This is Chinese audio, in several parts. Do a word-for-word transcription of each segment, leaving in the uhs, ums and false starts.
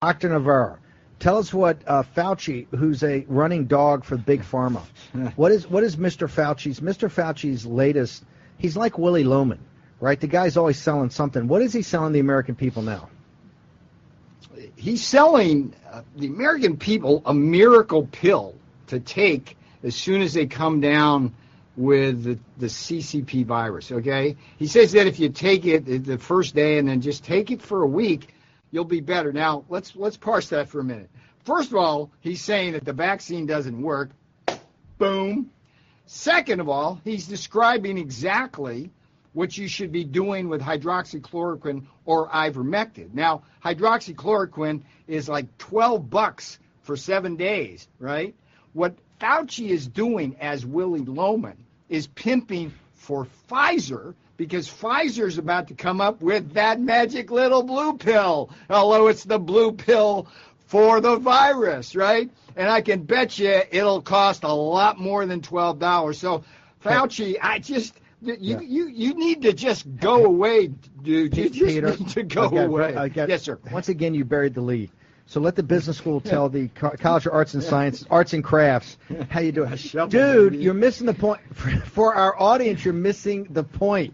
Doctor Navarro, tell us what uh, Fauci, who's a running dog for Big Pharma, what is what is Mister Fauci's Mister Fauci's latest? He's like Willie Loman, right? The guy's always selling something. What is he selling the American people now? He's selling uh, the American people a miracle pill to take as soon as they come down with the, the C C P virus, okay? He says that if you take it the first day and then just take it for a week, you'll be better. Now, let's let's parse that for a minute. First of all, he's saying that the vaccine doesn't work. Boom. Second of all, he's describing exactly what you should be doing with hydroxychloroquine or ivermectin. Now, hydroxychloroquine is like twelve bucks for seven days, right? What Fauci is doing as Willie Loman is pimping for Pfizer, because Pfizer's about to come up with that magic little blue pill, although it's the blue pill for the virus, right? And I can bet you it'll cost a lot more than twelve dollars. So, Fauci, I just, you yeah. you, you need to just go away, dude. You just Peter, need to go I got, away. I got, yes, sir. Once again, you buried the lead. So let the business school tell the College of Arts and Sciences, Arts and Crafts, how you doing. Dude, you're missing the point. For our audience, you're missing the point.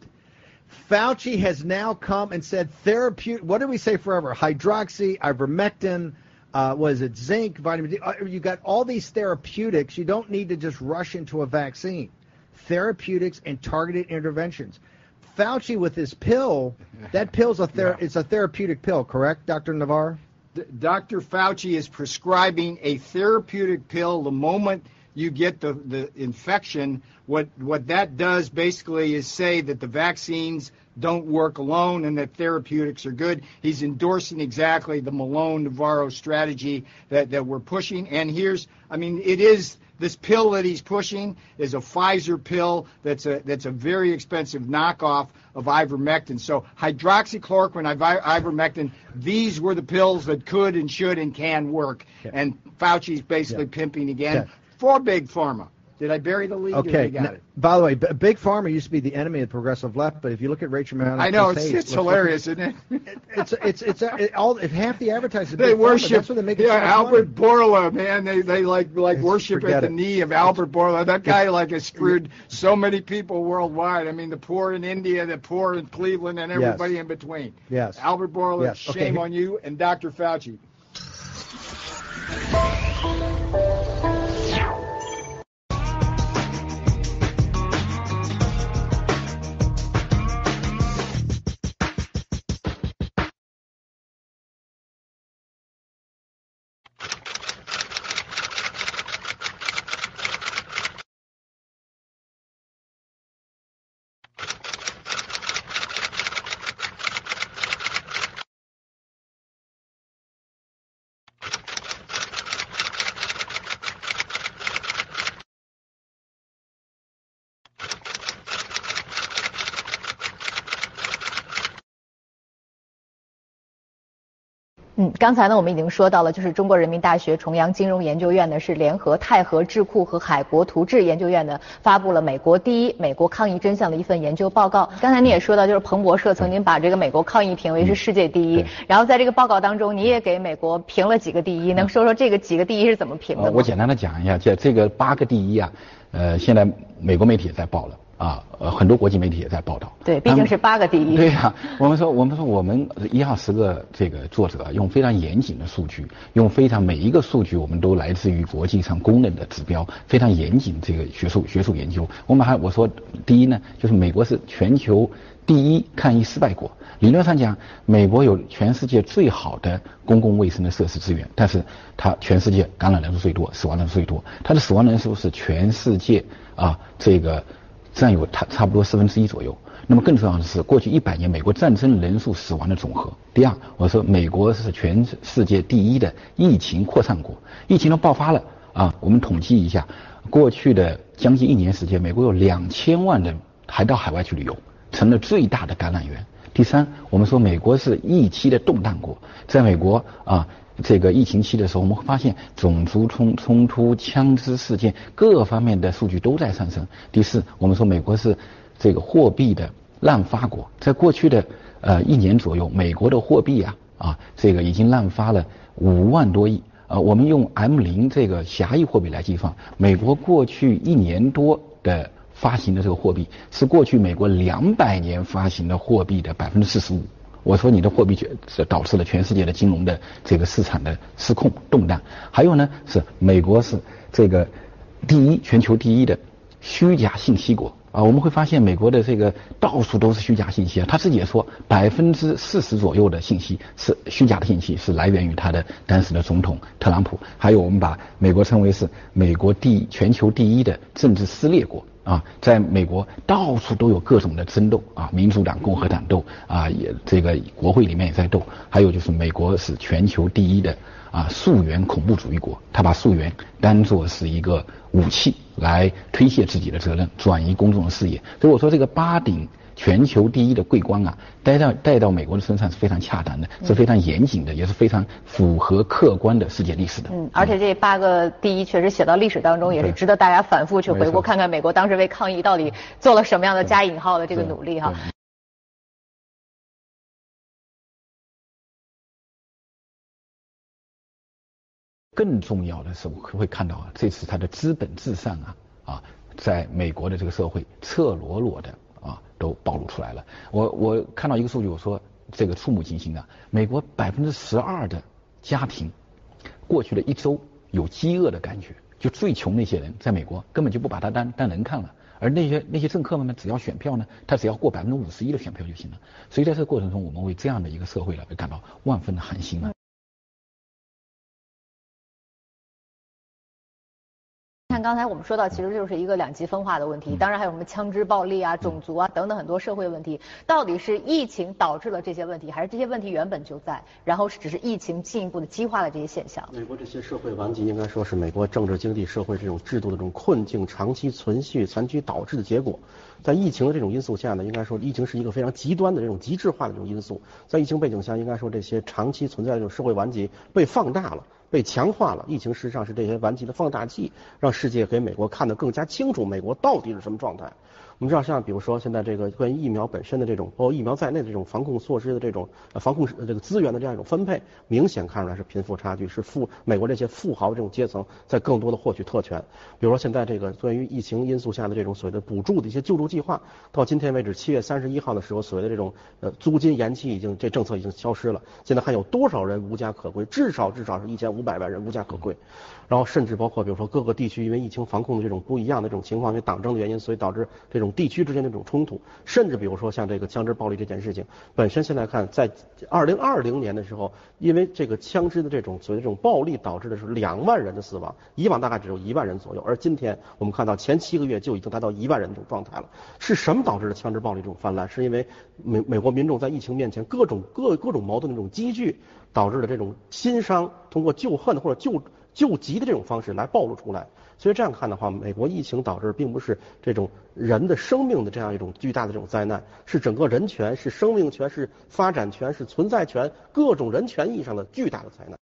Fauci has now come and said therapeutic, what did we say forever? Hydroxy, ivermectin, uh, was it zinc, vitamin D? Uh, you got all these therapeutics. You don't need to just rush into a vaccine. Therapeutics and targeted interventions. Fauci with his pill, that pill's a ther- yeah. it's a therapeutic pill, correct, Doctor Navarro? Doctor Fauci is prescribing a therapeutic pill the moment you get the, the infection. What what that does basically is say that the vaccines don't work alone and that therapeutics are good. He's endorsing exactly the Malone-Navarro strategy that, that we're pushing. And here's, I mean, it is, this pill that he's pushing is a Pfizer pill that's a that's a very expensive knockoff of ivermectin. So hydroxychloroquine, ivermectin, these were the pills that could and should and can work. Yeah. And Fauci's basically yeah. pimping again yeah. for Big Pharma. Did I bury the lead? Okay. Or you got now, it? By the way, B- Big Pharma used to be the enemy of the progressive left, but if you look at Rachel Maddow, I know it's, Hayes, it's hilarious, isn't it? it? It's it's it's it, all it, half the advertising. They Big worship. Pharma, that's what they make it yeah, so Albert money. Bourla, man. They they like like It's, worship at the it. knee of Albert Bourla. That guy like has screwed so many people worldwide. I mean, the poor in India, the poor in Cleveland, and everybody yes. in between. Yes. Albert Bourla, yes. shame okay. on you, and Doctor Fauci. 嗯，刚才呢，我们已经说到了，就是中国人民大学重阳金融研究院呢是联合泰和智库和海国图治研究院呢发布了美国第一美国抗疫真相的一份研究报告。刚才你也说到，就是彭博社曾经把这个美国抗疫评为是世界第一，然后在这个报告当中，你也给美国评了几个第一，能说说这个几个第一是怎么评的吗？ 我简单的讲一下，这这个八个第一啊，呃，现在美国媒体也在报了。啊，呃，很多国际媒体也在报道。 对，毕竟是八个第一。 对呀、啊，我们说，我们说，我们一号十个这个作者用非常严谨的数据，用非常每一个数据我们都来自于国际上公认的指标，非常严谨这个学术学术研究。我们还我说，第一呢，就是美国是全球第一抗疫失败国。理论上讲，美国有全世界最好的公共卫生的设施资源，但是它全世界感染人数最多，死亡人数最多，它的死亡人数是全世界啊这个。占有它差不多四分之一左右。那么更重要的是，过去一百年美国战争人数死亡的总和。第二，我说美国是全世界第一的疫情扩散国，疫情都爆发了啊！我们统计一下，过去的将近一年时间，美国有两千万人还到海外去旅游，成了最大的感染源。第三，我们说美国是疫期的动荡国，在美国啊。这个疫情期的时候，我们会发现种族冲冲突、枪支事件各方面的数据都在上升。第四，我们说美国是这个货币的滥发国，在过去的呃一年左右，美国的货币啊啊，这个已经滥发了五万多亿。呃，我们用 M 零 这个狭义货币来计算，美国过去一年多的发行的这个货币是过去美国两百年发行的货币的百分之四十五。我说你的货币是导致了全世界的金融的这个市场的失控动荡。还有呢，是美国是这个第一全球第一的虚假信息国啊，我们会发现美国的这个到处都是虚假信息啊，他自己也说百分之四十左右的信息是虚假的信息，是来源于他的当时的总统特朗普。还有我们把美国称为是美国第一全球第一的政治撕裂国啊，在美国到处都有各种的争斗啊，民主党、共和党斗啊，也这个国会里面也在斗。还有就是美国是全球第一的啊溯源恐怖主义国，他把溯源当作是一个武器来推卸自己的责任，转移公众的视野。所以我说这个八顶全球第一的桂冠啊，带到带到美国的身上是非常恰当的，是非常严谨的，也是非常符合客观的世界历史的。 嗯，而且这八个第一确实写到历史当中，也是值得大家反复去回顾，看看美国当时为抗疫到底做了什么样的加引号的这个努力哈。 更重要的是，我会看到啊，这次它的资本至上啊啊，在美国的这个社会赤裸裸的啊都暴露出来了。我我看到一个数据，我说这个触目惊心啊，美国百分之十二的家庭过去的一周有饥饿的感觉，就最穷那些人在美国根本就不把它当当人看了，而那些那些政客们呢，只要选票呢，他只要过百分之五十一的选票就行了。所以在这个过程中，我们为这样的一个社会呢，会感到万分的寒心啊。 看刚才我们说到，其实就是一个两极分化的问题，当然还有什么枪支暴力啊、种族啊等等很多社会问题。到底是疫情导致了这些问题，还是这些问题原本就在，然后只是疫情进一步的激化了这些现象？ 美国这些社会顽疾应该说是美国政治、经济、社会这种制度的这种困境长期存续残局导致的结果。在疫情的这种因素下呢，应该说疫情是一个非常极端的这种极致化的这种因素。在疫情背景下，应该说这些长期存在的这种社会顽疾被放大了。被强化了，疫情实际上是这些顽疾的放大器，让世界给美国看得更加清楚美国到底是什么状态。我们知道，像比如说现在这个关于疫苗本身的这种，包括疫苗在内的这种防控措施的这种呃防控这个资源的这样一种分配，明显看出来是贫富差距，是富美国这些富豪这种阶层在更多的获取特权。比如说现在这个关于疫情因素下的这种所谓的补助的一些救助计划，到今天为止七月三十一号的时候，所谓的这种呃租金延期已经这政策已经消失了。现在还有多少人无家可归？至少至少是一千五百万人无家可归。然后甚至包括比如说各个地区因为疫情防控的这种不一样的这种情况，因为党争的原因，所以导致这种地区之间的这种冲突，甚至比如说像这个枪支暴力这件事情本身，现在看在二零二零年的时候，因为这个枪支的这种所谓的这种暴力导致的是两万人的死亡，以往大概只有一万人左右，而今天我们看到前七个月就已经达到一万人的这种状态了。是什么导致了枪支暴力这种泛滥？是因为美美国民众在疫情面前各种各各种矛盾的这种积聚，导致了这种心伤通过救恨或者救救急的这种方式来暴露出来。所以这样看的话，美国疫情导致并不是这种人的生命的这样一种巨大的这种灾难，是整个人权、是生命权、是发展权、是存在权各种人权意义上的巨大的灾难。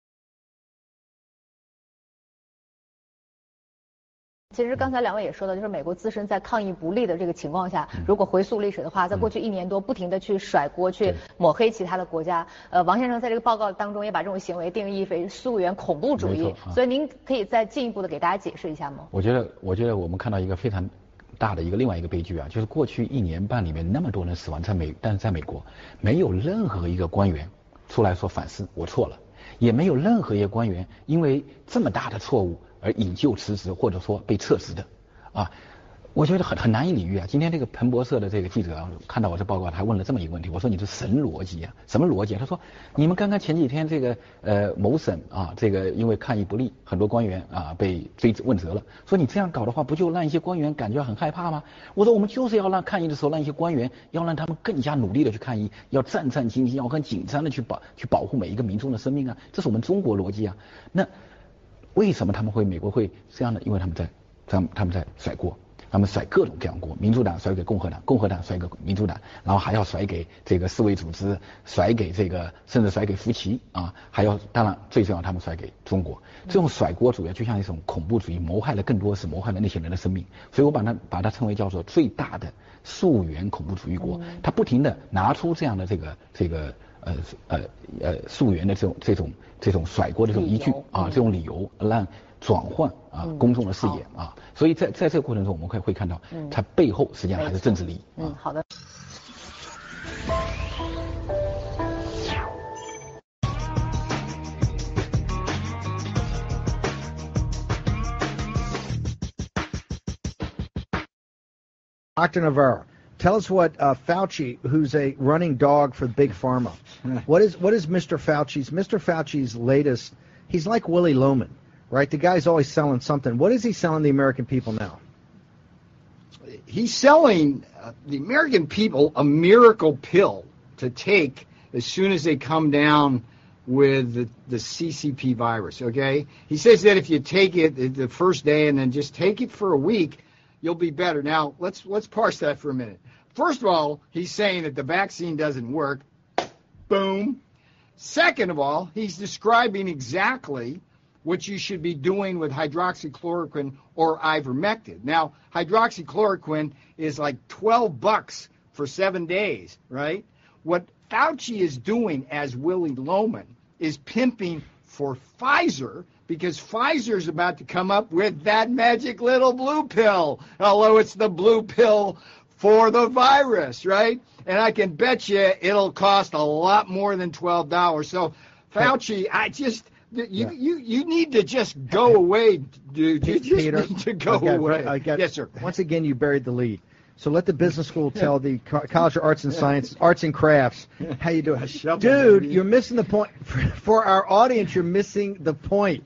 其实刚才两位也说到，就是美国自身在抗疫不力的这个情况下，如果回溯历史的话，在过去一年多不停的去甩锅、去抹黑其他的国家。呃，王先生在这个报告当中也把这种行为定义为溯源恐怖主义，所以您可以再进一步的给大家解释一下吗？ 我觉得，我觉得我们看到一个非常大的一个另外一个悲剧啊，就是过去一年半里面那么多人死亡在美，但是在美国没有任何一个官员出来说反思我错了，也没有任何一个官员因为这么大的错误而引咎辞职或者说被撤职的，啊，我觉得很很难以理喻啊。今天这个彭博社的这个记者啊，看到我这报告，他还问了这么一个问题，我说你是神逻辑啊，什么逻辑啊？他说你们刚刚前几天这个呃某省啊，这个因为抗疫不力，很多官员啊被追问责了，说你这样搞的话，不就让一些官员感觉很害怕吗？我说我们就是要让抗疫的时候，让一些官员要让他们更加努力的去抗疫，要战战兢兢，要很紧张的去保去保护每一个民众的生命啊，这是我们中国逻辑啊。那为什么他们会美国会这样呢？因为他们在他们他们在甩锅，他们甩各种各样锅，民主党甩给共和党，共和党甩给民主党，然后还要甩给这个世卫组织，甩给这个甚至甩给福奇啊，还要当然最重要他们甩给中国。这种甩锅主要就像一种恐怖主义，谋害了更多是谋害了那些人的生命，所以我把它把它称为叫做最大的溯源恐怖主义国。他不停的拿出这样的这个这个呃呃呃溯源的这种这种这种甩锅的这种依据啊，这种理由让转换啊公众的视野啊，所以在在这个过程中，我们会会看到它背后实际上还是政治利益。 嗯，好的。 Doctor Navarro, tell us what uh, Fauci, who's a running dog for Big Pharma, what is what is Mister Fauci's Mister Fauci's latest? He's like Willie Loman, right? The guy's always selling something. What is he selling the American people now? He's selling uh, the American people a miracle pill to take as soon as they come down with the, the C C P virus, okay? He says that if you take it the first day and then just take it for a week, you'll be better. Now, let's let's parse that for a minute. First of all, he's saying that the vaccine doesn't work. Boom. Second of all, he's describing exactly what you should be doing with hydroxychloroquine or ivermectin. Now, hydroxychloroquine is like twelve bucks for seven days, right? What Fauci is doing as Willie Loman is pimping for Pfizer, because Pfizer's about to come up with that magic little blue pill, although it's the blue pill for the virus, right? And I can bet you it'll cost a lot more than twelve dollars. So, Fauci, I just, you yeah. you, you need to just go away, dude. You just Peter, need to go I got, away. I got, yes, sir. Once again, you buried the lead. So let the business school tell the College of Arts and Sciences, Arts and Crafts, how you doing. Dude, you're missing the point. For our audience, you're missing the point.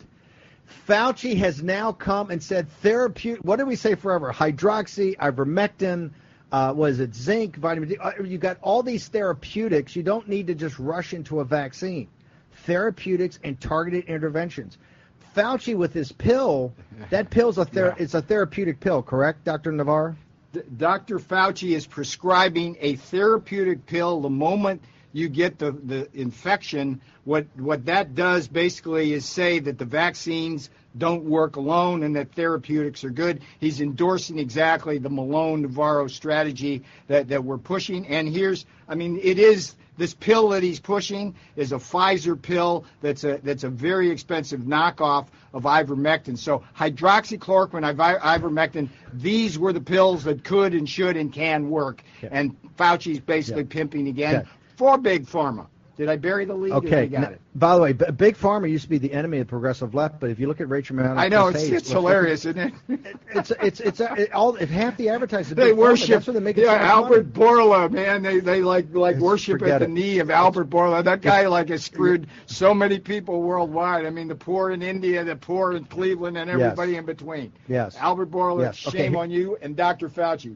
Fauci has now come and said therapeutic, what did we say forever? Hydroxy, ivermectin, uh, was it zinc, vitamin D? You got all these therapeutics. You don't need to just rush into a vaccine. Therapeutics and targeted interventions. Fauci with his pill, that pill's a ther- yeah. it's a therapeutic pill, correct, Doctor Navarro? Doctor Fauci is prescribing a therapeutic pill the moment you get the, the infection. What what that does basically is say that the vaccines don't work alone and that therapeutics are good. He's endorsing exactly the Malone-Navarro strategy that, that we're pushing. And here's, I mean, it is, this pill that he's pushing is a Pfizer pill that's a that's a very expensive knockoff of ivermectin. So hydroxychloroquine, iver, ivermectin, these were the pills that could and should and can work. Okay. And Fauci's basically yeah. pimping again okay. for Big Pharma. Did I bury the lead? Okay. I got now, it. By the way, B- Big Pharma used to be the enemy of the progressive left, but if you look at Rachel Maddow, I know it's, Hayes, it's hilarious, isn't it? it? It's it's it's uh, it, all if half the advertising. They Big worship. Pharma, that's what they make it yeah, so Albert money. Bourla, man. They they like like Just worship at the it. knee of Albert Bourla. That guy like has screwed so many people worldwide. I mean, the poor in India, the poor in Cleveland, and everybody yes. in between. Yes. Albert Bourla, yes. shame okay. on you, and Doctor Fauci.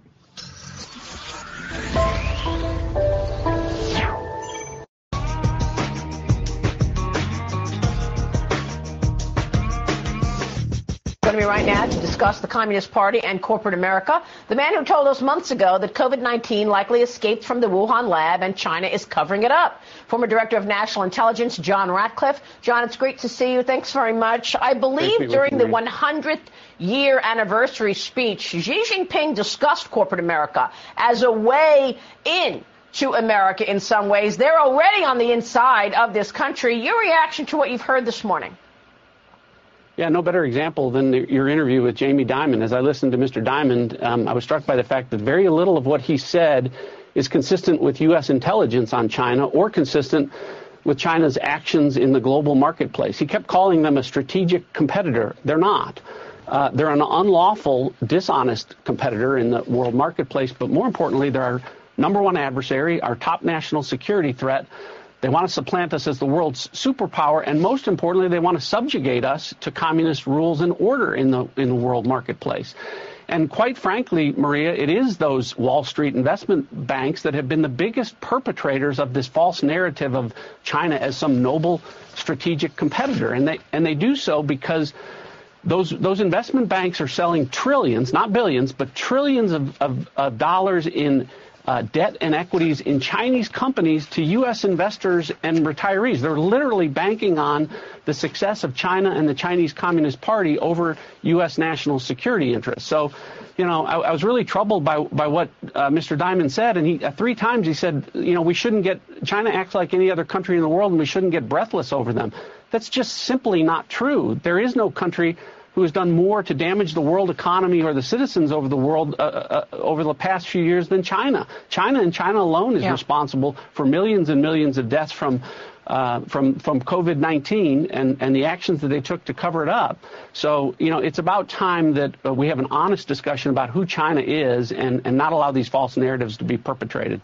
Joining me right now to discuss the Communist Party and corporate America, the man who told us months ago that COVID nineteen likely escaped from the Wuhan lab and China is covering it up. Former Director of National Intelligence, John Ratcliffe. John, it's great to see you. Thanks very much. I believe during the one hundredth year anniversary speech, Xi Jinping discussed corporate America as a way in to America in some ways. They're already on the inside of this country. Your reaction to what you've heard this morning? Yeah, no better example than the, your interview with Jamie Dimon. As I listened to Mister Dimon, um, I was struck by the fact that very little of what he said is consistent with U S intelligence on China or consistent with China's actions in the global marketplace. He kept calling them a strategic competitor. They're not. Uh, they're an unlawful, dishonest competitor in the world marketplace, but more importantly, they're our number one adversary, our top national security threat. They want to supplant us as the world's superpower, and most importantly, they want to subjugate us to communist rules and order in the in the world marketplace. And quite frankly, Maria, it is those Wall Street investment banks that have been the biggest perpetrators of this false narrative of China as some noble strategic competitor. And they and they do so because those those investment banks are selling trillions, not billions, but trillions of, of, of dollars in uh, debt and equities in Chinese companies to U S investors and retirees. They're literally banking on the success of China and the Chinese Communist Party over U S national security interests. So, you know, I, I was really troubled by by what uh, Mister Diamond said, and he uh, three times he said, you know, we shouldn't get China acts like any other country in the world, and we shouldn't get breathless over them. That's just simply not true. There is no country who has done more to damage the world economy or the citizens over the world uh, uh, over the past few years than China. China and China alone is yeah. responsible for millions and millions of deaths from uh, from from COVID nineteen and and the actions that they took to cover it up. So, you know, it's about time that uh, we have an honest discussion about who China is and and not allow these false narratives to be perpetrated.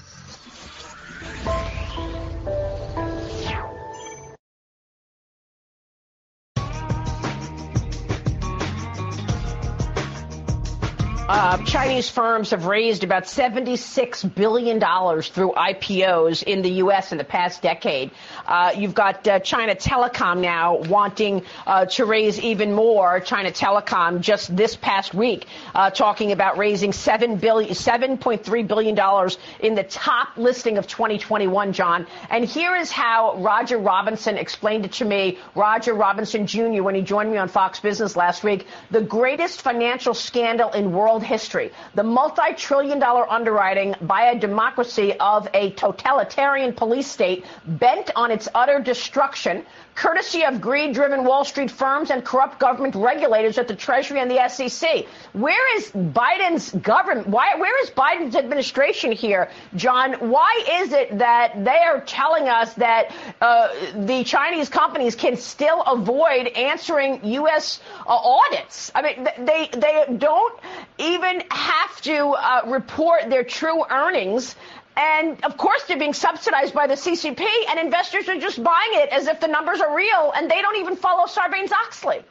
Uh, Chinese firms have raised about seventy-six billion dollars through I P Os in the U S in the past decade. Uh, you've got uh, China Telecom now wanting uh, to raise even more. China Telecom just this past week uh, talking about raising seven billion, seven point three billion dollars in the top listing of twenty twenty-one, John. And here is how Roger Robinson explained it to me, Roger Robinson Junior, when he joined me on Fox Business last week. The greatest financial scandal in world history, the multi-trillion dollar underwriting by a democracy of a totalitarian police state bent on its utter destruction, courtesy of greed-driven Wall Street firms and corrupt government regulators at the Treasury and the S E C. Where is Biden's government? Why, where is Biden's administration here, John? Why is it that they are telling us that uh, the Chinese companies can still avoid answering U S uh, audits? I mean, they they don't even have to uh, report their true earnings. And, of course, they're being subsidized by the C C P, and investors are just buying it as if the numbers are real, and they don't even follow Sarbanes-Oxley.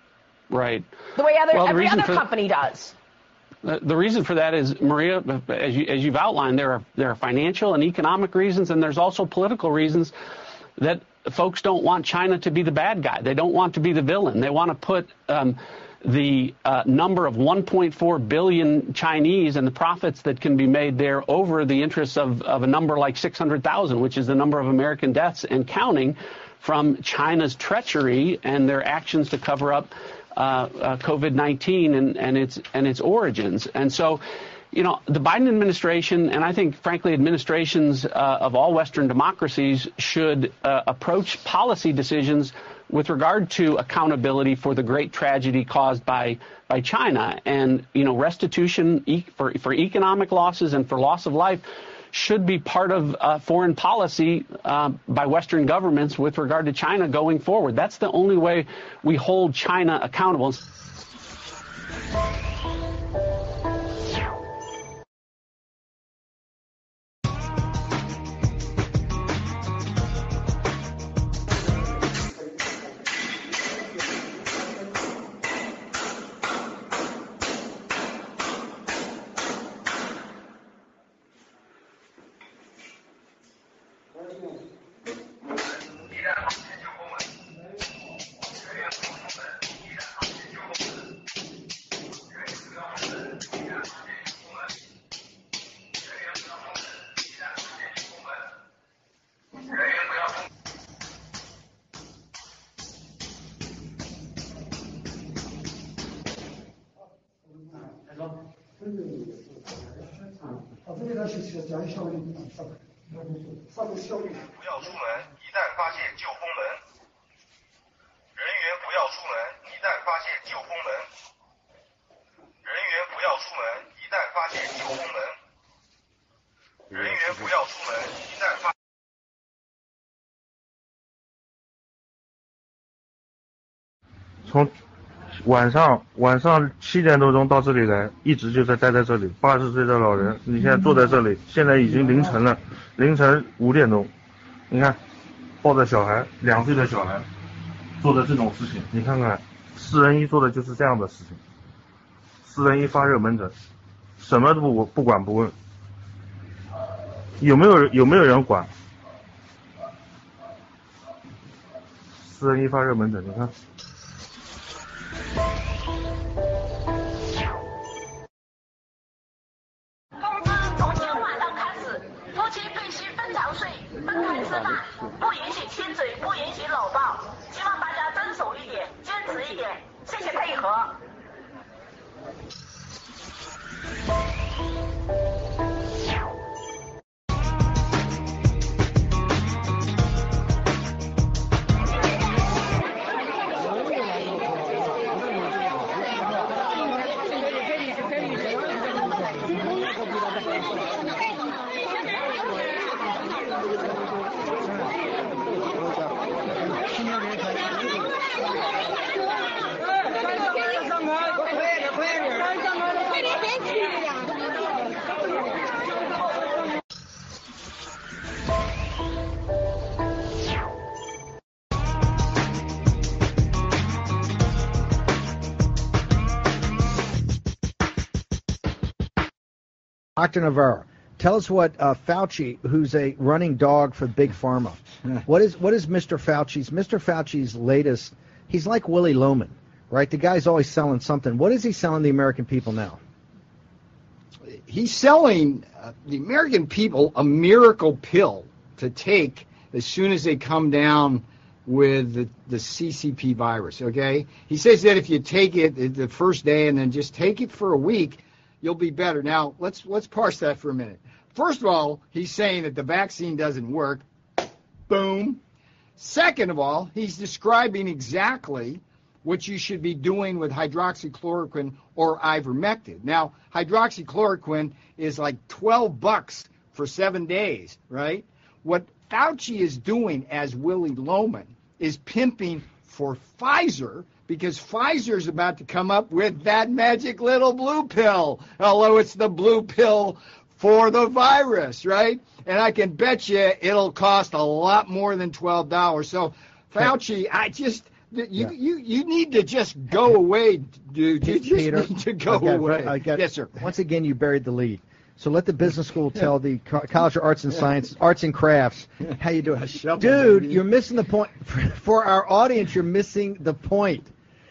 Right. The way other, well, the every other for, company does. The, the reason for that is, Maria, as, you, as you've outlined, there are, there are financial and economic reasons, and there's also political reasons that folks don't want China to be the bad guy. They don't want to be the villain. They want to put um, the uh, number of one point four billion Chinese and the profits that can be made there over the interests of, of a number like six hundred thousand, which is the number of American deaths and counting from China's treachery and their actions to cover up uh, uh, COVID nineteen and, and its and its origins. And so, you know, the Biden administration, and I think, frankly, administrations uh, of all Western democracies should uh, approach policy decisions with regard to accountability for the great tragedy caused by by China. And, you know, restitution e- for, for economic losses and for loss of life should be part of uh, foreign policy uh, by Western governments with regard to China going forward. That's the only way we hold China accountable. 从晚上晚上七点多钟到这里来，一直就在待在这里。八十岁的老人，你现在坐在这里，现在已经凌晨了，凌晨五点钟，你看，抱着小孩，两岁的小孩，做的这种事情，你看看，四人一做的就是这样的事情。四人一发热门诊，什么都不不管不问，有没有有没有人管？四人一发热门诊，你看。 公司总监管不允许亲嘴，不允许搂抱，希望大家遵守一点，坚持一点，谢谢配合。 Doctor Navarro, tell us what uh, Fauci, who's a running dog for Big Pharma, what is what is Mister Fauci's Mister Fauci's latest? He's like Willie Loman, right? The guy's always selling something. What is he selling the American people now? He's selling uh, the American people a miracle pill to take as soon as they come down with the, the C C P virus, okay? He says that if you take it the first day and then just take it for a week, you'll be better. Now, let's let's parse that for a minute. First of all, he's saying that the vaccine doesn't work. Boom. Second of all, he's describing exactly what you should be doing with hydroxychloroquine or ivermectin. Now, hydroxychloroquine is like twelve bucks for seven days, right? What Fauci is doing as Willie Loman is pimping for Pfizer, because Pfizer is about to come up with that magic little blue pill, although it's the blue pill for the virus, right? And I can bet you it'll cost a lot more than twelve dollars. So, Fauci, I just, you yeah. you, you need to just go away, dude. You just Peter, need to go got, away. I got, yes, sir. Once again, you buried the lead. So let the business school tell the College of Arts and Sciences, Arts and Crafts, how you doing. Dude, you're missing the point. For our audience, you're missing the point.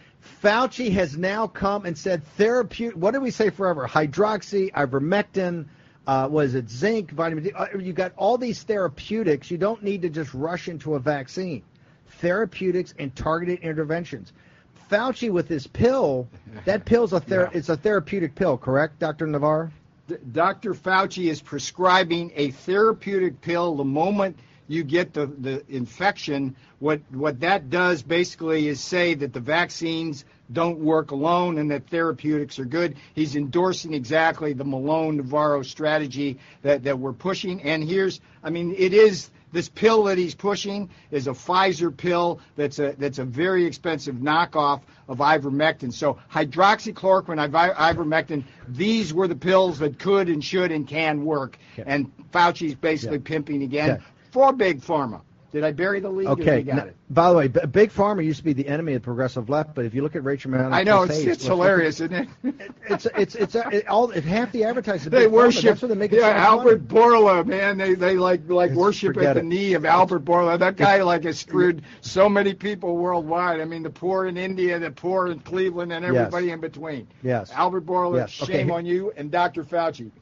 Fauci has now come and said therapeutic, what did we say forever? Hydroxy, ivermectin, uh, was it zinc, vitamin D? Uh, you got all these therapeutics. You don't need to just rush into a vaccine. Therapeutics and targeted interventions. Fauci with this pill, that pill's a ther- yeah. it's a therapeutic pill, correct, Doctor Navarro? Doctor Fauci is prescribing a therapeutic pill the moment you get the, the infection. What what that does basically is say that the vaccines don't work alone and that therapeutics are good. He's endorsing exactly the Malone-Navarro strategy that, that we're pushing. And here's, I mean, it is, this pill that he's pushing is a Pfizer pill that's a that's a very expensive knockoff of ivermectin. So hydroxychloroquine, iver, ivermectin, these were the pills that could and should and can work. Okay. And Fauci's basically yeah. pimping again okay. for Big Pharma. Did I bury the lead? Okay. You got it? By the way, B- Big Pharma used to be the enemy of the progressive left, but if you look at Rachel Maddow, I know it's, it's hilarious, isn't it? it's it's it's uh, it, all it, half the advertising. They Big worship. Pharma, that's what they make it yeah, so Albert funny. Bourla, man. They they like like it's, worship at the it. knee of Albert Bourla. That guy like has screwed so many people worldwide. I mean, the poor in India, the poor in Cleveland, and everybody yes. in between. Yes. Albert Bourla, yes. shame okay. on you, and Doctor Fauci.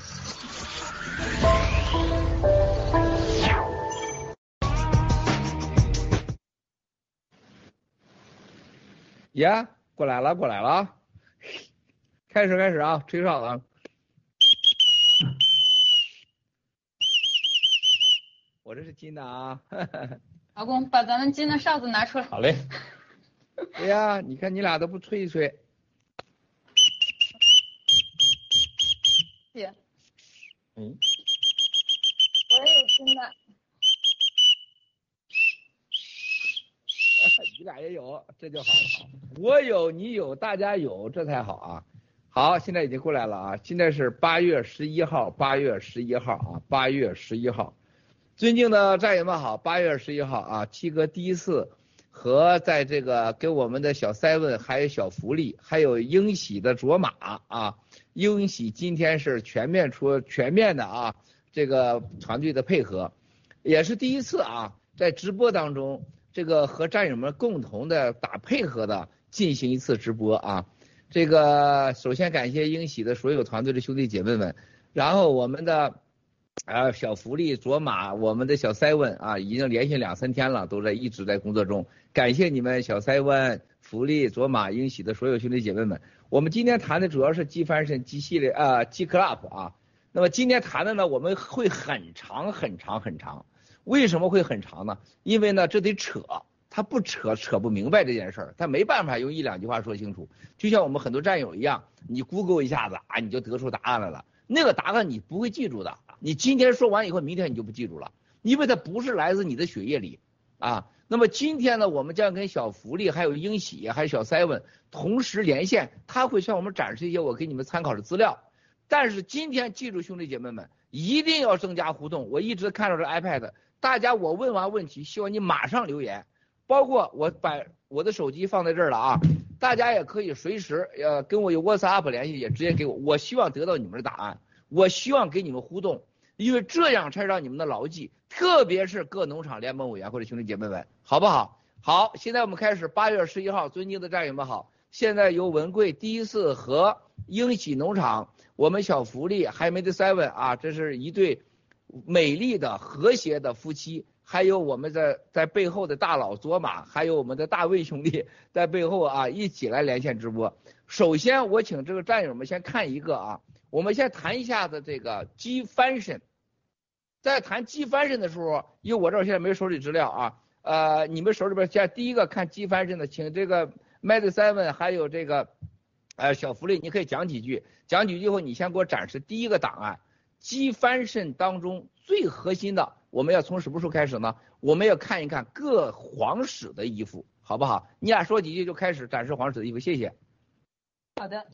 呀，过来了，过来了，开始开始啊，吹哨子。我这是金的啊。 老公，把咱们金的哨子拿出来。 好嘞。哎呀，你看你俩都不吹一吹。 姐。 嗯。 我也有金的。 你俩也有，这就好。我有，你有，大家有，这才好啊。好，现在已经过来了啊。现在是八月十一号，八月十一号啊，八月十一号。尊敬的战友们好，八月十一号啊，七哥第一次和在这个给我们的小塞问还有小福利，还有英喜的卓玛啊，英喜今天是全面出全面的啊，这个团队的配合，也是第一次啊，在直播当中。这个和战友们共同的打配合的进行一次直播啊，这个首先感谢英喜的所有团队的兄弟姐妹们，然后我们的啊，小福利、卓玛，我们的小塞文啊，已经连续两三天了，都在一直在工作中。感谢你们，小塞文、福利、卓玛、英喜的所有兄弟姐妹们。我们今天谈的主要是 G 翻身 G 系列啊 G Club 啊。那么今天谈的呢，我们会很长很长很长。为什么会很长呢？因为呢，这得扯，他不扯扯不明白这件事儿，他没办法用一两句话说清楚。就像我们很多战友一样，你 Google 一下子啊，你就得出答案来了。那个答案你不会记住的。你今天说完以后，明天你就不记住了，因为它不是来自你的血液里啊。那么今天呢，我们将跟小福利、还有英喜、还有小 seven 同时连线，他会向我们展示一些我给你们参考的资料。但是今天记住，兄弟姐妹们，一定要增加互动。我一直看到这 iPad， 大家我问完问题，希望你马上留言，包括我把我的手机放在这儿了啊，大家也可以随时呃跟我有 WhatsApp 联系，也直接给我。我希望得到你们的答案。我希望给你们互动，因为这样才让你们的牢记，特别是各农场联盟委员会的兄弟姐妹们，好不好？好，现在我们开始，八月十一号，尊敬的战友们好，现在由文贵第一次和英喜农场，我们小福利还没得 seven 啊，这是一对美丽的和谐的夫妻，还有我们在在背后的大佬卓玛，还有我们的大卫兄弟在背后啊一起来连线直播。首先我请这个战友们先看一个啊。我们先谈一下子这个 G 翻身，在谈 G 翻身的时候，因为我这儿现在没手里资料啊，呃，你们手里边先第一个看 G 翻身的，请这个 Mad Seven 还有这个呃小福利，你可以讲几句，讲几句后你先给我展示第一个档案 G 翻身当中最核心的，我们要从什么时候开始呢？我们要看一看各皇室的衣服，好不好？你俩说几句就开始展示皇室的衣服，谢谢。 好的。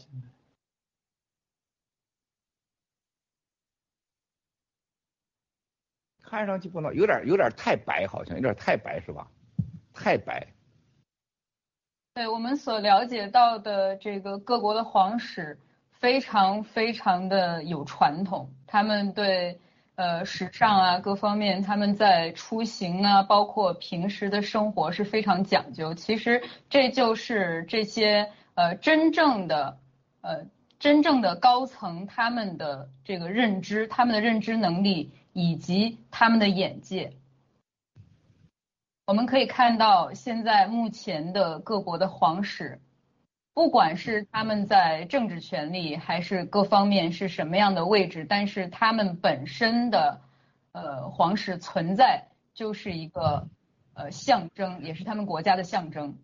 看上去不能有点有点太白，好像有点太白是吧？太白。 对，我们所了解到的这个各国的皇室非常非常的有传统，他们对呃时尚啊各方面，他们在出行啊，包括平时的生活是非常讲究。其实这就是这些呃真正的呃真正的高层他们的这个认知，他们的认知能力。以及他们的眼界，我们可以看到，现在目前的各国的皇室，不管是他们在政治权力还是各方面是什么样的位置，但是他们本身的呃皇室存在就是一个呃象征，也是他们国家的象征。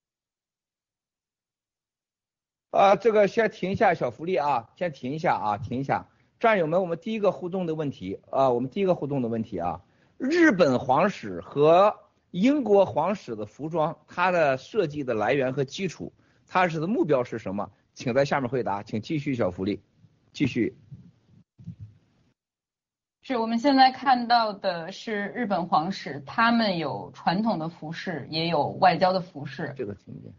啊，这个先停一下小福利啊，先停一下啊，停一下。战友们，我们第一个互动的问题啊，我们第一个互动的问题啊，日本皇室和英国皇室的服装，它的设计的来源和基础，它是的目标是什么？请在下面回答，请继续小福利，继续。 是我们现在看到的是日本皇室，他们有传统的服饰，也有外交的服饰。 这个听见。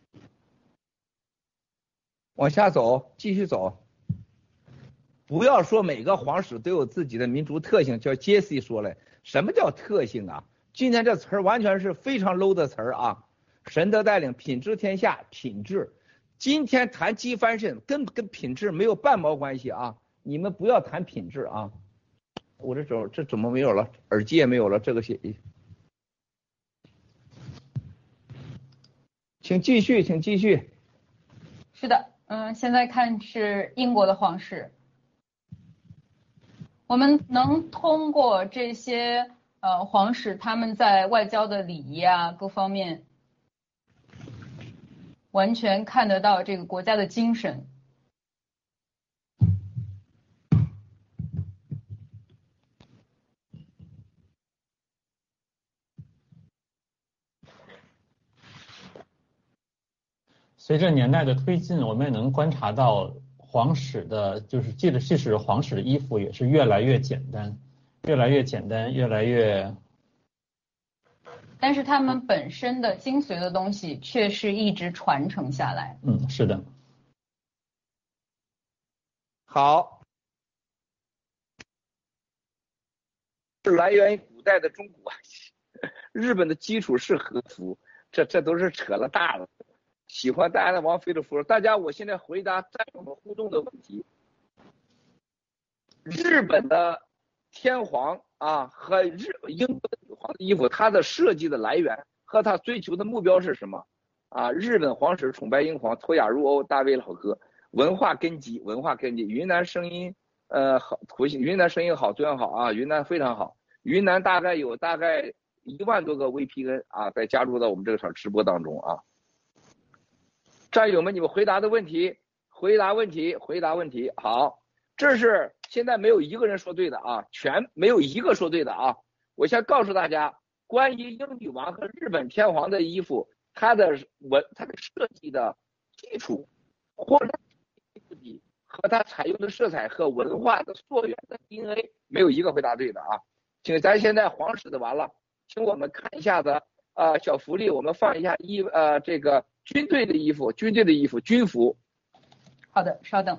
往下走，继续走。不要说每个皇室都有自己的民族特性，叫杰西说了，什么叫特性啊？今天这词儿完全是非常 low 的词儿啊！神的带领，品质天下，品质。今天谈机翻身，跟跟品质没有半毛关系啊！你们不要谈品质啊！我这种这怎么没有了？耳机也没有了，这个写，请继续，请继续。 是的，嗯，现在看是英国的皇室。我们能通过这些呃皇室他们在外交的礼仪啊各方面，完全看得到这个国家的精神。 随着年代的推进，我们也能观察到。皇室的，就是即使即使皇室的衣服也是越来越简单，越来越简单，越来越。 但是他们本身的精髓的东西却是一直传承下来。 嗯，是的。 好，是来源于古代的中国，日本的基础是和服，这这都是扯了大了。喜欢戴安娜王妃的服，大家，我现在回答战友们互动的问题。日本的天皇啊和日英国的女皇的衣服，它的设计的来源和它追求的目标是什么？啊，日本皇室崇拜英皇，脱亚入欧，大卫老哥，文化根基，文化根基。云南声音，呃，好，图形，云南声音好，资源好啊，云南非常好。云南大概有大概一万多个 V P N 啊，再加入到我们这个场直播当中啊。战友们，你们回答的问题，回答问题，回答问题。好，这是现在没有一个人说对的啊，全没有一个说对的啊。我先告诉大家，关于英女王和日本天皇的衣服，它的文、它的设计的基础，或者和它采用的色彩和文化的溯源的 D N A， 没有一个回答对的啊。请咱现在皇室的完了，请我们看一下子啊、呃，小福利，我们放一下衣呃这个军队的衣服，军队的衣服，军服。 好的，稍等。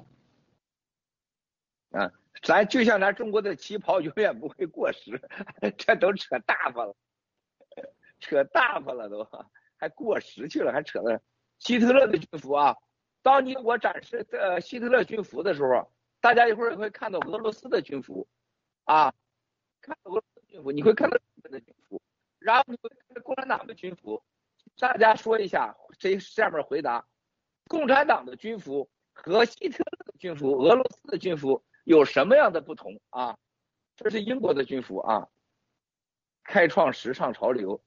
啊，咱就像咱中国的旗袍永远不会过时，这都扯大发了，扯大发了都，还过时去了，还扯了。希特勒的军服啊，当你我展示呃希特勒军服的时候，大家一会儿会看到俄罗斯的军服，啊，看到俄罗斯的军服，你会看到日本的军服，然后你会看到共产党的军服。大家说一下，谁下面回答？共产党的军服和希特勒的军服、俄罗斯的军服有什么样的不同啊？这是英国的军服啊，开创时尚潮流，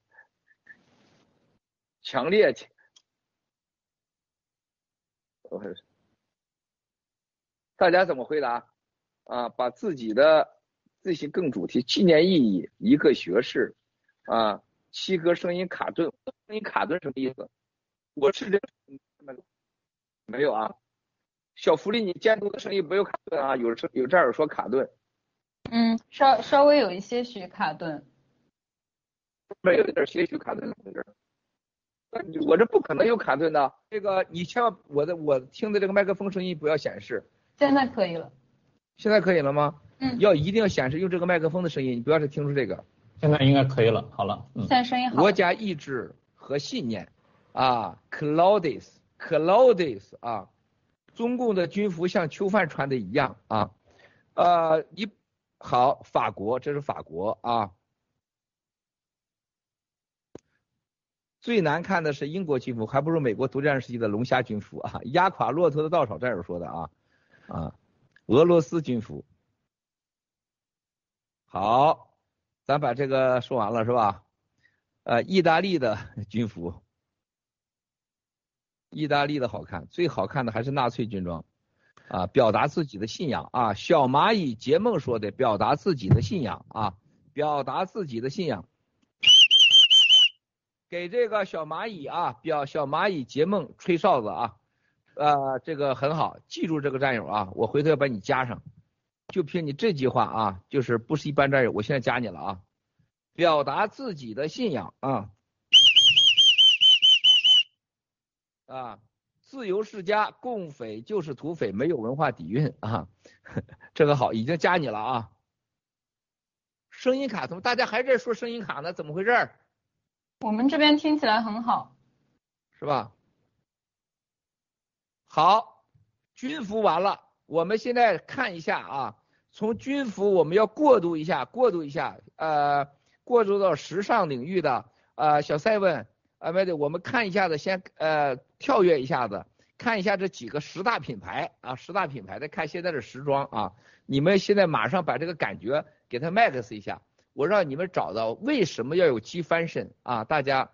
强烈。大家怎么回答啊？把自己的自行更主题、纪念意义、一个学士啊，七哥声音卡顿，声音卡顿什么意思？我是这个没有啊。小福利，你监督的声音没有卡顿啊？有有这儿说卡顿， 嗯，稍稍微有一些许卡顿， 没有点些许卡顿在这儿。我这不可能有卡顿的，这个你千万我的我听的这个麦克风声音不要显示。 现在可以了。 现在可以了吗？ 嗯。 要一定要显示用这个麦克风的声音，你不要是听出这个。 现在应该可以了，好了。 嗯、现在声音好。 国家意志和信念啊 ，Claudius Claudius 啊。中共的军服像囚犯穿的一样啊，呃，一好，法国，这是法国啊，最难看的是英国军服，还不如美国独占时期的龙虾军服啊，压垮骆驼的稻草，这样说的啊啊，俄罗斯军服，好，咱把这个说完了是吧？呃，意大利的军服。意大利的好看，最好看的还是纳粹军装，啊，表达自己的信仰啊。小蚂蚁结梦说的，表达自己的信仰啊，表达自己的信仰。给这个小蚂蚁啊，表小蚂蚁结梦吹哨子啊，呃，这个很好，记住这个战友啊，我回头要把你加上，就凭你这句话啊，就是不是一般战友，我现在加你了啊，表达自己的信仰啊。啊，自由世家，共匪就是土匪，没有文化底蕴啊，这个好，已经加你了啊。声音卡，怎么大家还在说声音卡呢？怎么回事？ 我们这边听起来很好， 是吧？好，军服完了，我们现在看一下啊，从军服我们要过渡一下，过渡一下，呃，过渡到时尚领域的呃小赛文。啊，没得，我们看一下子，先呃跳跃一下子，看一下这几个十大品牌啊，十大品牌的看现在的时装啊，你们现在马上把这个感觉给它 max 一下，我让你们找到为什么要有 G fashion 啊，大家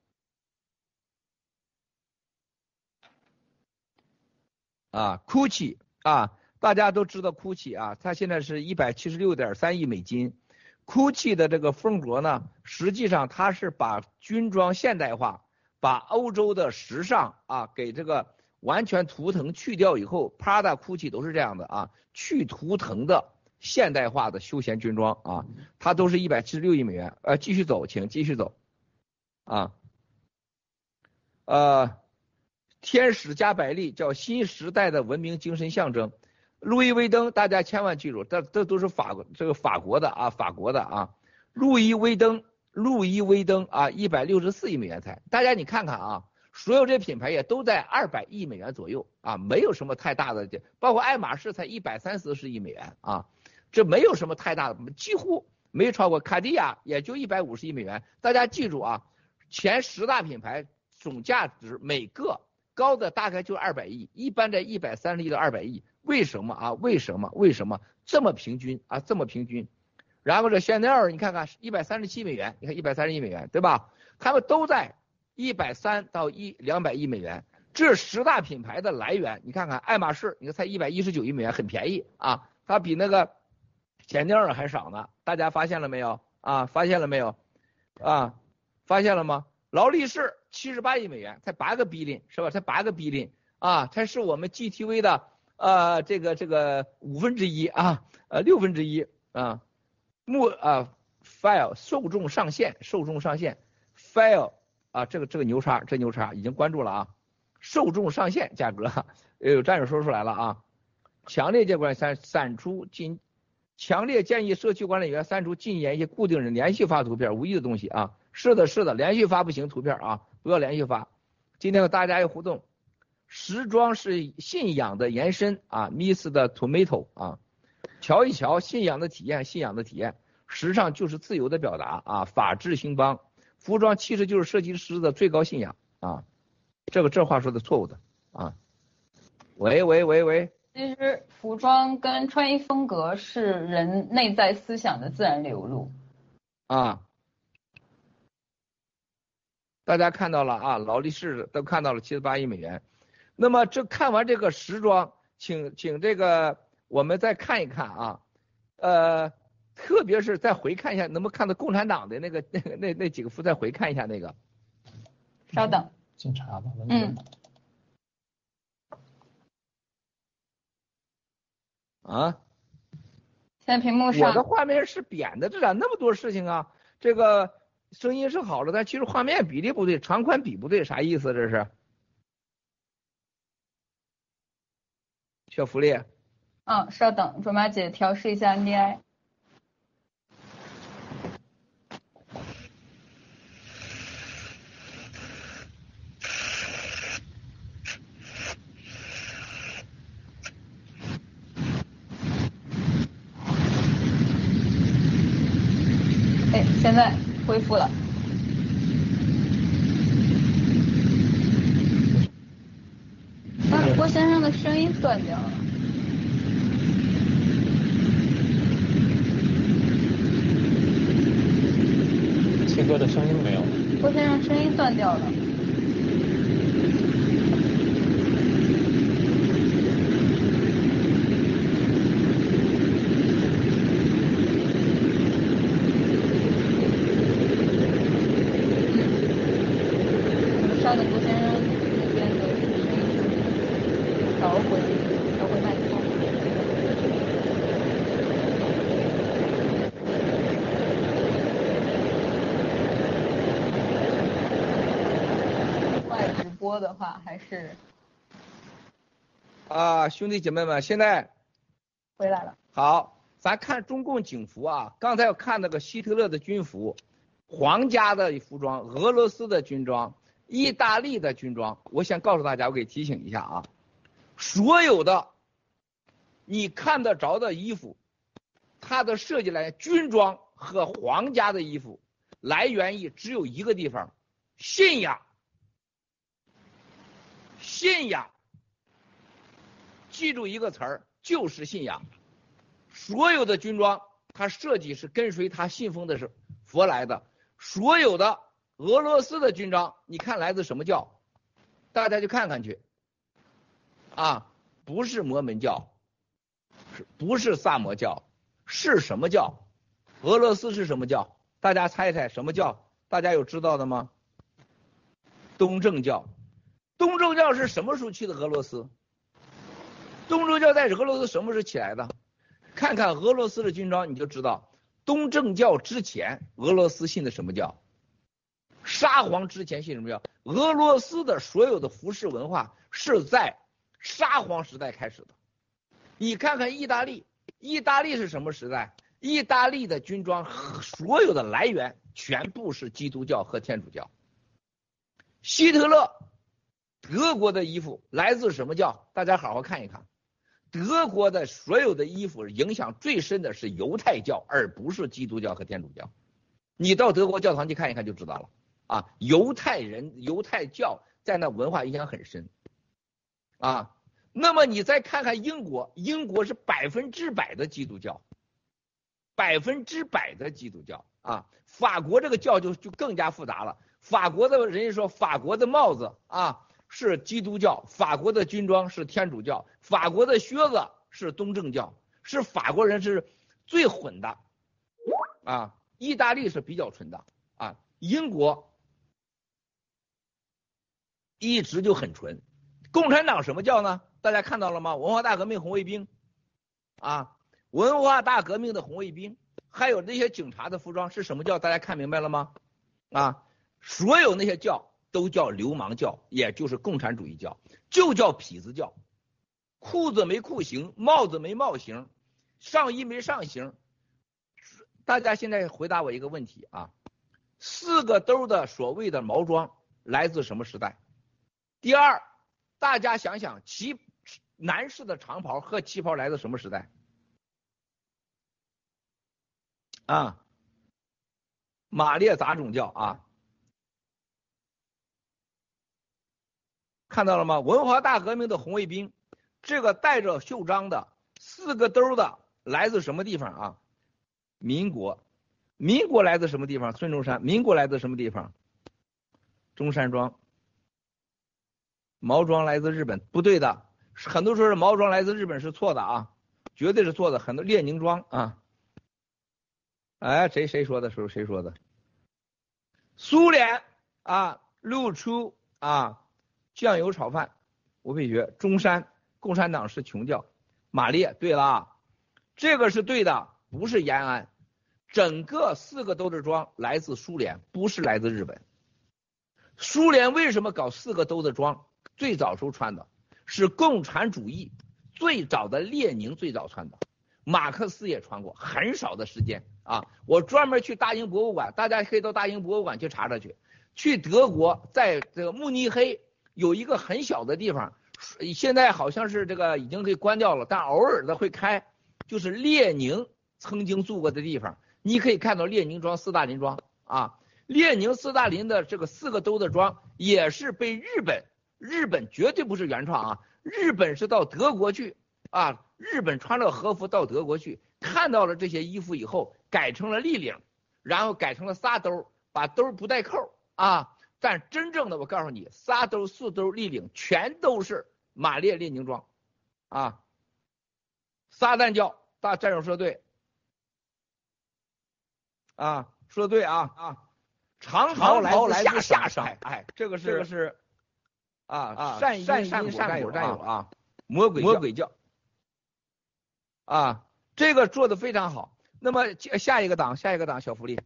啊 ，Gucci 啊，大家都知道 Gucci 啊，它现在是一百七十六点三亿美金。Gucci 的这个风格呢，实际上它是把军装现代化，把欧洲的时尚啊给这个完全图腾去掉以后 ，Prada、Gucci 都是这样的啊，去图腾的现代化的休闲军装啊，它都是一百七十六亿美元。呃，继续走，请继续走啊。呃，天使加百利叫新时代的文明精神象征。路易威登，大家千万记住，这这都是法国这个法国的啊，法国的啊。路易威登，路易威登啊，一百六十四亿美元才。大家你看看啊，所有这品牌也都在二百亿美元左右啊，没有什么太大的，包括爱马仕才一百三四十亿美元啊。 这没有什么太大的，几乎没超过。卡地亚也就一百五十亿美元。大家记住啊，前十大品牌总价值每个高的大概就二百亿，一般在一百三十亿到二百亿。为什么啊？为什么？为什么这么平均啊？这么平均？然后这香奈儿，你看看一百三十七美元，你看一百三十亿美元，对吧？他们都在一百三到一两百亿美元。这十大品牌的来源，你看看爱马仕，你看才一百一十九亿美元，很便宜啊，它比那个香奈儿还少呢。大家发现了没有啊？发现了没有啊？发现了吗？劳力士七十八亿美元，才八个 billion 是吧？才八个 billion 啊，才是我们 G T V 的呃这个这个五分之一啊，呃六分之一啊。目啊 file 受众上限，受众上限 file 啊，这个这个牛叉，这牛叉已经关注了啊。受众上限价格，有战友说出来了啊！强烈建议删删除禁，强烈建议社区管理员删除禁言一些固定人连续发图片无意的东西啊！是的，是的，连续发不行图片啊，不要连续发。今天和大家有互动，时装是信仰的延伸啊 ，Miss 的 Tomato 啊，瞧一瞧信仰的体验，信仰的体验，时尚就是自由的表达啊，法治兴邦，服装其实就是设计师的最高信仰啊。这个这话说的错误的啊！喂喂喂喂， 其实服装跟穿衣风格是人内在思想的自然流露啊。大家看到了啊，劳力士都看到了七十八亿美元。那么这看完这个时装，请请这个我们再看一看啊，呃，特别是再回看一下，能不能看到共产党的那个那个那那几个幅，再回看一下那个。 稍等。 警察吧， 嗯， 啊， 现在屏幕上我的画面是扁的，这咋那么多事情啊？这个声音是好了，但其实画面比例不对，长宽比不对，啥意思？这是小福利。 嗯，稍等，卓玛姐调试一下 N D I。现在恢复了。那郭先生的声音断掉了。 七哥的声音没有了。 郭先生声音断掉了。稍等，郭先生那边的声音调回调回麦克风。外直播的话还是啊，兄弟姐妹们，现在回来了。 好，咱看中共警服啊，刚才要看那个希特勒的军服，皇家的服装，俄罗斯的军装。意大利的军装，我想告诉大家，我给提醒一下啊，所有的你看得着的衣服，它的设计来源，军装和皇家的衣服来源于只有一个地方，信仰，信仰，记住一个词儿，就是信仰。所有的军装，它设计是跟随他信奉的是佛来的，所有的。俄罗斯的军装，你看来自什么教？大家去看看去。啊，不是摩门教，是不是萨摩教？是什么教？俄罗斯是什么教？大家猜猜什么教？大家有知道的吗？东正教。东正教是什么时候去的俄罗斯？东正教在俄罗斯什么时候起来的？看看俄罗斯的军装，你就知道东正教之前俄罗斯信的什么教。沙皇之前信什么教？俄罗斯的所有的服饰文化是在沙皇时代开始的。你看看意大利，意大利是什么时代？意大利的军装所有的来源全部是基督教和天主教。希特勒，德国的衣服来自什么教？大家好好看一看。 德国的所有的衣服影响最深的是犹太教，而不是基督教和天主教。你到德国教堂去看一看就知道了啊，犹太人、犹太教在那文化影响很深啊。那么你再看看英国，英国是百分之百的基督教，百分之百的基督教啊。法国这个教就就更加复杂了，法国的人家说法国的帽子啊是基督教，法国的军装是天主教，法国的靴子是东正教，是法国人是最混的啊。意大利是比较纯的啊，英国一直就很纯。共产党什么教呢？大家看到了吗？文化大革命红卫兵啊，文化大革命的红卫兵，还有那些警察的服装是什么教？大家看明白了吗？啊，所有那些教都叫流氓教，也就是共产主义教，就叫痞子教。裤子没裤型，帽子没帽型，上衣没上型。大家现在回答我一个问题啊，四个兜的所谓的毛装来自什么时代？第二，大家想想旗男士的长袍和旗袍来自什么时代？啊，马列杂种教啊，看到了吗？文化大革命的红卫兵，这个带着袖章的四个兜的来自什么地方啊？民国。民国来自什么地方？孙中山。民国来自什么地方？中山装。毛装来自日本，不对的，很多说是毛装来自日本是错的啊，绝对是错的。很多列宁装啊，哎，谁谁说的？谁谁说的？苏联啊，露出啊酱油炒饭，吴佩学。中山，共产党是穷教。马列，对了，这个是对的，不是延安。整个四个兜子装来自苏联，不是来自日本。苏联为什么搞四个兜子装？最早时候穿的是共产主义，最早的列宁最早穿的，马克思也穿过，很少的时间啊。我专门去大英博物馆，大家可以到大英博物馆去查查去。去德国，在这个慕尼黑有一个很小的地方，现在好像是这个已经给关掉了，但偶尔的会开，就是列宁曾经住过的地方。你可以看到列宁装、斯大林装啊，列宁、斯大林的这个四个兜子装也是被日本，日本绝对不是原创啊，日本是到德国去啊，日本穿了和服到德国去，看到了这些衣服以后，改成了立领，然后改成了仨兜，把兜不带扣啊，但真正的我告诉你，仨兜、四兜、立领全都是马列列宁装啊，撒旦教，大战友说对。啊，说的对啊啊，长袍来自下下山，哎，这个是这个是啊啊善因善果善果战友啊，魔鬼魔鬼教啊，这个做的非常好。那么下一个档下一个档小福利，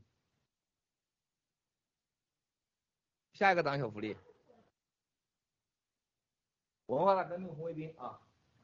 下一个档小福利，文化大革命红卫兵啊。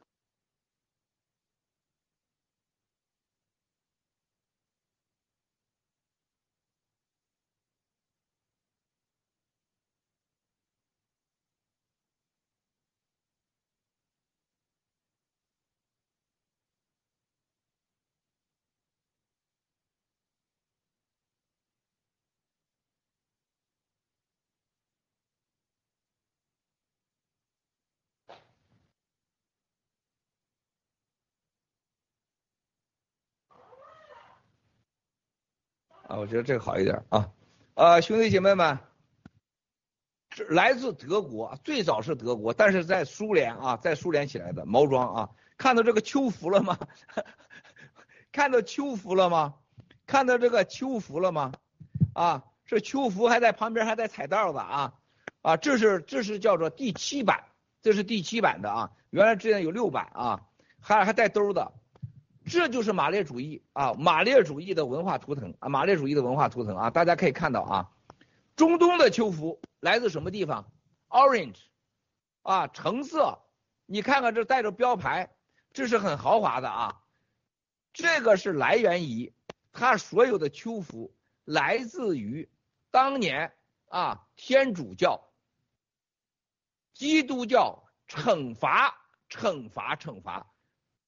啊，我觉得这个好一点啊。呃，兄弟姐妹们，来自德国，最早是德国，但是在苏联啊，在苏联起来的毛装啊，看到这个秋服了吗？看到秋服了吗？看到这个秋服了吗？啊，这秋服还在旁边还带彩带的啊啊，这是这是叫做第七版，这是第七版的啊，原来之前有六版啊，还还带兜的。这就是马列主义啊，马列主义的文化图腾啊，马列主义的文化图腾啊，大家可以看到啊，中东的秋服来自什么地方 ？Orange 啊，橙色，你看看这带着标牌，这是很豪华的啊。这个是来源于它所有的秋服来自于当年啊天主教、基督教惩罚、惩罚、惩罚。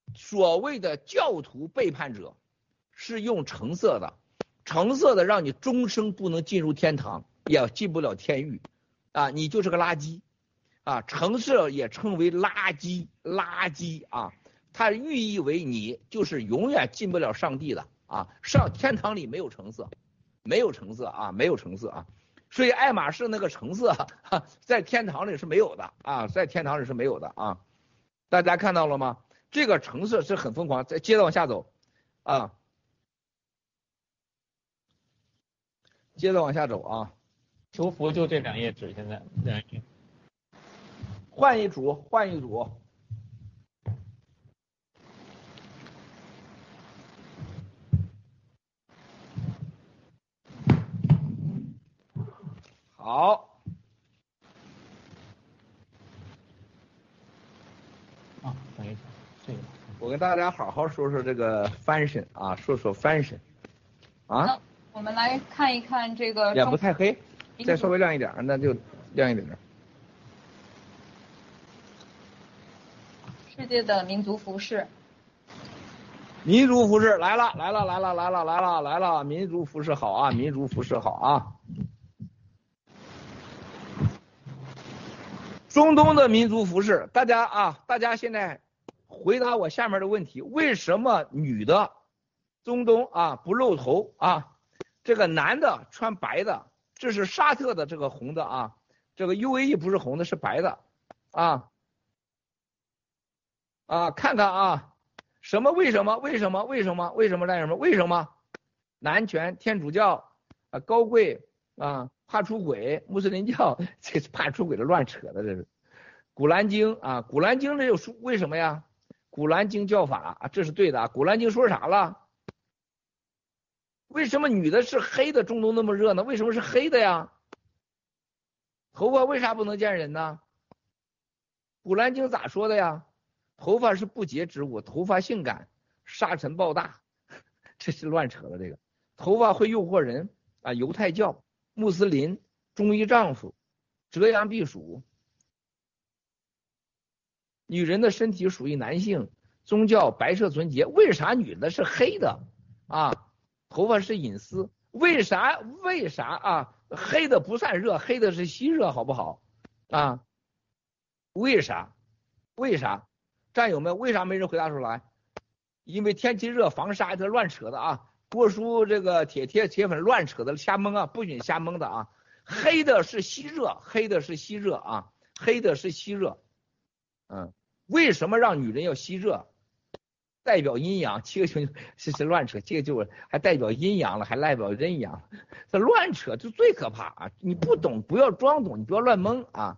所谓的教徒背叛者是用橙色的，橙色的让你终生不能进入天堂，也进不了天狱啊，你就是个垃圾啊！橙色也称为垃圾，垃圾啊，它寓意为你就是永远进不了上帝的啊，上天堂里没有橙色，没有橙色啊，没有橙色啊，所以爱马仕那个橙色哈，在天堂里是没有的啊，在天堂里是没有的啊，大家看到了吗？这个橙色是很疯狂，再接着往下走啊，接着往下走啊， 求福就这两页纸，现在两页， 换一组，换一组。好， 啊，等一下，这个我跟大家好好说说这个翻身啊，说说翻身啊。 那我们来看一看这个。 也不太黑，再稍微亮一点，那就亮一点。 世界的民族服饰。 民族服饰来了，来了，来了，来了，来了，来了，民族服饰好啊，民族服饰好啊。中东的民族服饰，大家啊，大家现在回答我下面的问题：为什么女的中东啊不露头啊？这个男的穿白的，这是沙特的这个红的啊，这个 U A E 不是红的，是白的啊啊，看看啊，什么为什么为什么为什么为什么干什么为什么？男权、天主教啊、高贵啊。怕出轨，穆斯林教这是怕出轨的乱扯的，这是。古兰经啊，古兰经这又说为什么呀？古兰经教法啊，这是对的啊。古兰经说啥了？为什么女的是黑的，中东那么热呢？为什么是黑的呀？头发为啥不能见人呢？古兰经咋说的呀？头发是不洁之物，头发性感，沙尘暴大，这是乱扯的。这个头发会诱惑人啊，犹太教。穆斯林、忠于丈夫、折阳避暑，女人的身体属于男性，宗教白色纯洁。为啥女的是黑的啊？头发是隐私。为啥？为啥啊？黑的不算热，黑的是吸热，好不好啊？为啥？为啥？战友们，为啥没人回答出来？因为天气热，防晒，这乱扯的啊！郭叔这个铁铁铁粉乱扯的瞎蒙啊，不许瞎蒙的啊！黑的是吸热，黑的是吸热啊，黑的是吸热。嗯，为什么让女人要吸热？代表阴阳，这个就是是乱扯，这个就还代表阴阳了，还代表阴阳，这乱扯就最可怕啊！你不懂不要装懂，你不要乱蒙啊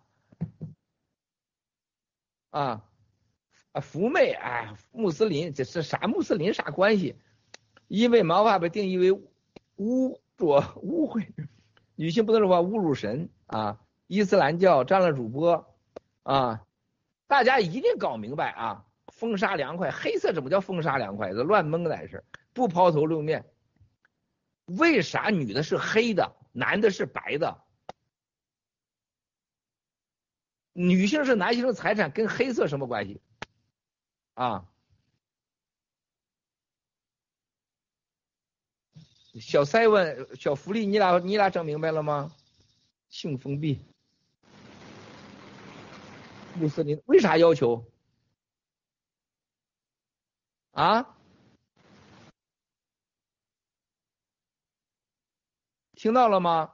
啊啊！福妹，哎，穆斯林这是啥？穆斯林啥关系？因为毛发被定义为污浊污秽，女性不能说话侮辱神啊！伊斯兰教占了主播啊！大家一定搞明白啊！风沙凉快，黑色怎么叫风沙凉快？这乱蒙的是不抛头露面。为啥女的是黑的，男的是白的？女性是男性的财产，跟黑色什么关系啊？小塞问小福利，你俩你俩整明白了吗？性封闭，穆斯林为啥要求啊？听到了吗？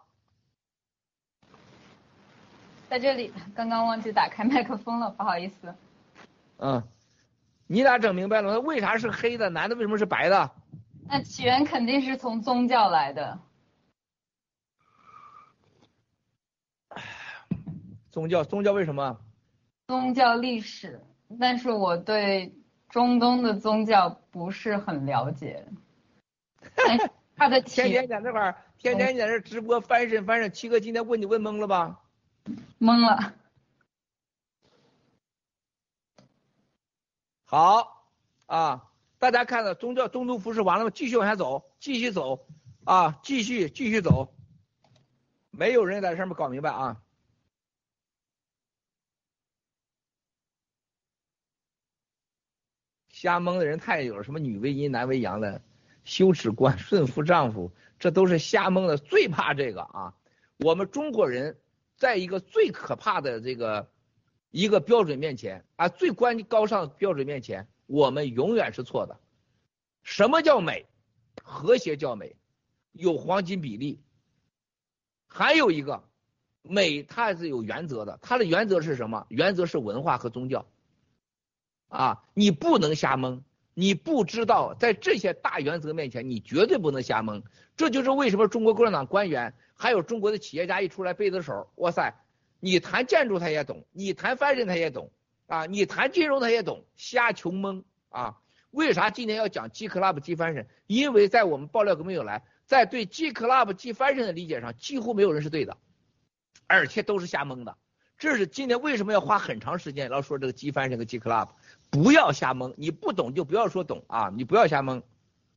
在这里，刚刚忘记打开麦克风了，不好意思。 嗯，你俩整明白了吗？为啥是黑的？男的为什么是白的？ 那起源肯定是从宗教来的。 宗教，宗教为什么？ 宗教历史，但是我对中东的宗教不是很了解。它的天天在那块儿，天天在这直播翻身翻身，七哥今天问你问懵了吧？ 懵了。 好啊。大家看到宗教中东服饰完了吗？继续往下走，继续走啊，继续继续走。没有人在上面搞明白啊。 瞎蒙的人太有了，什么女为阴男为阳了，羞耻观顺服丈夫，这都是瞎蒙的，最怕这个啊。我们中国人在一个最可怕的这个一个标准面前啊，最关高尚的标准面前，我们永远是错的。什么叫美？和谐叫美，有黄金比例。还有一个美，它是有原则的，它的原则是什么？原则是文化和宗教啊，你不能瞎蒙，你不知道在这些大原则面前，你绝对不能瞎蒙。这就是为什么中国共产党官员还有中国的企业家一出来背着手，哇塞，你谈建筑他也懂，你谈翻身他也懂啊，你谈金融他也懂，瞎穷蒙啊。为啥今天要讲 G Club 鸡翻身？因为在我们爆料革命有来，在对 G Club 鸡翻身的理解上，几乎没有人是对的，而且都是瞎蒙的。这是今天为什么要花很长时间要说这个鸡翻身和 G Club， 不要瞎蒙，你不懂就不要说懂啊，你不要瞎蒙。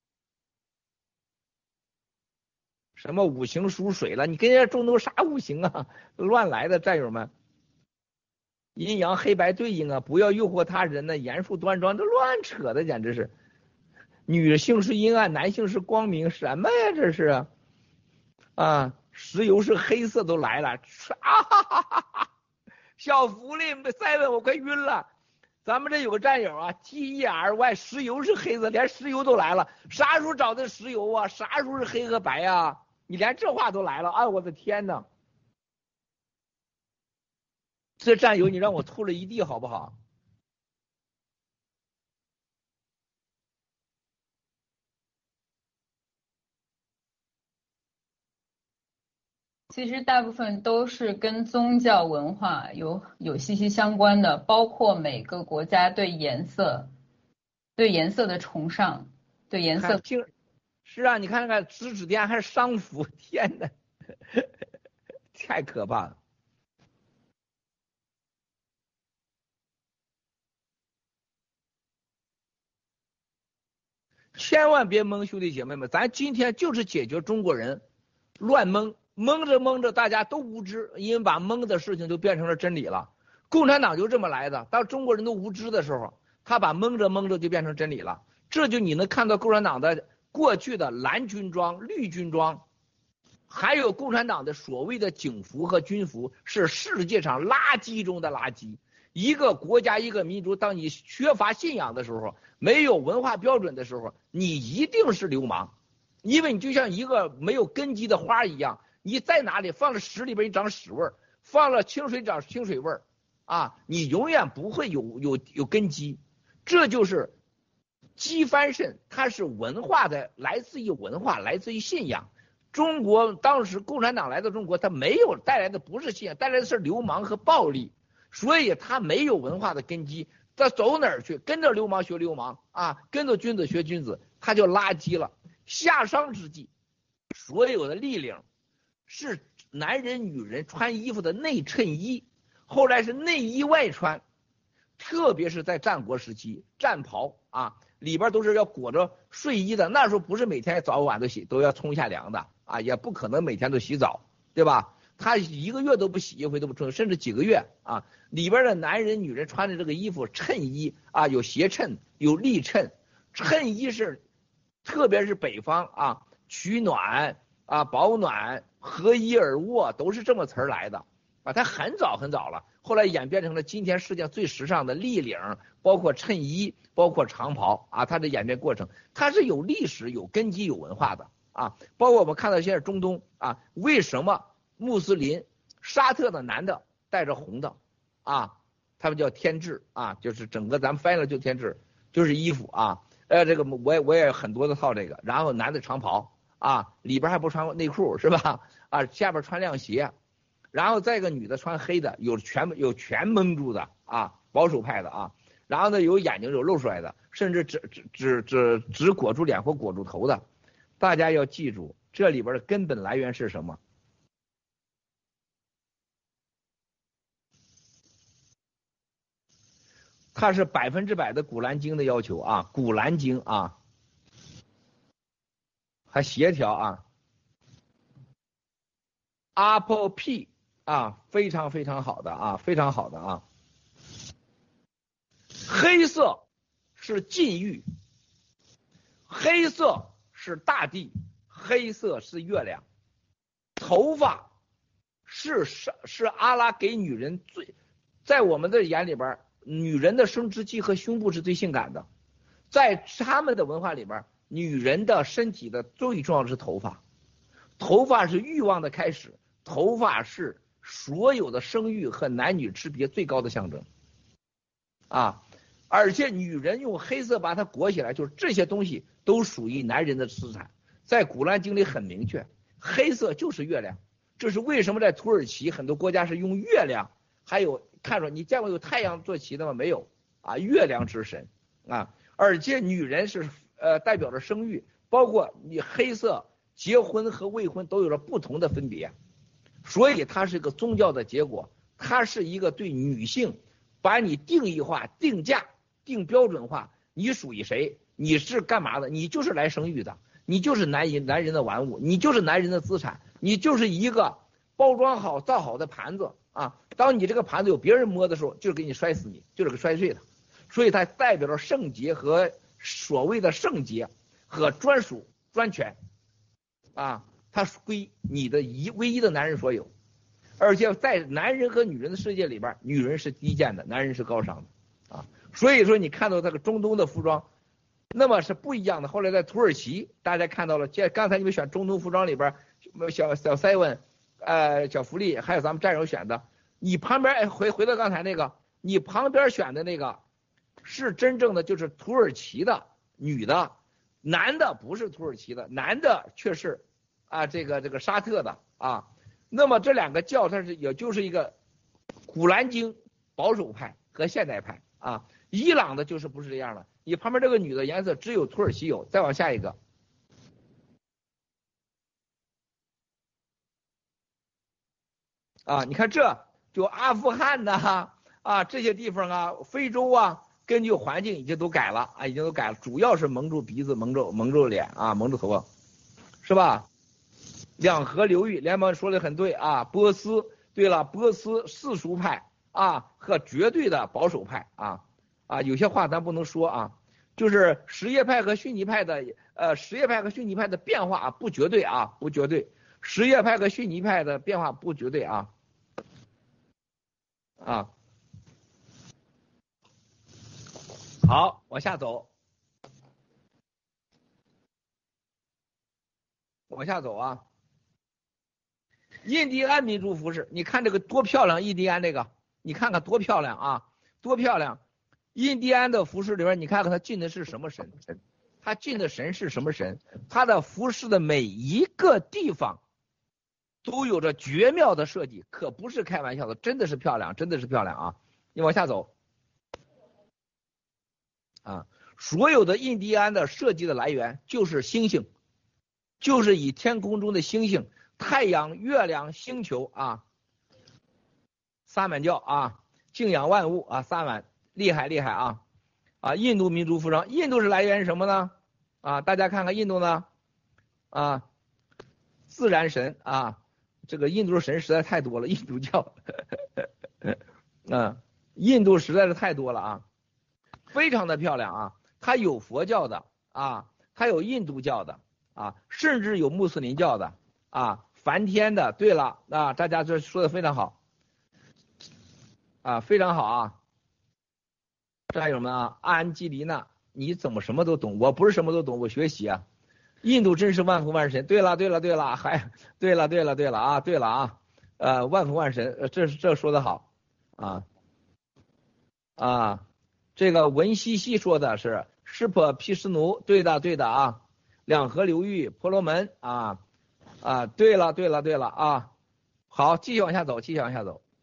什么五行属水了？你跟人家中都啥五行啊？乱来的战友们。阴阳黑白对应啊，不要诱惑他人呢，严肃端庄，这乱扯的，简直是。女性是阴暗，男性是光明，什么呀这是？啊，石油是黑色都来了，啊哈哈哈哈！小福利再问我快晕了。咱们这有个战友啊 ，T E R Y， 石油是黑色，连石油都来了，啥时候找的石油啊？啥时候是黑和白啊？你连这话都来了，哎，我的天哪！这战友你让我吐了一地好不好？ 其实大部分都是跟宗教文化有有息息相关的，包括每个国家对颜色、对颜色的崇尚、对颜色。 是啊，你看看指指点还是商服，天哪，太可怕了。千万别蒙，兄弟姐妹们，咱今天就是解决中国人乱蒙，蒙着蒙着大家都无知，因为把蒙的事情就变成了真理了。共产党就这么来的，当中国人都无知的时候，他把蒙着蒙着就变成真理了。这就你能看到共产党的过去的蓝军装、绿军装，还有共产党的所谓的警服和军服，是世界上垃圾中的垃圾。一个国家一个民族，当你缺乏信仰的时候，没有文化标准的时候，你一定是流氓，因为你就像一个没有根基的花一样，你在哪里放了屎里边你长屎味儿，放了清水长清水味儿啊，你永远不会有有有根基。这就是鸡翻身，它是文化的，来自于文化，来自于信仰。中国当时共产党来到中国，它没有带来的不是信仰，带来的是流氓和暴力。所以他没有文化的根基，他走哪儿去？跟着流氓学流氓啊，跟着君子学君子，他就垃圾了。夏商之际，所有的立领是男人女人穿衣服的内衬衣，后来是内衣外穿，特别是在战国时期，战袍啊里边都是要裹着睡衣的，那时候不是每天早晚都洗，都要冲一下凉的啊，也不可能每天都洗澡，对吧？他一个月都不洗一回都不冲，甚至几个月啊。里边的男人女人穿的这个衣服衬衣啊，有斜衬有立衬，衬衣是特别是北方啊，取暖啊保暖合衣而卧都是这么词儿来的啊。它很早很早了，后来演变成了今天世界上最时尚的立领，包括衬衣包括长袍啊。它的演变过程它是有历史有根基有文化的啊。包括我们看到现在中东啊，为什么穆斯林沙特的男的带着红的啊，他们叫天制啊，就是整个咱们翻译了就天制，就是衣服啊，呃，这个我也我也很多的套这个，然后男的长袍啊，里边还不穿内裤是吧？啊，下边穿亮鞋，然后再一个女的穿黑的，有全有全蒙住的啊，保守派的啊，然后呢有眼睛有露出来的，甚至只只只只只裹住脸或裹住头的，大家要记住这里边的根本来源是什么？它是百分之百的古兰经的要求啊，古兰经啊，还协调啊 ，Apple P 啊，非常非常好的啊，非常好的啊。黑色是禁欲，黑色是大地，黑色是月亮，头发是是是阿拉给女人最，在我们的眼里边，女人的生殖器和胸部是最性感的，在他们的文化里边，女人的身体的最重要的是头发，头发是欲望的开始，头发是所有的生育和男女之别最高的象征啊！而且女人用黑色把它裹起来，就是这些东西都属于男人的资产。在古兰经里很明确，黑色就是月亮。这是为什么在土耳其很多国家是用月亮，还有看着你见过有太阳做旗的吗？没有啊，月亮之神啊！而且女人是呃代表着生育，包括你黑色结婚和未婚都有着不同的分别。所以它是一个宗教的结果，它是一个对女性把你定义化、定价、定标准化，你属于谁？你是干嘛的？你就是来生育的，你就是男人男人的玩物，你就是男人的资产，你就是一个包装好、造好的盘子啊！当你这个盘子有别人摸的时候，就是给你摔死你，就是给摔碎的。所以它代表着圣洁和所谓的圣洁和专属专权啊。它归你的一唯一的男人所有，而且在男人和女人的世界里边，女人是低贱的，男人是高尚的啊。所以说你看到这个中东的服装，那么是不一样的。后来在土耳其，大家看到了，这刚才你们选中东服装里边，小小 seven， 呃，小福利，还有咱们战友选的，你旁边回回到刚才那个，你旁边选的那个是真正的就是土耳其的女的，男的不是土耳其的，男的却是。啊，这个这个沙特的啊，那么这两个教它是也就是一个古兰经保守派和现代派啊，伊朗的就是不是这样的。你旁边这个女的颜色只有土耳其有，再往下一个啊，你看这就阿富汗呐啊这些地方啊，非洲啊，根据环境已经都改了啊，已经都改了，主要是蒙住鼻子、蒙住蒙住脸啊，蒙住头发，是吧？两河流域，联邦说的很对啊。波斯，对了，波斯世俗派啊和绝对的保守派啊啊，有些话咱不能说啊，就是什叶派和逊尼派的呃，什叶派和逊尼派的变化啊不绝对啊，不绝对，什叶派和逊尼派的变化不绝对啊啊。好，往下走，往下走啊。印第安民族服饰，你看这个多漂亮！印第安这个，你看看多漂亮啊，多漂亮！印第安的服饰里边，你看看它进的是什么神？它进的神是什么神？它的服饰的每一个地方都有着绝妙的设计，可不是开玩笑的，真的是漂亮，真的是漂亮啊！你往下走啊，所有的印第安的设计的来源就是星星，就是以天空中的星星。太阳、月亮、星球啊，萨满教啊，敬仰万物啊，萨满厉害厉害啊啊！印度民族服装，印度是来源于什么呢？啊，大家看看印度呢啊，自然神啊，这个印度神实在太多了，印度教，嗯，印度实在是太多了啊，非常的漂亮啊，它有佛教的啊，它有印度教的啊，甚至有穆斯林教的啊。梵天的，对了啊，大家这说的非常好啊，非常好啊，战友们啊，安吉丽娜，你怎么什么都懂？我不是什么都懂，我学习啊。印度真是万福万神。对了，对了，对了，还对了，对了，对了啊，对了啊，呃，万福万神，这这说的好啊啊，这个文西西说的是湿婆毗湿奴，对的，对的啊，两河流域，婆罗门啊。啊，对了，对了，对了啊，好，继续往下走，继续往下走。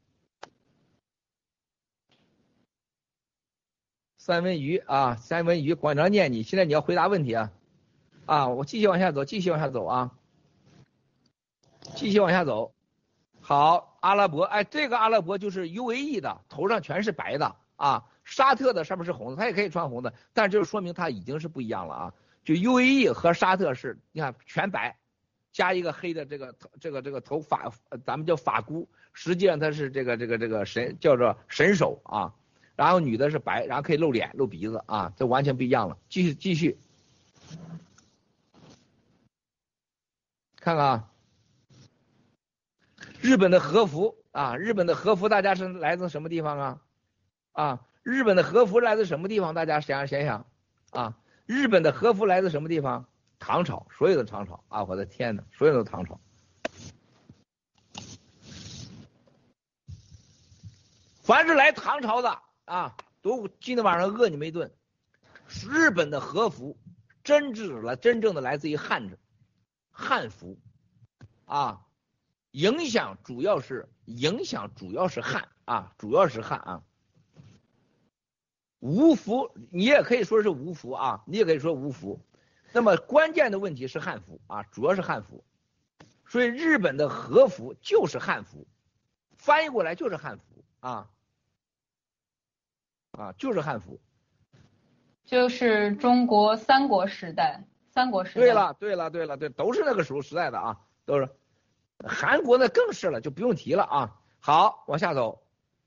三文鱼啊，三文鱼，管着念你，现在你要回答问题啊，啊，我继续往下走，继续往下走啊，继续往下走。好，阿拉伯，哎，这个阿拉伯就是 U A E 的，头上全是白的啊，沙特的上面是红的，它也可以穿红的，但是就是说明它已经是不一样了啊，就 U A E 和沙特是，你看全白。加一个黑的这个这个这个头发，咱们叫发箍，实际上它是这个这个这个神叫做神手啊然后女的是白，然后可以露脸露鼻子啊，这完全不一样了。继续继续，看看啊，日本的和服啊，日本的和服大家是来自什么地方啊？啊，日本的和服来自什么地方？大家想想想啊，日本的和服来自什么地方？唐朝，所有的唐朝啊，我的天哪，所有的唐朝。凡是来唐朝的啊，都今天晚上饿你们一顿。日本的和服真正的真正的来自于汉字，汉服啊，影响主要是影响主要是汉啊，主要是汉啊。吴服你也可以说是吴服啊，你也可以说吴服。那么关键的问题是汉服啊，主要是汉服。所以日本的和服就是汉服，翻译过来就是汉服啊。啊，就是汉服， 就是中国三国时代，三国时代。 对了，对了，对了，对，都是那个时候时代的啊，都是。韩国呢更是了，就不用提了啊。好，往下走。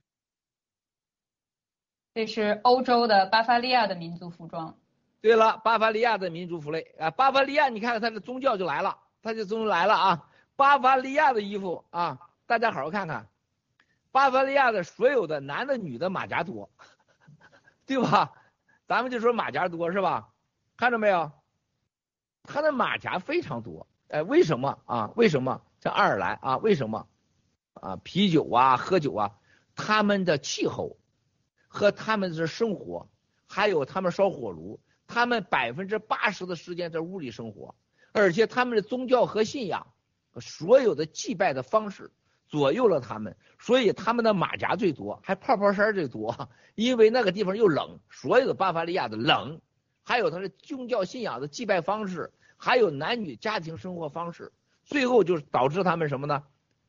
这是欧洲的巴伐利亚的民族服装。 对了，巴伐利亚的民族服类啊，巴伐利亚，你看看它的宗教就来了，它就宗教来了啊。巴伐利亚的衣服啊，大家好好看看，巴伐利亚的所有的男的女的马甲多。对吧？咱们就说马甲多是吧？看着没有？他的马甲非常多。哎，为什么啊？为什么？像爱尔兰啊？为什么？啊，啤酒啊，喝酒啊，他们的气候和他们的生活，还有他们烧火炉，他们百分之八十的时间在屋里生活，而且他们的宗教和信仰，所有的祭拜的方式。左右了他们，所以他们的马甲最多，还泡泡衫最多，因为那个地方又冷，所有的巴伐利亚的冷，还有他的宗教信仰的祭拜方式，还有男女家庭生活方式，最后就是导致他们什么呢？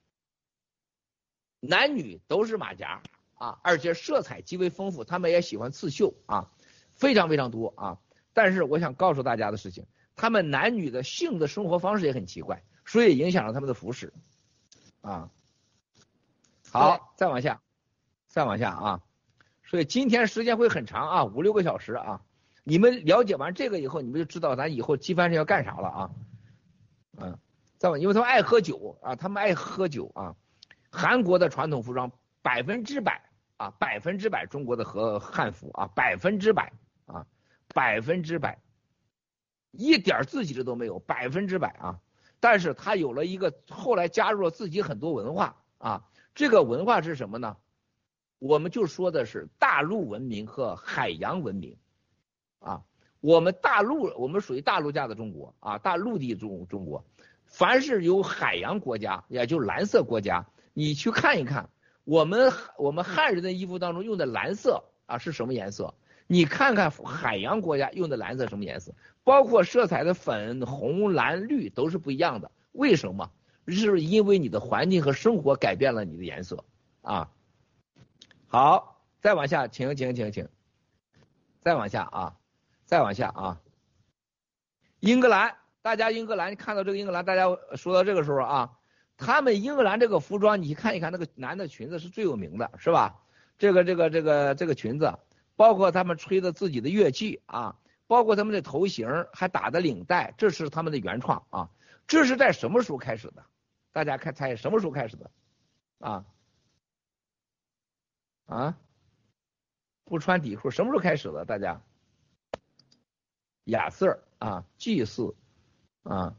男女都是马甲啊，而且色彩极为丰富，他们也喜欢刺绣啊，非常非常多啊。但是我想告诉大家的事情，他们男女的性的生活方式也很奇怪，所以影响了他们的服饰啊。好，再往下，再往下啊！所以今天时间会很长啊，五六个小时啊。你们了解完这个以后，你们就知道咱以后机翻身要干啥了啊。嗯，再往，因为他们爱喝酒啊，他们爱喝酒啊。韩国的传统服装百分之百啊，百分之百中国的和汉服啊，百分之百啊，百分之百，一点自己的都没有，百分之百啊。但是他有了一个后来加入了自己很多文化啊。这个文化是什么呢？我们就说的是大陆文明和海洋文明啊。我们大陆，我们属于大陆架的中国啊，大陆地中中国。凡是有海洋国家，也就是蓝色国家，你去看一看，我们我们汉人的衣服当中用的蓝色啊是什么颜色？你看看海洋国家用的蓝色什么颜色？包括色彩的粉、红、蓝、绿都是不一样的。为什么？是因为你的环境和生活改变了你的颜色啊。好，再往下，请请请请，再往下啊，再往下啊。英格兰，大家英格兰看到这个英格兰，大家说到这个时候啊，他们英格兰这个服装，你看一看那个男的裙子是最有名的，是吧？这个这个这个这个裙子，包括他们吹的自己的乐器啊，包括他们的头型，还打的领带，这是他们的原创啊。这是在什么时候开始的？大家看猜什么时候开始的？啊啊，不穿底裤什么时候开始的？大家，亚瑟啊，祭祀啊，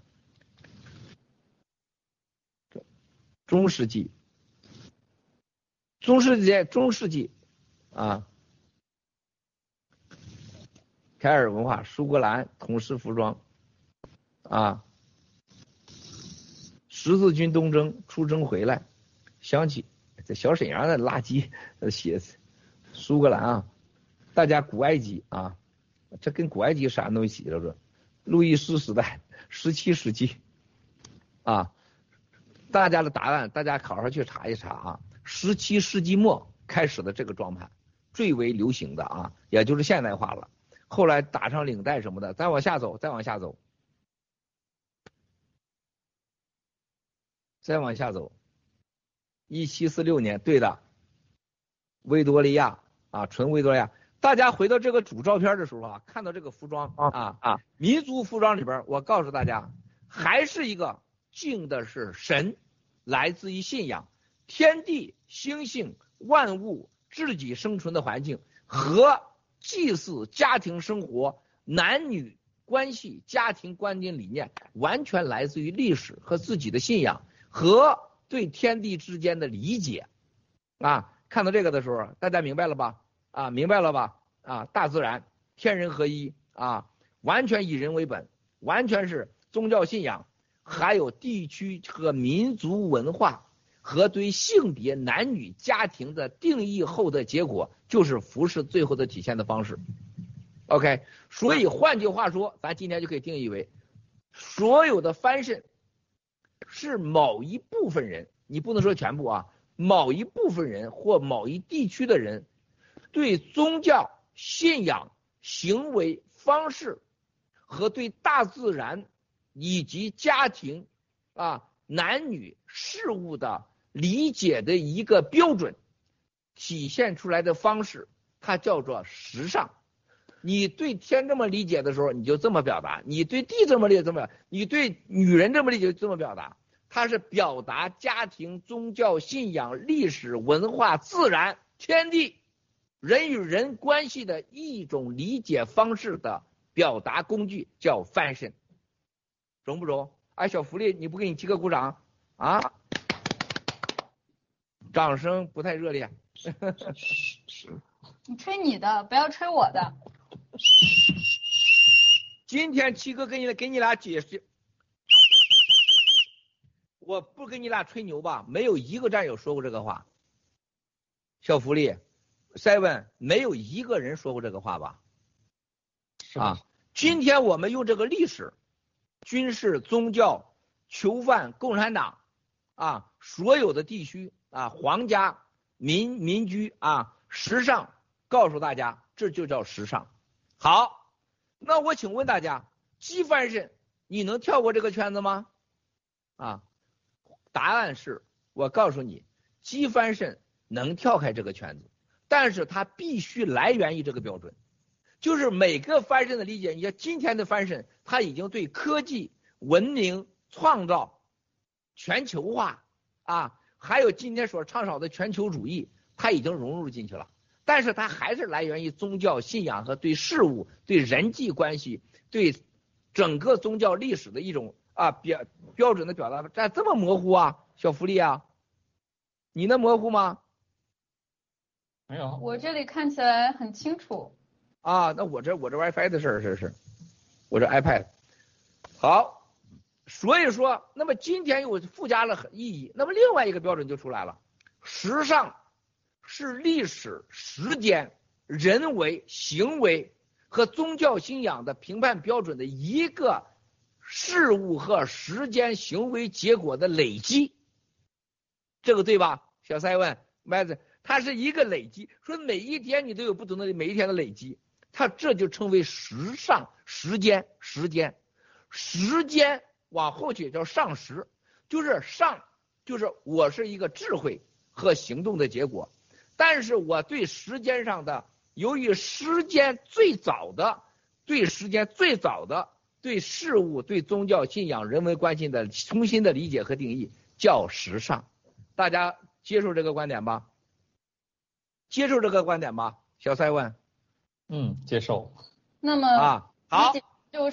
中世纪，中世纪，中世纪啊，凯尔文化，苏格兰统式服装啊。十字军东征出征回来，想起这小沈阳的垃圾写苏格兰啊，大家古埃及啊，这跟古埃及啥东西了？这路易斯时代，十七世纪啊，大家的答案大家好好去查一查啊。十七世纪末开始的这个装扮最为流行的啊，也就是现代化了。后来打上领带什么的，再往下走，再往下走。再往下走，一七四六年，对的，维多利亚啊，纯维多利亚。大家回到这个主照片的时候啊，看到这个服装啊啊，民族服装里边，我告诉大家，还是一个敬的是神，来自于信仰，天地、星星、万物、自己生存的环境和祭祀、家庭生活、男女关系、家庭观念理念，完全来自于历史和自己的信仰和对天地之间的理解啊。看到这个的时候，大家明白了吧？啊，明白了吧？啊，大自然天人合一啊，完全以人为本，完全是宗教信仰，还有地区和民族文化和对性别、男女、家庭的定义后的结果，就是服饰最后的体现的方式。OK， 所以换句话说，咱今天就可以定义为，所有的fashion是某一部分人，你不能说全部啊，某一部分人或某一地区的人对宗教信仰、行为方式和对大自然以及家庭啊、男女事物的理解的一个标准体现出来的方式，它叫做时尚。你对天这么理解的时候，你就这么表达；你对地这么理解，这么；你对女人这么理解，就这么表达。它是表达家庭、宗教、信仰、历史、文化、自然、天地、人与人关系的一种理解方式的表达工具，叫 fashion， 中不中？哎，小福利，你不给你七个鼓掌啊？掌声不太热烈。 你吹你的，不要吹我的。 今天七哥给你给你俩解释，我不跟你俩吹牛吧，没有一个战友说过这个话。小福利 ，seven 没有一个人说过这个话吧？啊，今天我们用这个历史、军事、宗教、囚犯、共产党啊，所有的地区啊，皇家、民民居啊，时尚，告诉大家，这就叫时尚。好，那我请问大家，鸡翻身，你能跳过这个圈子吗？啊，答案是我告诉你，鸡翻身能跳开这个圈子，但是它必须来源于这个标准，就是每个翻身的理解。你看今天的翻身，它已经对科技、文明、创造、全球化啊，还有今天所倡导的全球主义，它已经融入进去了。但是它还是来源于宗教信仰和对事物、对人际关系、对整个宗教历史的一种啊标标准的表达。这这么模糊啊，小福利啊，你能模糊吗？ 没有， 我这里看起来很清楚。 啊，那我这我这 WiFi 的事儿，这是我这 iPad。好，所以说，那么今天又附加了意义。那么另外一个标准就出来了，时尚是历史、时间、人为、行为和宗教信仰的评判标准的一个事物和时间行为结果的累积，这个对吧？小塞问麦子，它是一个累积，说每一天你都有不同的每一天的累积，它这就称为时尚。时间，时间，时间往后去叫上时，就是上，就是我是一个智慧和行动的结果。但是我对时间上的，由于时间最早的，对时间最早的对事物、对宗教信仰、人文关系的重新的理解和定义叫时尚。大家接受这个观点吧？接受这个观点吧？小塞问。 嗯，接受。 那么啊，好， 就是，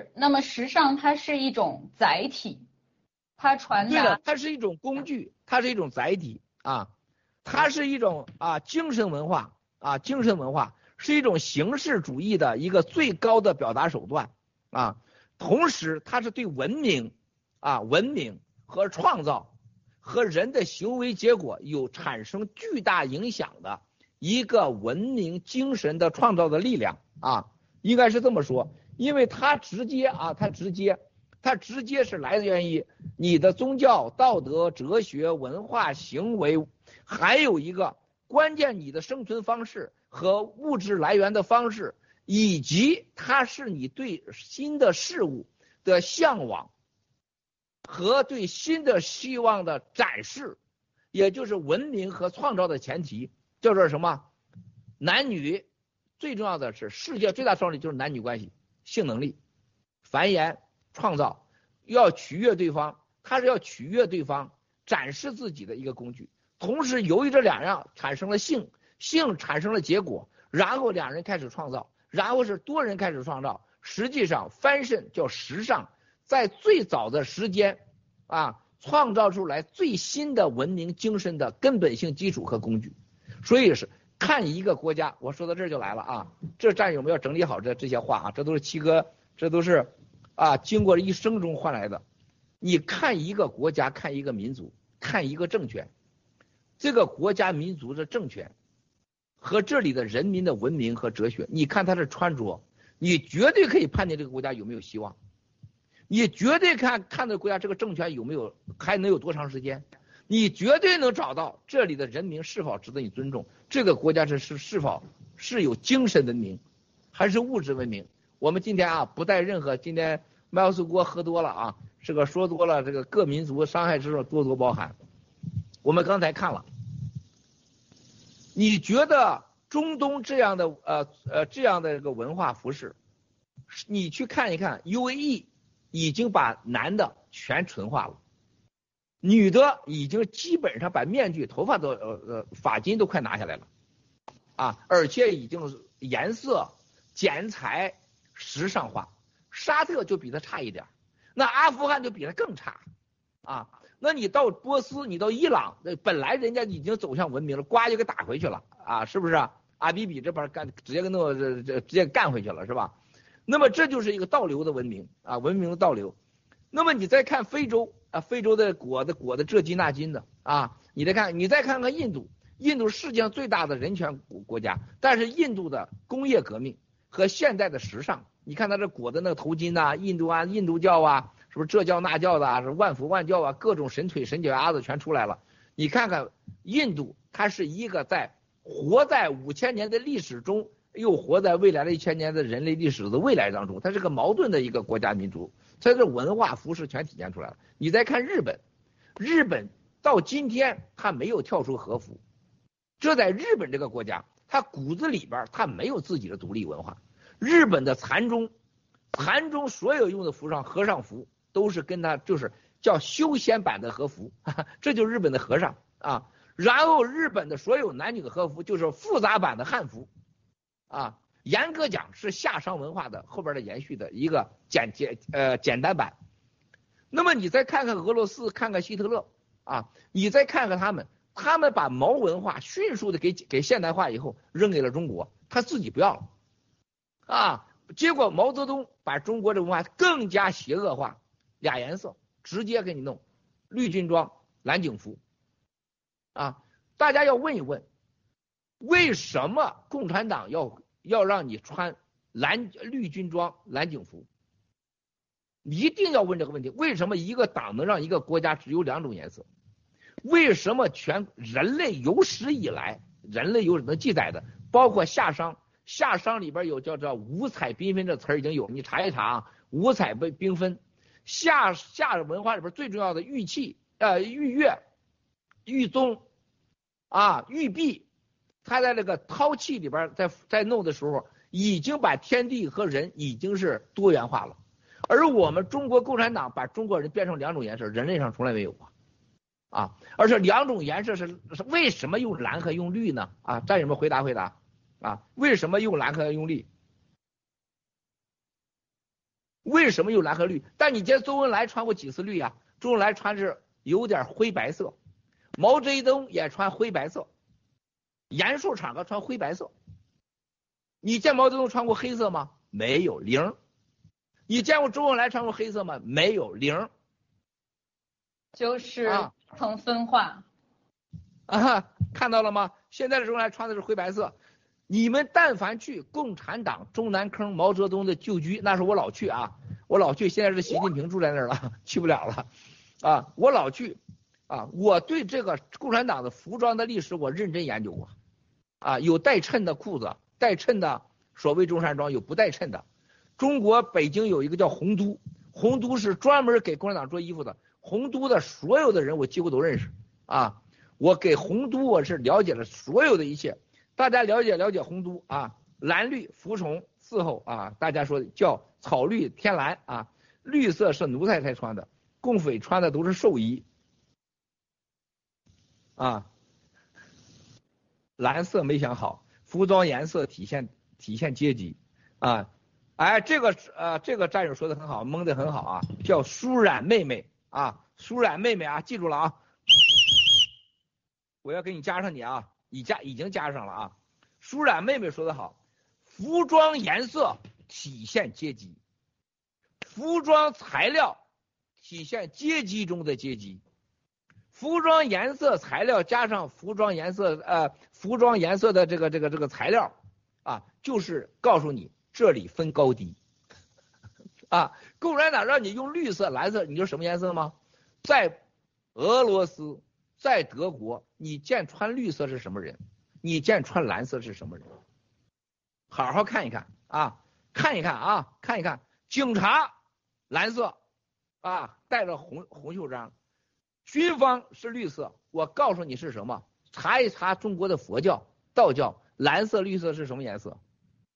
那么时尚它是一种载体，它传达。 对了，它是一种工具，它是一种载体啊。它是一种啊精神文化啊，精神文化是一种形式主义的一个最高的表达手段啊。同时，它是对文明啊、文明和创造和人的行为结果有产生巨大影响的一个文明精神的创造的力量啊，应该是这么说，因为它直接啊，它直接，它直接是来源于你的宗教、道德、哲学、文化、行为。还有一个关键，你的生存方式和物质来源的方式，以及它是你对新的事物的向往和对新的希望的展示，也就是文明和创造的前提，叫做什么？ 男女最重要的是世界最大双力就是男女关系，性能力、繁衍、创造，要取悦对方，它是要取悦对方，展示自己的一个工具。同时由于这两样产生了性，性产生了结果，然后两人开始创造，然后是多人开始创造。实际上 fashion 叫时尚，在最早的时间啊，创造出来最新的文明精神的根本性基础和工具。所以是看一个国家，我说到这儿就来了啊，这战友们要整理好这这些话啊，这都是七哥，这都是啊经过一生中换来的。你看一个国家，看一个民族，看一个政权，这个国家民族的政权和这里的人民的文明和哲学，你看他的穿着，你绝对可以判定这个国家有没有希望，你绝对看看这个国家这个政权有没有还能有多长时间，你绝对能找到这里的人民是否值得你尊重，这个国家是是是否是有精神文明还是物质文明。我们今天啊不带任何，今天麦奥斯锅喝多了啊，这个说多了，这个各民族伤害之处多多包含。我们刚才看了，你觉得中东这样的呃呃这样的一个文化服饰，你去看一看 U A E 已经把男的全纯化了，女的已经基本上把面具、头发都呃呃发巾都快拿下来了啊，而且已经颜色、剪裁时尚化。沙特就比它差一点，那阿富汗就比它更差啊。那你到波斯，你到伊朗，本来人家已经走向文明了，呱就给打回去了啊，是不是啊？阿比比这边干直接给弄这这直接干回去了，是吧？那么这就是一个倒流的文明啊，文明的倒流。那么你再看非洲啊，非洲的裹的裹的这金那金的啊，你再看你再看看印度，印度世界上最大的人权国家，但是印度的工业革命和现代的时尚，你看他这裹的那个头巾呐、啊，印度啊，印度教啊，是不是这教那教的啊，是万佛万教啊，各种神腿神脚丫子全出来了。你看看印度，它是一个在活在五千年的历史中，又活在未来的一千年的人类历史的未来当中，它是个矛盾的一个国家民族，它的文化服饰全体现出来了。你再看日本，日本到今天它没有跳出和服，这在日本这个国家，它骨子里边它没有自己的独立文化。日本的禅宗，禅宗所有用的服装和尚服都是跟他就是叫修仙版的和服，哈哈，这就是日本的和尚啊。然后日本的所有男女的和服就是复杂版的汉服啊，严格讲是夏商文化的后边的延续的一个简简呃简单版。那么你再看看俄罗斯，看看希特勒啊，你再看看他们，他们把毛文化迅速的给给现代化以后扔给了中国，他自己不要了。啊，结果毛泽东把中国的文化更加邪恶化，俩颜色直接给你弄，绿军装、蓝警服，啊，大家要问一问，为什么共产党要要让你穿蓝绿军装、蓝警服？你一定要问这个问题，为什么一个党能让一个国家只有两种颜色？为什么全人类有史以来，人类有能记载的，包括夏商。夏商里边有叫做五彩缤纷这词儿已经有，你查一查啊，五彩缤缤纷。夏夏文化里边最重要的玉器，呃，玉月、玉宗啊、玉璧，他在这个陶器里边在在弄的时候，已经把天地和人已经是多元化了。而我们中国共产党把中国人变成两种颜色，人类上从来没有过啊。而且两种颜色是是为什么用蓝和用绿呢？啊，战友们回答回答。啊，为什么用蓝和用绿？为什么用蓝和绿？但你见周恩来穿过几次绿啊？周恩来穿是有点灰白色，毛泽东也穿灰白色，严肃场合穿灰白色。你见毛泽东穿过黑色吗？没有，零。你见过周恩来穿过黑色吗？没有，零。 就是层分化。 啊，看到了吗？现在的周恩来穿的是灰白色。你们但凡去共产党中南坑毛泽东的旧居，那是我老去啊，我老去，现在是习近平住在那儿了，去不了了啊，我老去啊，我对这个共产党的服装的历史我认真研究过啊，有带衬的裤子，带衬的所谓中山装，有不带衬的。中国北京有一个叫洪都，洪都是专门给共产党做衣服的，洪都的所有的人我几乎都认识啊，我给洪都我是了解了所有的一切。 大家了解了解洪都啊，蓝绿服从伺候啊，大家说叫草绿天蓝啊，绿色是奴才才穿的，共匪穿的都是寿衣啊，蓝色没想好，服装颜色体现体现阶级啊，哎，这个呃这个战友说的很好，蒙的很好啊，叫舒冉妹妹啊，舒冉妹妹啊，记住了啊，我要给你加上你啊。已加已经加上了啊，舒冉妹妹说的好，服装颜色体现阶级，服装材料体现阶级中的阶级，服装颜色材料加上服装颜色呃服装颜色的这个这个这个材料啊，就是告诉你这里分高低啊。共产党让你用绿色蓝色，你知道什么颜色吗？在俄罗斯在德国，你见穿绿色是什么人？你见穿蓝色是什么人？好好看一看啊，看一看啊，看一看。警察蓝色啊，带着红红袖章；军方是绿色。我告诉你是什么？查一查中国的佛教、道教，蓝色、绿色是什么颜色？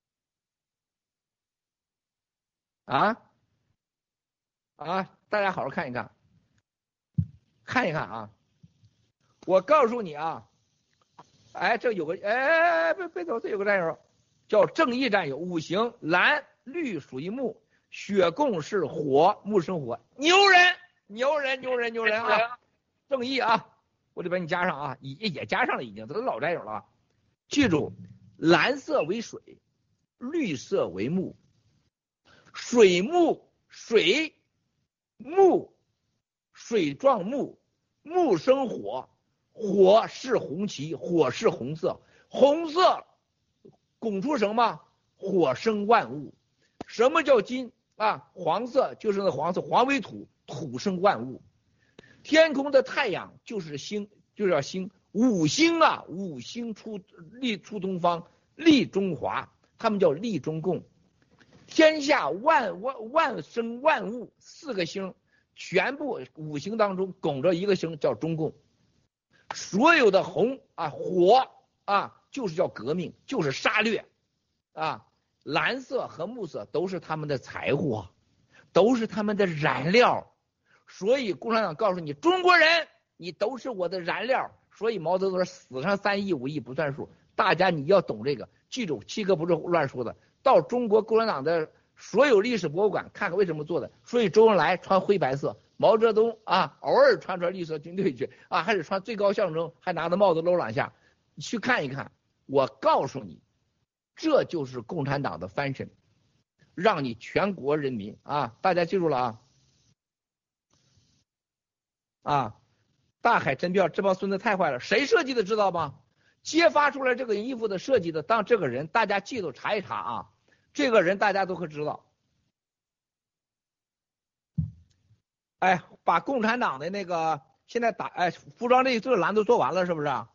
啊啊！大家好好看一看，看一看啊。我告诉你啊，哎，这有个哎，别别走，这有个战友叫正义战友，五行蓝绿属于木，血供是火，木生火，牛人牛人牛人牛人啊！正义啊，我得把你加上啊，也也加上了，已经这都老战友了。记住，蓝色为水，绿色为木，水木水木水撞木，木生火。火是红旗，火是红色，红色拱出什么？火生万物。什么叫金啊？黄色就是那黄色，黄为土，土生万物。天空的太阳就是星，就是要星。五星啊，五星出立出东方，立中华，他们叫立中共。天下万万万生万物，四个星全部五行当中拱着一个星，叫中共。所有的红啊火啊就是叫革命，就是杀掠啊，蓝色和木色都是他们的财货，都是他们的燃料。所以共产党告诉你，中国人你都是我的燃料。所以毛泽东说死上三亿五亿不算数，大家你要懂这个，记住七哥不是乱说的。到中国共产党的所有历史博物馆看看为什么做的。所以周恩来穿灰白色，毛泽东啊偶尔穿穿绿色军队去啊，还是穿最高象征，还拿着帽子搂两下，你去看一看。我告诉你，这就是共产党的翻身，让你全国人民啊，大家记住了啊啊！大海真标，这帮孙子太坏了，谁设计的知道吗？揭发出来这个衣服的设计的，当这个人大家记住查一查啊，这个人大家都会知道。哎，把共产党的那个现在打哎服装这这个栏都做完了是不是啊？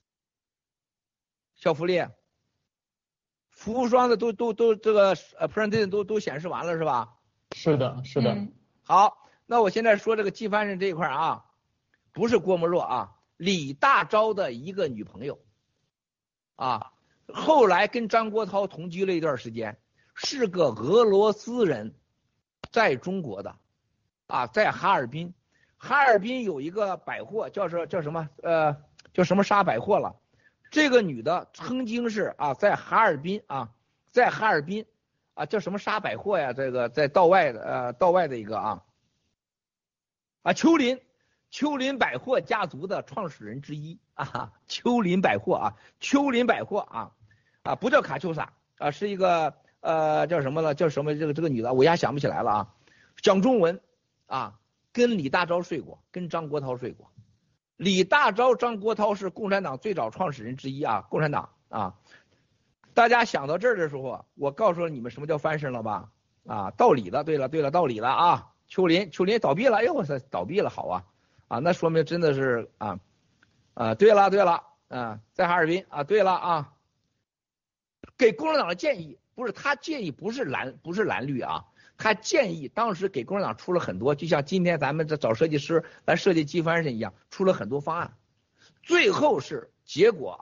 小福利，服装的都都都这个呃 presentation 都都显示完了是吧？ 是的，是的。 嗯、 好，那我现在说这个季翻身这一块啊，不是郭沫若啊，李大钊的一个女朋友啊，后来跟张国焘同居了一段时间，是个俄罗斯人，在中国的啊，在哈尔滨，哈尔滨有一个百货叫什叫什么呃叫什么沙百货了。这个女的曾经是啊，在哈尔滨啊，在哈尔滨啊，叫什么沙百货呀？这个在道外的呃道外的一个啊啊秋林秋林百货家族的创始人之一啊，秋林百货啊，秋林百货啊啊不叫卡秋莎啊，是一个呃叫什么了？叫什么？这个这个女的我一下想不起来了啊，讲中文啊，跟李大钊睡过，跟张国焘睡过。李大钊、张国焘是共产党最早创始人之一啊，共产党啊。大家想到这儿的时候，我告诉你们什么叫翻身了吧？啊，道理了，对了，对了，道理了啊。秋林，秋林倒闭了，哎呦我操，倒闭了，好啊啊，那说明真的是啊啊，对了对了啊，在哈尔滨啊，对了啊，给共产党的建议不是他建议，不是蓝不是蓝绿啊。他建议当时给共产党出了很多，就像今天咱们这找设计师来设计机翻身一样，出了很多方案。最后是结果啊，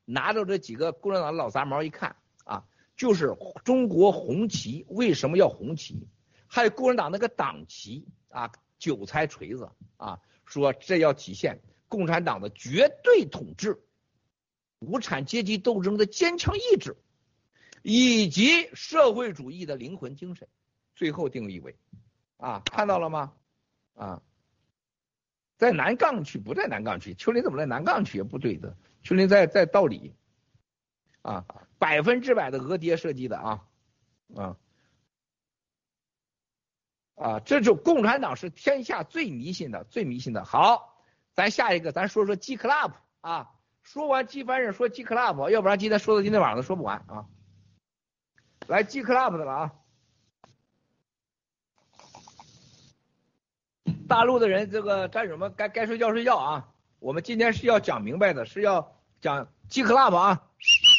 拿着这几个共产党的老杂毛一看啊，就是中国红旗，为什么要红旗？还有共产党那个党旗啊，韭菜锤子啊，说这要体现共产党的绝对统治，无产阶级斗争的坚强意志，以及社会主义的灵魂精神。最后定义为啊，看到了吗？啊，在南岗区，不在南岗区，丘陵怎么在南岗区？不对的，丘陵在在道里啊，百分之百的额爹设计的啊啊啊，这就共产党是天下最迷信的，最迷信的。好，咱下一个，咱说说 G Club 啊，说完 G 凡人说 G Club， 要不然今天说到今天晚上都说不完啊。来 G Club 的了啊。大陆的人，这个战友们该该睡觉睡觉啊！我们今天是要讲明白的，是要讲 G Club 啊！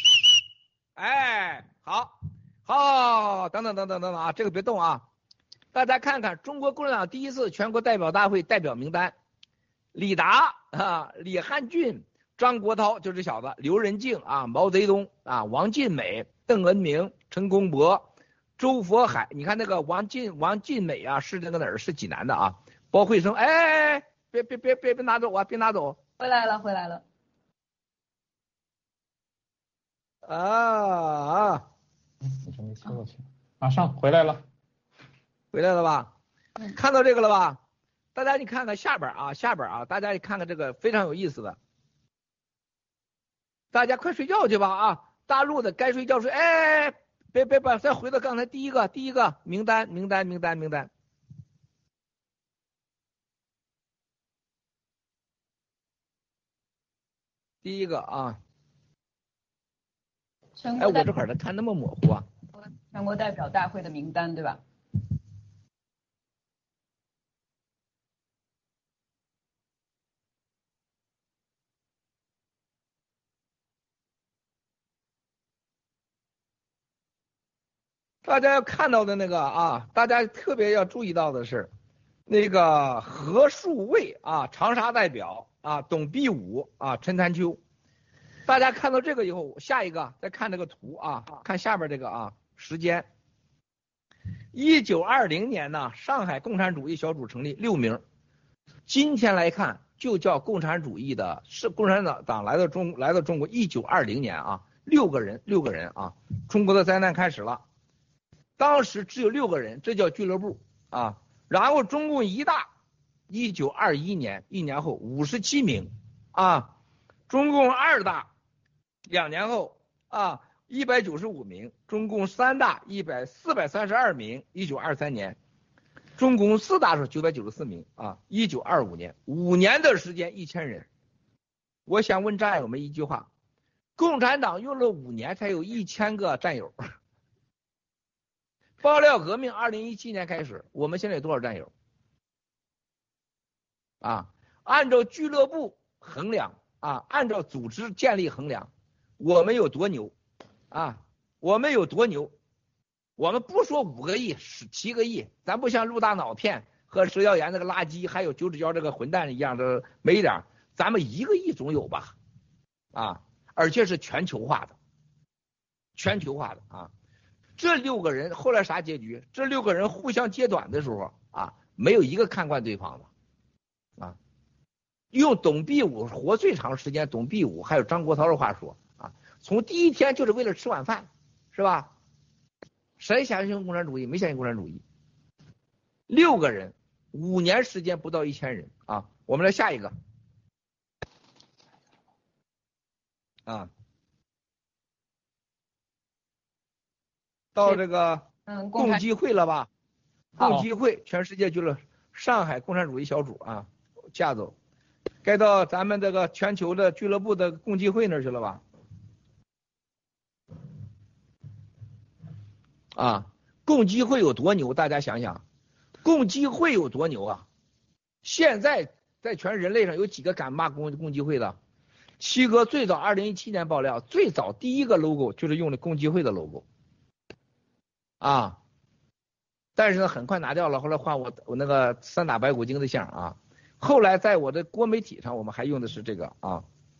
哎，好，好，等等等等等等啊，这个别动啊！大家看看中国共产党第一次全国代表大会代表名单：李达啊、李汉俊、张国焘，就这小子；刘仁静啊、毛泽东啊、王尽美、邓恩铭、陈公博、周佛海。你看那个王尽王尽美啊，是那个哪儿？是济南的啊。包慧生，哎哎哎，别别别别别拿走啊！别拿走！ 回来了，回来了。 啊啊！ 你说没切过去，马上回来了， 回来了吧？ 嗯， 看到这个了吧？大家你看看下边啊，下边啊，大家你看看这个非常有意思的。大家快睡觉去吧啊！大陆的该睡觉睡，哎，别别别，再回到刚才第一个第一个名单名单名单名单。第一个啊，哎，我这会儿的看那么模糊啊。 全国代表大会的名单，对吧？ 大家要看到的那个啊，大家特别要注意到的是，那个何树卫啊，长沙代表啊，董必武啊，陈潭秋。大家看到这个以后，下一个再看这个图啊，看下边这个啊，时间。一九二零年呢，上海共产主义小组成立六名，今天来看就叫共产主义的，是共产党党来到中来到中国。一九二零年啊，六个人，六个人啊，中国的灾难开始了。当时只有六个人，这叫俱乐部啊。然后中共一大，一九二一年一年后五十七名啊，中共二大两年后啊一百九十五名，中共三大一百四百三十二名，一九二三年，中共四大是九百九十四名啊，一九二五年五年的时间一千人。我想问战友们一句话：共产党用了五年才有一千个战友。爆料革命二零一七年开始，我们现在有多少战友？啊，按照俱乐部衡量啊，按照组织建立衡量，我们有多牛啊？我们有多牛？我们不说五个亿、十七个亿，咱不像陆大脑片和佘耀岩那个垃圾，还有九指胶这个混蛋一样的没一点，咱们一个亿总有吧？啊，而且是全球化的，全球化的啊。这六个人后来啥结局？这六个人互相揭短的时候啊，没有一个看惯对方的啊。用董必武活最长时间，董必武还有张国焘的话说啊，从第一天就是为了吃晚饭，是吧？谁相信共产主义？没相信共产主义。六个人，五年时间不到一千人啊。我们来下一个啊。到这个共济会了吧？共济会全世界去了，上海共产主义小组啊，架走，该到咱们这个全球的俱乐部的共济会那儿去了吧？啊，共济会有多牛？大家想想，共济会有多牛啊？现在在全人类上有几个敢骂共共济会的？七哥最早二零一七年爆料，最早第一个 logo 就是用的共济会的 logo。啊，但是呢，很快拿掉了。后来换我我那个三打白骨精的像啊。后来在我的多媒体上，我们还用的是这个啊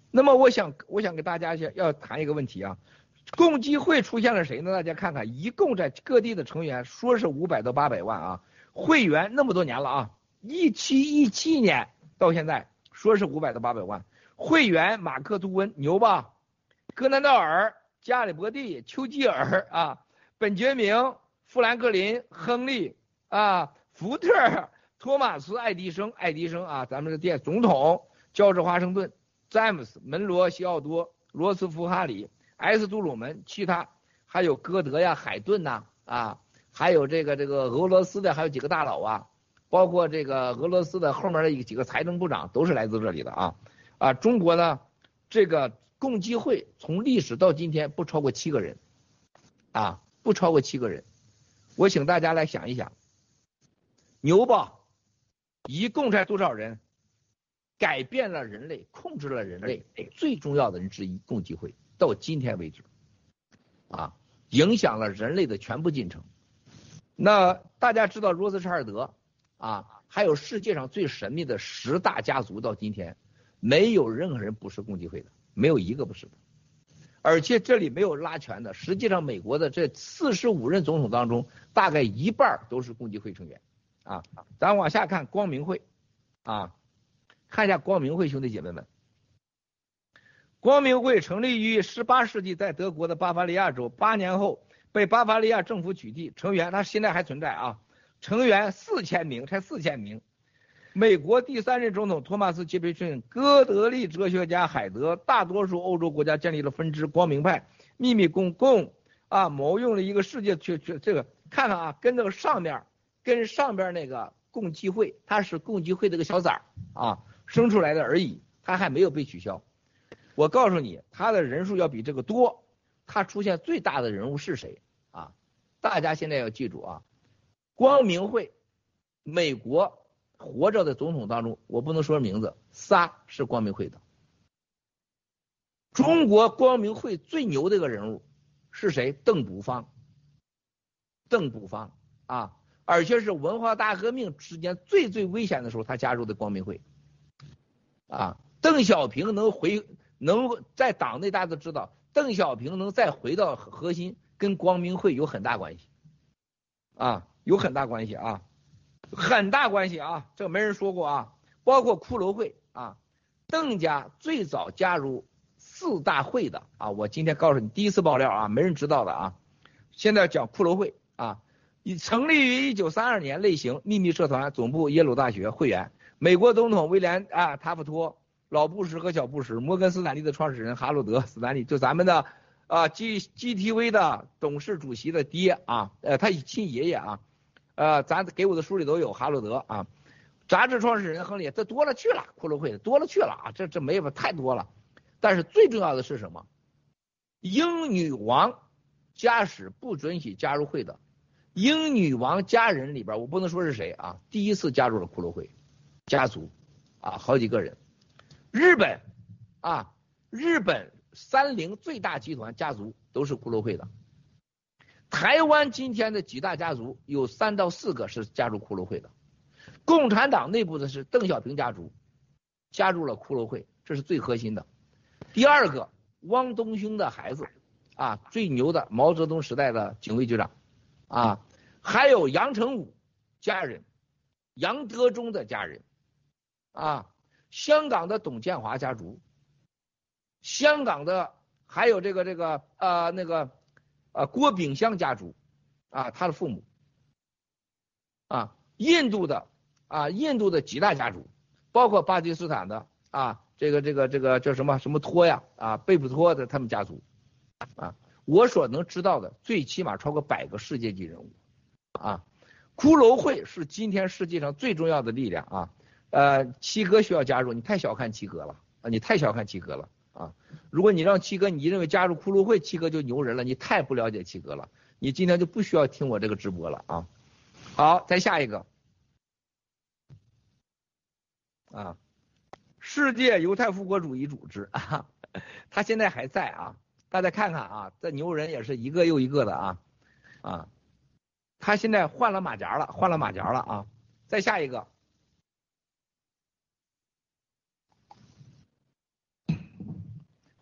那么我想我想给大家要要谈一个问题啊，共济会出现了谁呢？大家看看，一共在各地的成员说是五百到八百万啊，会员那么多年了啊，一七一七年到现在说是五百到八百万会员，马克吐温牛吧？戈南道尔、加里伯蒂、丘吉尔啊，本杰明、富兰克林、亨利啊，福特、托马斯、爱迪生、爱迪生啊，咱们的店总统，乔治华盛顿、詹姆斯、门罗、西奥多、罗斯福、哈里、埃斯杜鲁门，其他还有歌德呀、海顿呐 啊, 啊，还有这个这个俄罗斯的还有几个大佬啊，包括这个俄罗斯的后面的几个财政部长都是来自这里的啊啊，中国呢这个共济会从历史到今天不超过七个人啊，不超过七个人，我请大家来想一想，牛吧？一共才多少人？改变了人类，控制了人类最重要的人之一，共济会到今天为止，啊，影响了人类的全部进程。那大家知道罗斯柴尔德啊，还有世界上最神秘的十大家族，到今天没有任何人不是共济会的，没有一个不是的。而且这里没有拉权的，实际上美国的这四十五任总统当中，大概一半都是共济会成员啊。咱往下看光明会啊。看一下光明会，兄弟姐妹们，光明会成立于十八世纪，在德国的巴伐利亚州，八年后被巴伐利亚政府取缔，成员他现在还存在啊，成员四千名，才四千名。美国第三任总统托马斯杰斐逊、哥德利哲学家海德，大多数欧洲国家建立了分支，光明派秘密公共啊，谋用了一个世界去去这个看看啊，跟这个上面跟上边那个共济会，它是共济会这个小崽儿啊。生出来的而已，他还没有被取消。我告诉你，他的人数要比这个多。他出现最大的人物是谁啊？大家现在要记住啊，光明会，美国活着的总统当中，我不能说名字，仨是光明会的。中国光明会最牛的一个人物是谁？邓卜方。邓卜方啊，而且是文化大革命之间最最危险的时候，他加入的光明会。啊，邓小平能回能在党内，大家都知道，邓小平能再回到核心，跟光明会有很大关系，啊，有很大关系啊，很大关系啊，这个没人说过啊。包括骷髅会啊，邓家最早加入四大会的啊，我今天告诉你第一次爆料啊，没人知道的啊。现在讲骷髅会啊，成立于一九三二年，类型秘密社团，总部耶鲁大学，会员。美国总统威廉啊塔夫托、老布什和小布什，摩根斯坦利的创始人哈罗德斯坦利，就咱们的啊 G G T V 的董事主席的爹啊，呃他亲爷爷啊，呃咱给我的书里都有哈罗德啊，杂志创始人亨利，这多了去了，骷髅会多了去了啊，这这没法太多了。但是最重要的是什么？英女王家史不准许加入会的，英女王家人里边，我不能说是谁啊，第一次加入了骷髅会。家族啊，好几个人。日本啊，日本三菱最大集团家族都是骷髅会的。台湾今天的几大家族有三到四个是加入骷髅会的。共产党内部的是邓小平家族加入了骷髅会，这是最核心的。第二个，汪东兴的孩子啊，最牛的毛泽东时代的警卫局长啊，还有杨成武家人，杨德忠的家人。啊，香港的董建华家族，香港的还有这个这个呃那个呃郭炳湘家族啊，他的父母啊，印度的啊印度的几大家族，包括巴基斯坦的啊这个这个这个叫什么什么托呀啊贝普托的他们家族啊，我所能知道的最起码超过百个世界级人物啊，骷髅会是今天世界上最重要的力量啊。呃，七哥需要加入，你太小看七哥了啊！你太小看七哥了啊！如果你让七哥，你认为加入骷髅会，七哥就牛人了，你太不了解七哥了，你今天就不需要听我这个直播了啊！好，再下一个啊，世界犹太复国主义组织啊，他现在还在啊，大家看看啊，这牛人也是一个又一个的啊啊，他现在换了马甲了，换了马甲了啊！再下一个。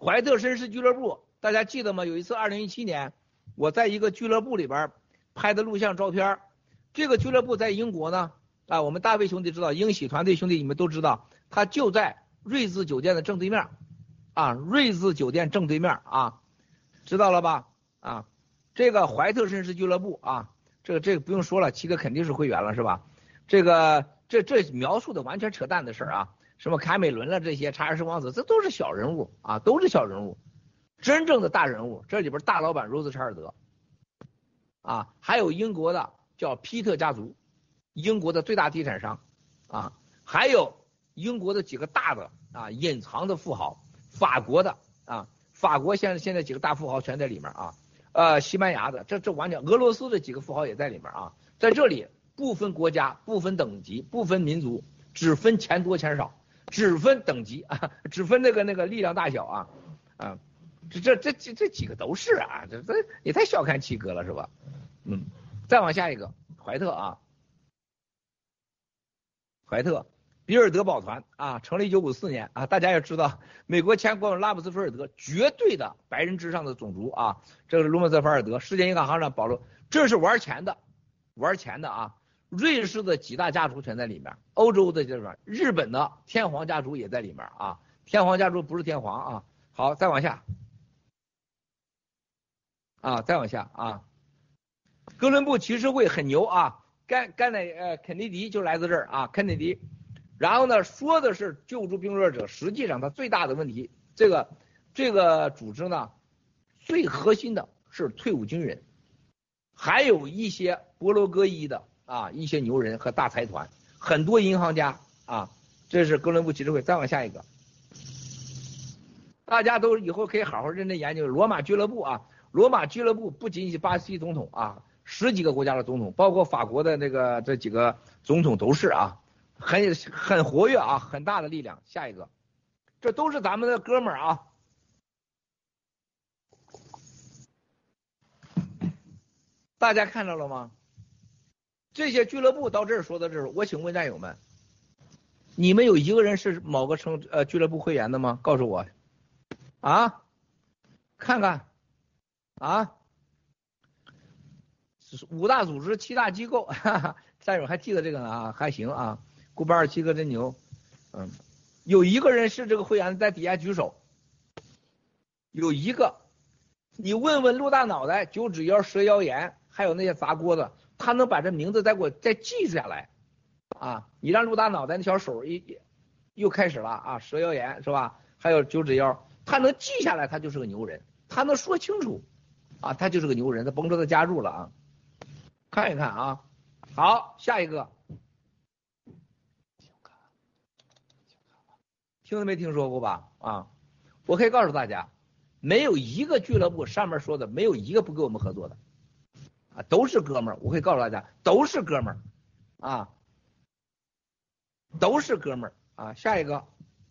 怀特绅士俱乐部，大家记得吗？有一次二零一七年，我在一个俱乐部里边拍的录像照片。这个俱乐部在英国呢，啊，我们大卫兄弟知道，英喜团队兄弟你们都知道，他就在瑞兹酒店的正对面，啊，瑞兹酒店正对面啊，知道了吧？啊，这个怀特绅士俱乐部啊，这个这个不用说了，七哥肯定是会员了是吧？这个这这描述的完全扯淡的事儿啊，什么凯美伦了这些查尔斯王子，这都是小人物啊，都是小人物，真正的大人物，这里边大老板罗斯柴尔德，啊，还有英国的叫皮特家族，英国的最大地产商，啊，还有英国的几个大的啊隐藏的富豪，法国的啊，法国现在现在几个大富豪全在里面啊，呃，西班牙的，这这完全，俄罗斯的几个富豪也在里面啊，在这里不分国家，不分等级，不分民族，只分钱多钱少，只分等级啊，只分那个那个力量大小啊，啊，这这这这这几个都是啊，这这也太小看七哥了是吧？嗯。再往下一个，怀特啊，怀特，比尔德宝团啊，成立一九五四年啊，大家要知道，美国前国务拉姆斯菲尔德，绝对的白人至上的种族啊，这个是卢蒙泽菲尔德，世界银行行长保罗，这是玩钱的，玩钱的啊，瑞士的几大家族全在里面，欧洲的这边，日本的天皇家族也在里面啊，天皇家族不是天皇啊，好，再往下，啊，再往下啊。哥伦布骑士会很牛啊，甘甘乃呃肯尼迪就来自这儿啊，肯尼迪，然后呢说的是救助病弱者，实际上他最大的问题，这个这个组织呢最核心的是退伍军人，还有一些博罗戈裔的啊一些牛人和大财团，很多银行家啊，这是哥伦布骑士会。再往下一个，大家都以后可以好好认真研究罗马俱乐部啊，罗马俱乐部不仅仅是巴西总统啊。十几个国家的总统，包括法国的那个这几个总统都是啊，很很活跃啊，很大的力量。下一个，这都是咱们的哥们儿啊。大家看到了吗？这些俱乐部到这儿说到这儿，我请问战友们，你们有一个人是某个成呃俱乐部会员的吗？告诉我，啊，看看，啊。五大组织七大机构，哈哈，战友还记得这个呢啊，还行啊，顾八二七哥真牛，嗯，有一个人是这个会员，在底下举手，有一个，你问问陆大脑袋、九指妖、蛇妖眼，还有那些砸锅的，他能把这名字再给我再记下来啊？你让陆大脑袋那小手一又开始了啊，蛇妖眼是吧？还有九指妖，他能记下来，他就是个牛人，他能说清楚啊，他就是个牛人，他甭说他加入了啊。看一看啊，好，下一个，听都没听说过吧？啊，我可以告诉大家，没有一个俱乐部上面说的没有一个不跟我们合作的，啊，都是哥们儿。我可以告诉大家，都是哥们儿，啊，都是哥们儿啊。下一个。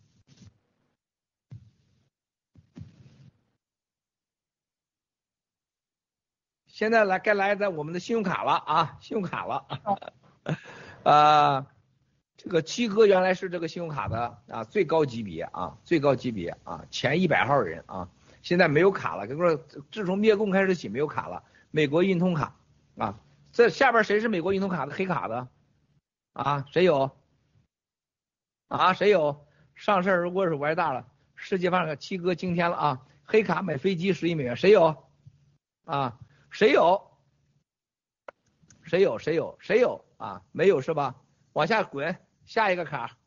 现在来该来咱我们的信用卡了啊，信用卡了，呃，这个七哥原来是这个信用卡的啊最高级别啊，最高级别啊，前一百号人啊，现在没有卡了，跟说自从灭共开始起没有卡了，美国运通卡啊，这下边谁是美国运通卡的黑卡的啊？谁有？啊，谁有？上事如果是玩大了，世界范围七哥惊天了啊！黑卡买飞机十亿美元，谁有？啊？谁有？谁有？谁有？谁有？啊，没有是吧？往下滚，下一个卡。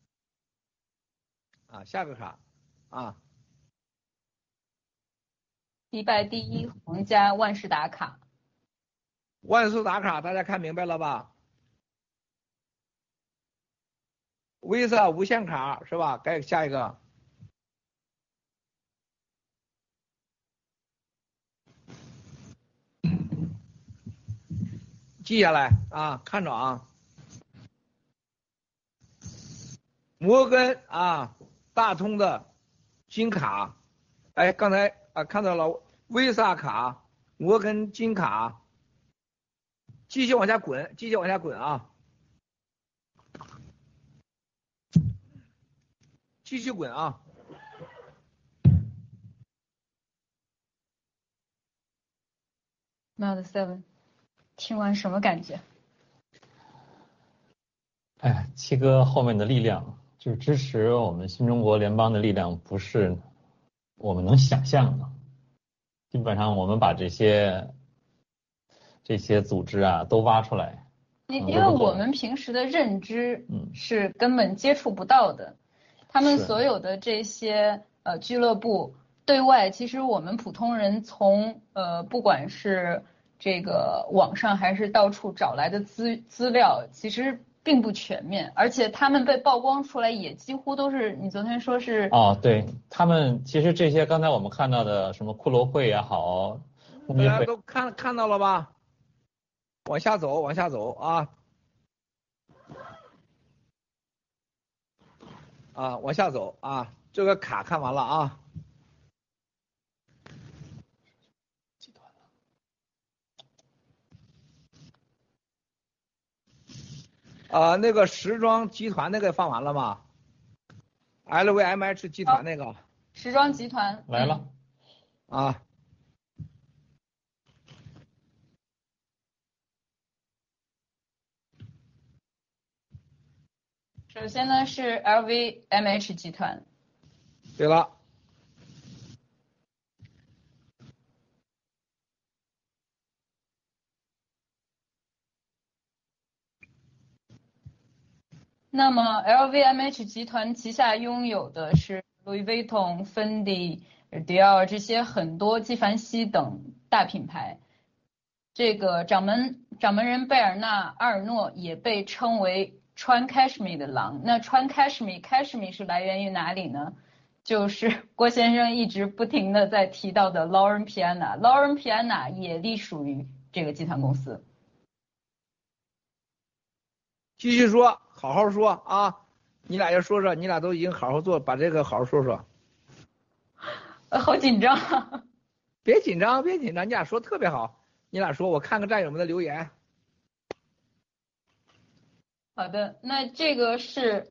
啊，下个卡。啊。 迪拜第一皇家万事达卡。 万事达卡，大家看明白了吧 ？Visa 无限卡是吧？该下一个。记下来啊，看着啊，摩根啊，大通的金卡，哎，刚才啊看到了 Visa 卡，摩根金卡，继续往下滚，继续往下滚啊，继续滚啊， Mount Seven， 听完什么感觉？ 哎，七哥后面的力量，就是支持我们新中国联邦的力量，不是我们能想象的。基本上我们把这些这些组织啊都挖出来， 因因为我们平时的认知是根本接触不到的，他们所有的这些呃俱乐部对外，其实我们普通人从呃不管是这个网上还是到处找来的资资料，其实并不全面，而且他们被曝光出来也几乎都是你昨天说是哦，对他们其实这些刚才我们看到的什么骷髅会也好， 大家都看看到了吧？往下走，往下走啊！啊，往下走啊！这个卡看完了啊。啊，那个时装集团那个放完了吗 ？L V M H 集团那个。 时装集团来了。 啊。 首先呢是 L V M H 集团。 对了。 那么 L V M H 集团旗下拥有的是 Louis Vuitton、Fendi、Dior 这些很多纪梵希等大品牌。这个掌门掌门人贝尔纳·阿尔诺也被称为穿 Cashmere 的狼。那穿 Cashmere，Cashmere 是来源于哪里呢？就是郭先生一直不停的在提到的 Lauren Piana。Lauren Piana 也隶属于这个集团公司。 继续说，好好说啊！你俩要说说，你俩都已经好好做，把这个好好说说。 呃，好紧张。 别紧张，别紧张，你俩说特别好。你俩说，我看看战友们的留言。 好的，那这个是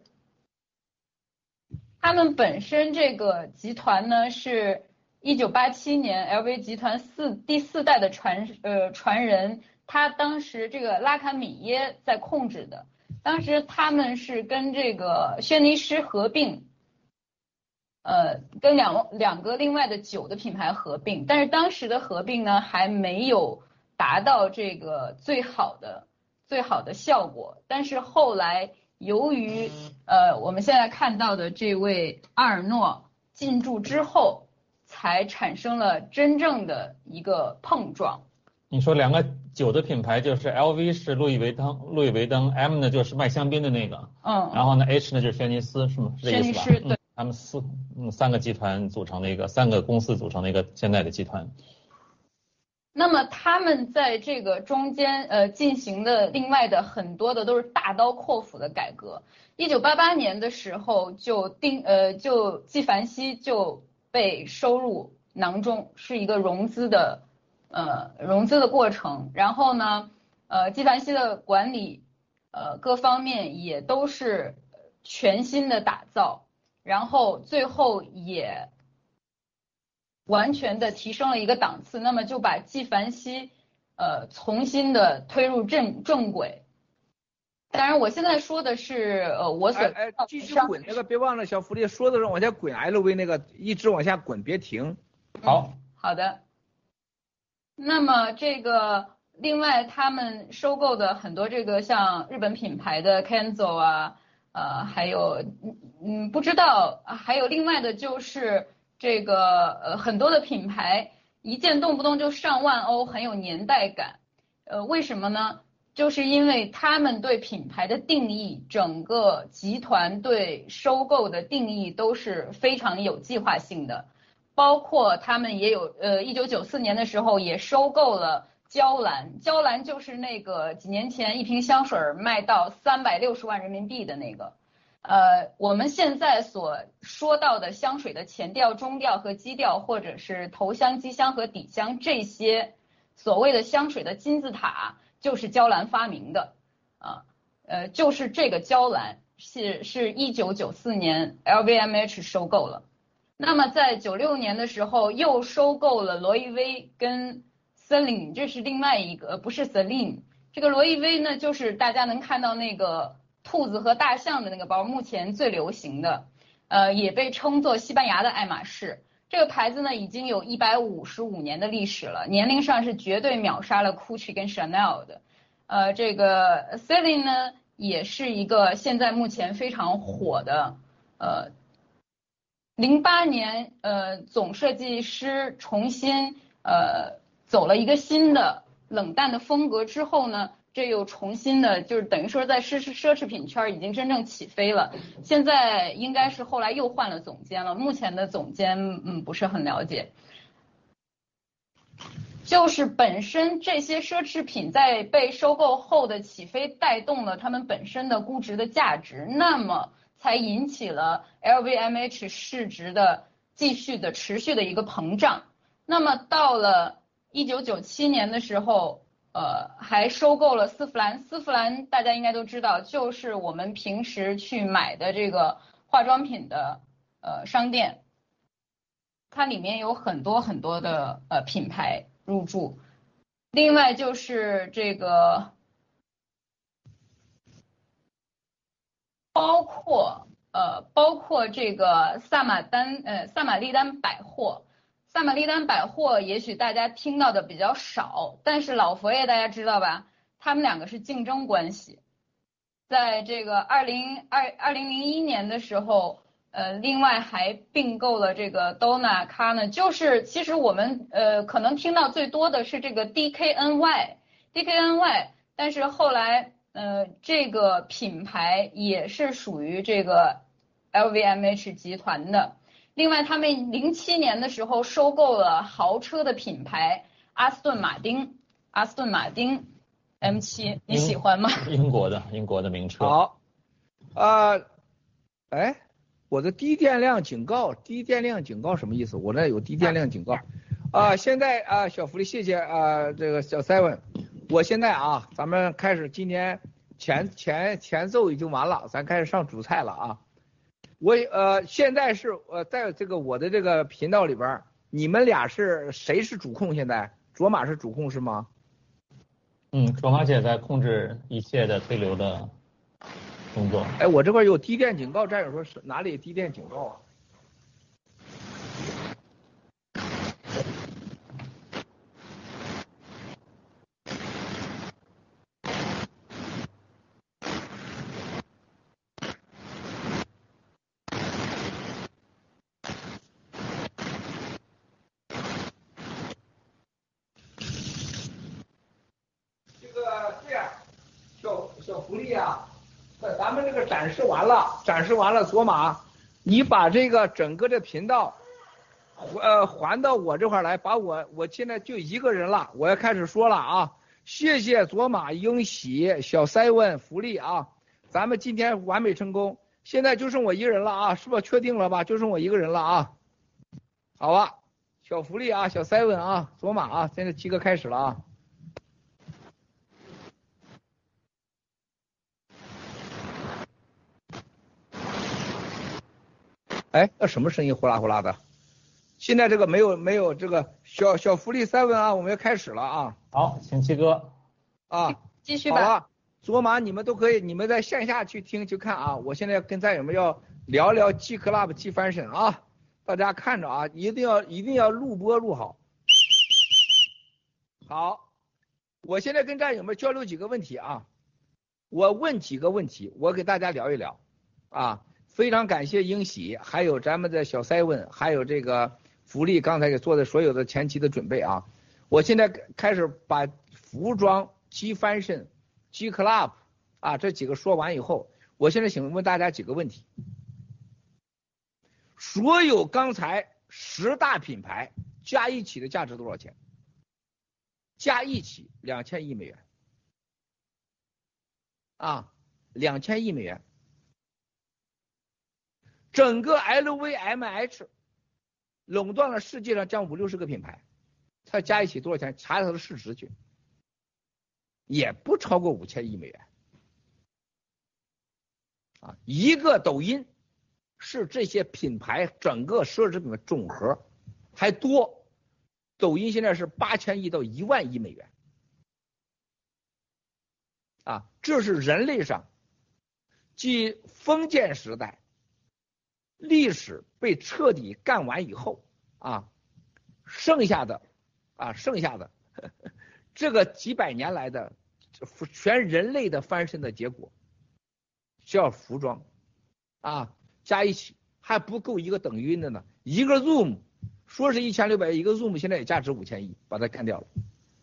他们本身这个集团呢，是一九八七年 L V 集团四第四代的传呃传人，他当时这个拉卡米耶在控制的，当时他们是跟这个轩尼诗合并。呃，跟两两个另外的酒的品牌合并，但是当时的合并呢还没有达到这个最好的最好的效果。但是后来由于呃我们现在看到的这位阿尔诺进驻之后，才产生了真正的一个碰撞。 你说两个酒的品牌就是 L V 是路易维登，路易维登 M 呢就是卖香槟的那个， 嗯， 然后呢 H 呢就是轩尼诗，是吗？是这意思吧？ 轩尼诗对。 嗯他们四嗯三个集团组成的一个三个公司组成的一个现在的集团。 那么他们在这个中间呃进行的另外的很多的都是大刀阔斧的改革。一九八八年的时候就定呃就纪梵希就被收入囊中，是一个融资的呃融资的过程。然后呢呃纪梵希的管理呃各方面也都是全新的打造。然后最后也完全的提升了一个档次，那么就把纪梵希呃重新的推入正正轨。当然我现在说的是呃我所哎哎继续滚那个，别忘了小福利说的时候往下滚 L V 那个一直往下滚，别停。 好、 嗯、好的。那么这个另外他们收购的很多这个像日本品牌的 Kenzo 啊。呃，还有，嗯，不知道，还有另外的就是这个呃很多的品牌，一件动不动就上万欧，很有年代感。呃，为什么呢？就是因为他们对品牌的定义，整个集团对收购的定义都是非常有计划性的，包括他们也有，呃，一九九四年的时候也收购了。娇兰，娇兰就是那个几年前一瓶香水卖到三百六十万人民币的那个，呃，我们现在所说到的香水的前调、中调和基调，或者是头香、基香和底香这些所谓的香水的金字塔，就是娇兰发明的，啊，呃，就是这个娇兰是是一九九四年 L V M H 收购了，那么在九六年的时候又收购了罗意威跟 Celine， 这是另外一个，不是 Celine。这个罗意威呢，就是大家能看到那个兔子和大象的那个包，目前最流行的，呃，也被称作西班牙的爱马仕。这个牌子呢，已经有一百五十五年的历史了，年龄上是绝对秒杀了 Gucci 跟 Chanel 的。呃，这个 Celine 呢，也是一个现在目前非常火的，呃。零八年，呃，总设计师重新呃走了一个新的冷淡的风格之后呢，这又重新的，就是等于说在奢侈奢侈品圈已经真正起飞了。现在应该是后来又换了总监了，目前的总监嗯不是很了解。就是本身这些奢侈品在被收购后的起飞，带动了他们本身的估值的价值，那么才引起了 L V M H 市值的继续的持续的一个膨胀。那么到了一九九七年的时候，呃，还收购了丝芙兰。丝芙兰大家应该都知道，就是我们平时去买的这个化妆品的呃商店，它里面有很多很多的呃品牌入驻。另外就是这个。包括呃，包括这个萨马丹呃萨马利丹百货，萨马利丹百货也许大家听到的比较少，但是老佛爷大家知道吧？他们两个是竞争关系。在这个二零二二零零一年的时候，呃，另外还并购了这个 Donna Karan， 就是其实我们呃可能听到最多的是这个 D K N Y，D K N Y， 但是后来。呃，这个品牌也是属于这个 L V M H 集团的。另外，他们零七年的时候收购了豪车的品牌阿斯顿马丁，阿斯顿马丁 M 七， 你喜欢吗？ 英国的，英国的名车。 好，啊、呃，哎，我的低电量警告，低电量警告什么意思？我这有低电量警告。啊、呃，现在啊、呃，小福利，谢谢啊、呃，这个小 seven。我现在啊，咱们开始今天前前前奏已经完了，咱开始上主菜了啊。我呃现在是呃在这个我的这个频道里边，你们俩是谁是主控？现在卓玛是主控是吗？ 嗯，卓玛姐在控制一切的推流的工作。 哎，我这块有低电警告，战友说是哪里低电警告啊？咱们这个展示完了，展示完了，卓玛，你把这个整个的频道，呃，还到我这块来，把我，我现在就一个人了，我要开始说了啊！谢谢卓玛、英喜、小塞文、福利啊，咱们今天完美成功，现在就剩我一个人了啊，是不是确定了吧？就剩我一个人了啊，好吧，小福利啊，小塞文啊，卓玛啊，现在七哥开始了啊。哎，那什么声音呼啦呼啦的？现在这个没有没有这个小小福利三文啊，我们要开始了啊！ 好，请七哥啊， 继续吧。 好了，卓玛你们都可以，你们在线下去听去看啊。我现在跟战友们要聊聊 G Club G Fashion 啊，大家看着啊，一定要一定要录播录好。好，我现在跟战友们交流几个问题啊，我问几个问题，我给大家聊一聊啊。非常感谢英喜，还有咱们的小塞文，还有这个福利刚才给做的所有的前期的准备啊。我现在开始把服装、G Fashion、G Club 啊这几个说完以后，我现在想问大家几个问题。所有刚才十大品牌加一起的价值多少钱？加一起两千亿美元啊，两千亿美元。整个 L V M H 垄断了世界上将五六十个品牌，它加一起多少钱？查查它的市值去，也不超过五千亿美元。啊，一个抖音是这些品牌整个奢侈品的总和，还多。 抖音现在是八千亿到一万亿美元，啊，这是人类上继封建时代历史被彻底干完以后啊，剩下的啊剩下的呵呵这个几百年来的全人类的翻身的结果，叫服装啊加一起还不够一个等于的呢，一个 Zoom 说是一千六百亿，一个 Zoom 现在也价值五千亿，把它干掉了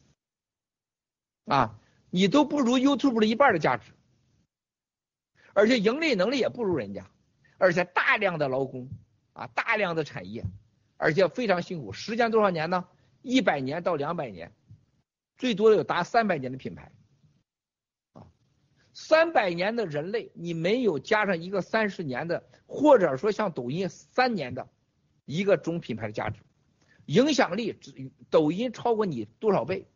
啊，你都不如 YouTube 的一半的价值，而且盈利能力也不如人家，而且大量的劳工啊，大量的产业，而且非常辛苦，时间多少年呢？一百年到两百年，最多有达三百年的品牌啊，三百年的人类，你没有加上一个三十年的，或者说像抖音三年的一个中品牌的价值，影响力抖音超过你多少倍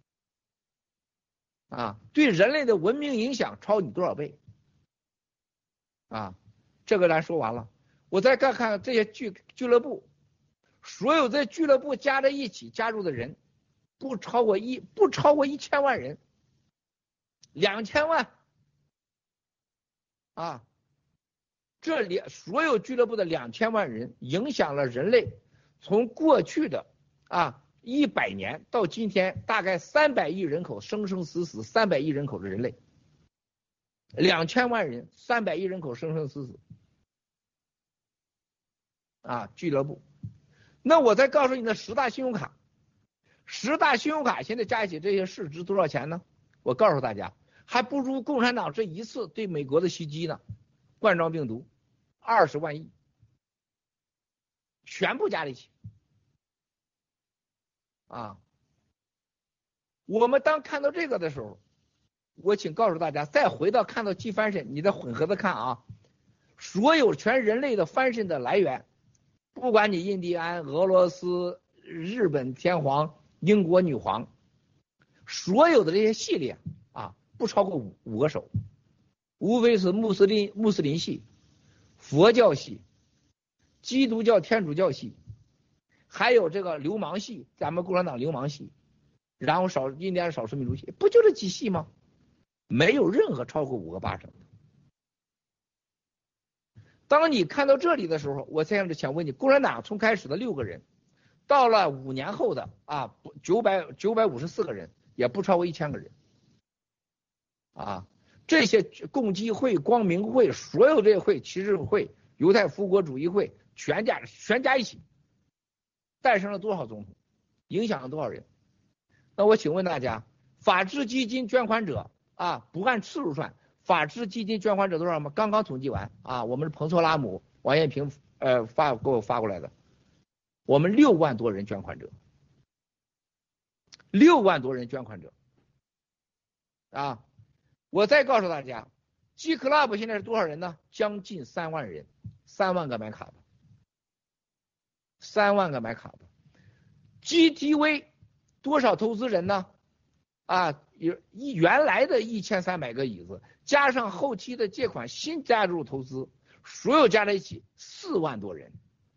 啊？对人类的文明影响超你多少倍啊？这个咱说完了，我再看看这些俱俱乐部，所有在俱乐部加在一起加入的人，不超过一不超过一千万人，两千万啊！这里所有俱乐部的两千万人，影响了人类从过去的啊一百年到今天，大概三百亿人口生生死死，三百亿人口的人类，两千万人，三百亿人口生生死死。啊，俱乐部。那我再告诉你的十大信用卡，十大信用卡现在加一起这些市值多少钱呢？我告诉大家，还不如共产党这一次对美国的袭击呢，冠状病毒，二十万亿，全部加在一起。啊，我们当看到这个的时候，我请告诉大家，再回到看到季翻身，你再混合的看啊，所有全人类的翻身的来源。不管你印第安、俄罗斯、日本天皇、英国女皇，所有的这些系列啊，不超过五五个手，无非是穆斯林穆斯林系、佛教系、基督教天主教系，还有这个流氓系，咱们共产党流氓系，然后少印第安少数民族系，不就这几系吗？没有任何超过五个八成。当你看到这里的时候，我现在想问你，共产党从开始的六个人，到了五年后的啊九百九百五十四个人，也不超过一千个人，啊，这些共济会、光明会，所有这些会、骑士会、犹太复国主义会，全加全加一起，诞生了多少总统，影响了多少人？那我请问大家，法治基金捐款者啊，不按次数算。法治基金捐款者多少吗？刚刚统计完啊，我们是彭措拉姆、王艳平呃发给我发过来的，我们六万多人捐款者，六万多人捐款者啊！我再告诉大家 ，G Club 现在是多少人呢？将近三万人，三万个买卡的，三万个买卡的 ，G T V 多少投资人呢？啊，有一原来的一千三百个椅子。加上后期的借款新加入投资，所有加在一起四万多人，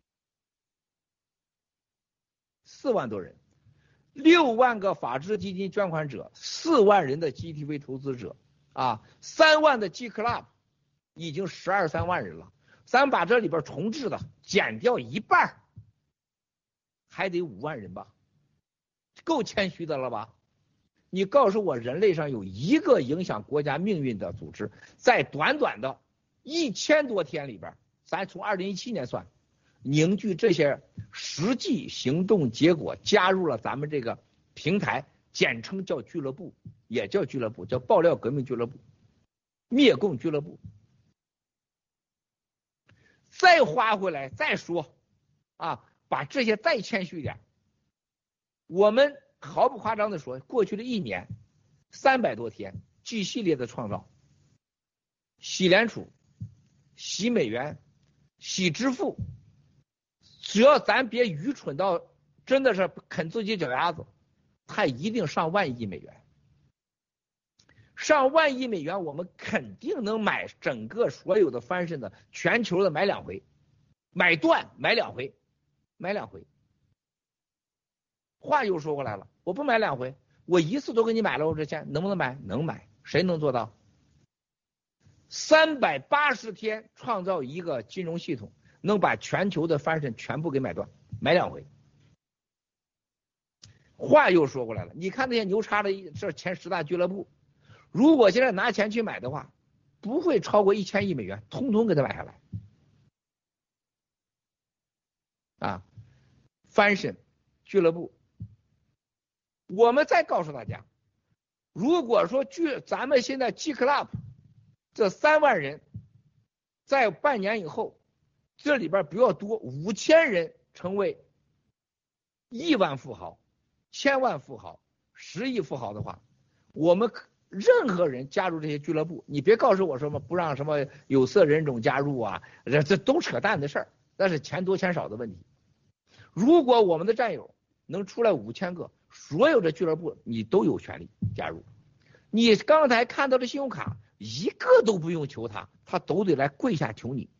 四万多人，六万个法治基金捐款者，四万人的 G T V 投资者啊，三万的 G Club 已经十二三万人了，咱把这里边重置的减掉一半，还得五万人吧，够谦虚的了吧？你告诉我，人类上有一个影响国家命运的组织，在短短的一千多天里边，咱从二零一七年算，凝聚这些实际行动结果，加入了咱们这个平台，简称叫俱乐部，也叫俱乐部，叫爆料革命俱乐部、灭共俱乐部。再花回来再说，啊，把这些再谦虚一点，我们。毫不夸张的说，过去的一年三百多天 G 系列的创造，洗联储、洗美元、洗支付，只要咱别愚蠢到真的是啃自己脚丫子，它一定上万亿美元，上万亿美元，我们肯定能买整个所有的翻身的全球的买两回，买断买两回，买两回。 话又说过来了，我不买两回，我一次都给你买了，我这钱能不能买？能买，谁能做到？三百八十天创造一个金融系统，能把全球的翻身全部给买断，买两回。话又说过来了，你看那些牛叉的这前十大俱乐部，如果现在拿钱去买的话，不会超过一千亿美元，通通给他买下来。啊，翻身俱乐部，我们再告诉大家，如果说据咱们现在 G Club 这三万人，在半年以后，这里边不要多五千人成为亿万富豪、千万富豪、十亿富豪的话，我们任何人加入这些俱乐部，你别告诉我什么不让什么有色人种加入啊，这这都扯淡的事儿，那是钱多钱少的问题。如果我们的战友能出来五千个，所有的俱乐部你都有权利加入。你刚才看到的信用卡一个都不用求他，他都得来跪下求你。